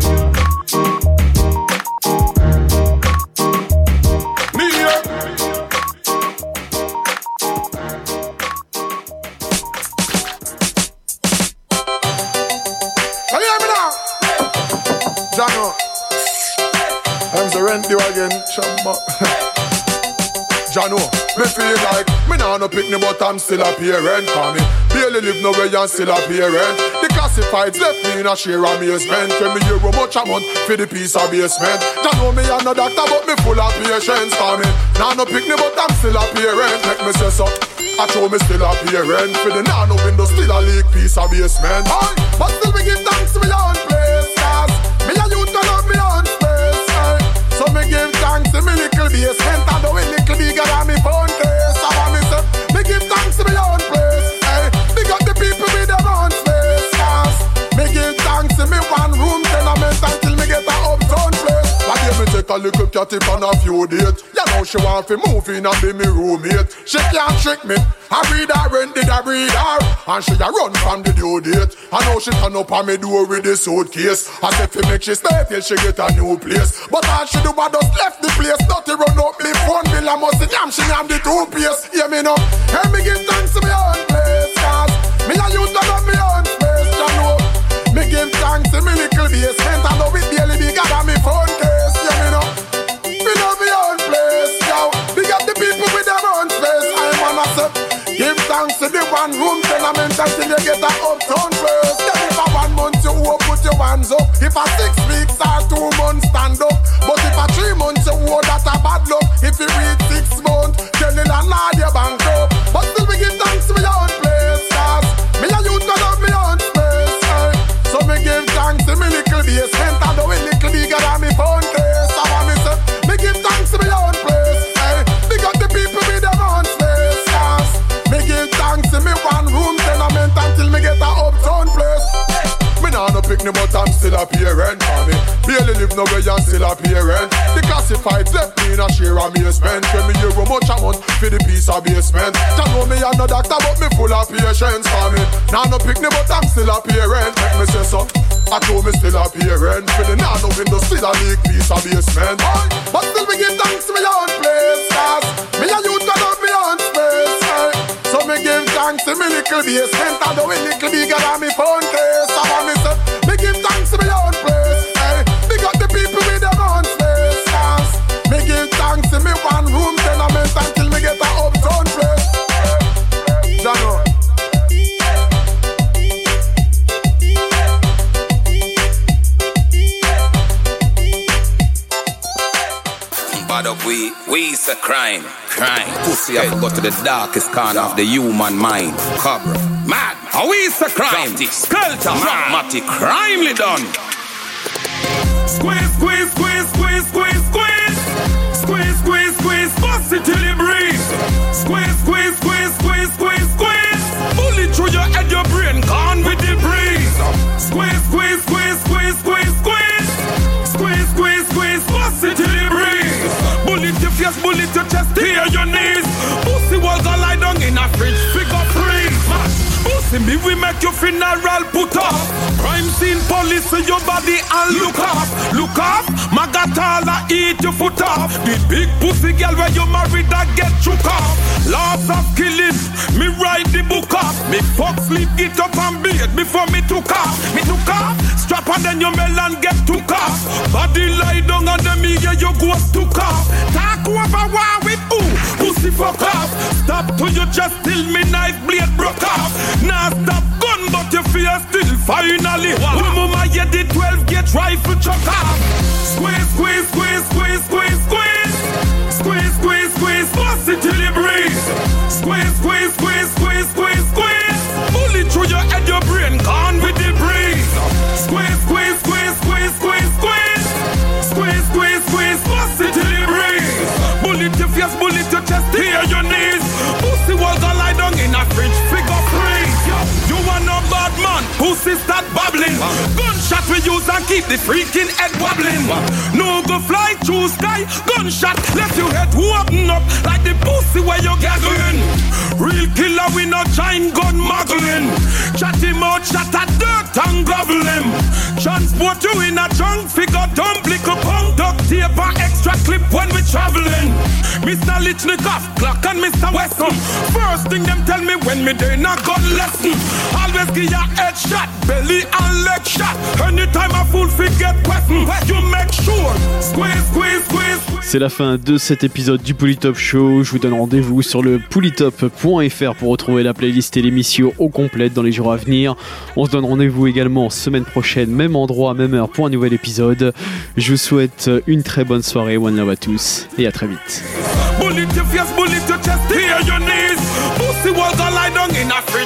Speaker 7: You again, Chamba. Jano, me feel like me nah no pick me, but I'm still a parent. For me, barely live nowhere and still a parent. The classifieds left me in a sheer amazement. Tell me how much a month for the piece of basement. Jano, me a no doctor, but me full of patience. For me, nah no pick me, but I'm still a parent. Make me say so. I show me still a parent. For the nano window, still a leak piece of basement. Aye, but still me give thanks to me own place. Cause me a youth to love me own space. So me give thanks to me little basement and the way little bigger than me phone case. So me say, me give thanks to me own place. Hey, big up the people with their own space. Cause me give thanks to me one room tenement until me get a uptown place. But here me take a little cat on a few dates. You know she want to move in and be me roommate. She can't trick me. I breed her, rent did I breed her. And she a run from the due date. I know she turn up on me door with the suitcase. I said fi make she stay till she get a new place. But all she do was just left the place. Dirty run up me phone bill. I must see damn she am the toothpaste. Hear me now. Hear me give thanks to me own place. Cause me a youth to love me own space. You know. Me give thanks to me little basement. I know it barely bigger than me phone case. Hear me now. Me love me own place. Yo. Big up the people with their own space. I'm on a set. Give thanks to the one room tenement until you get a uptown place. Then if a 1 month you owe, put your hands up. If a 6 weeks or 2 months, stand up. But if a 3 months you owe, that's a bad luck. If you read 6 months, tell the landlord you bank up. But still we give thanks to my own place. Cause me a youth to love me own space. So me give thanks to me little basement and the way little bigger than me phone case. So I me say, me give thanks to my own place. Big up the people with their own space. Cause me give thanks to me one room tenement until me get a uptown place. Me nah no pick me, but I'm still a parent. For me, barely live nowhere and still a parent. The classifieds left me in a sheer amazement. Tell me how much a month for the piece of basement. You know me a no doctor, but me full of patience. For me, nah no pick me, but I'm still a parent. Make me say so. I told me still a parent. For the nano window, still a leak piece of basement. But still we give thanks to me own place. Cause me a youth to love me own space. So me give thanks to me little basement and the way little bigger than me phone case. So me say, me give thanks to me own place. Big up the people with their own space. Cause me give thanks to me one room tenement until me get a uptown place. Jano.
Speaker 15: Bad up we's a crime. Pussy have to go to the darkest corner of the human mind. Cobra, mad, we's a crime. Skelter, dramatic, crimely done.
Speaker 11: Squeeze, squeeze, squeeze, squeeze, squeeze, squeeze. Squeeze, squeeze, squeeze, bust it till it breathe. Squeeze, squeeze, squeeze, squeeze, squeeze, squeeze. Bullet through your head, your brain gone with the breeze. Squeeze, squeeze, squeeze, squeeze, squeeze, squeeze. Squeeze, squeeze, squeeze, bust it till it breathe. Bullet your face, bullet your chest, tear your knees. Pussy was a lie down in a fridge, figure freeze. Pussy me, we make your funeral put up. Crime scene police, see your body and look up. Look up, Magatala eat your foot off. The big pussy girl where you married that get shook off. Lots of killing, me write the book up. Me fuck sleep, get up and beat before me took off. Me took off, strap and then your melon get took off. Body lie down on the me, yeah, you go took off. Talk over war with who? Pussy fuck off. Stop to your chest till me knife blade broke off. Now stop gun but your fear still finally. Mama yeah the 12 get rifle chuck off. Squeeze, squeeze, squeeze, squeeze, squeeze, squeeze. Squeeze, squeeze, squeeze, bust it till it breeze. Squeeze, squeeze, squeeze, squeeze, squeeze, squeeze. Bullet through your head, your brain gone with the breeze. Squeeze, squeeze, squeeze, squeeze, squeeze, squeeze. Squeeze, squeeze, squeeze, bust it till it breeze. Bullet your face, bullet your chest, tear your knees. Pussy was a lie down in a fridge, figure
Speaker 17: use and keep the freaking head wobbling. No go fly through sky, gunshot left your head open up like the pussy where you're gathering. Real killer, we not giant gun muggling. Chat him out, shot at dirt and grovel him. Transport you in a trunk, figure dump, lick a pump, duct tape and extra clip when we traveling. Mr. Lichnikov, Clock and Mr. Weston. First thing them tell me when me day not gun lesson. Always give ya head shot, belly and leg shot. Anytime a fool forget weapon, you make sure. Squeeze, squeeze, squeeze.
Speaker 5: C'est la fin de cet épisode du Polytop Show. Je vous donne rendez-vous sur le polytop.fr pour retrouver la playlist et l'émission au complète dans les jours à venir. On se donne rendez-vous également semaine prochaine, même endroit, même heure pour un nouvel épisode. Je vous souhaite une très bonne soirée. One love à tous et à très vite.
Speaker 17: Bullet your face, bullet your chest, here your knees. Pussy was a lie down in a free.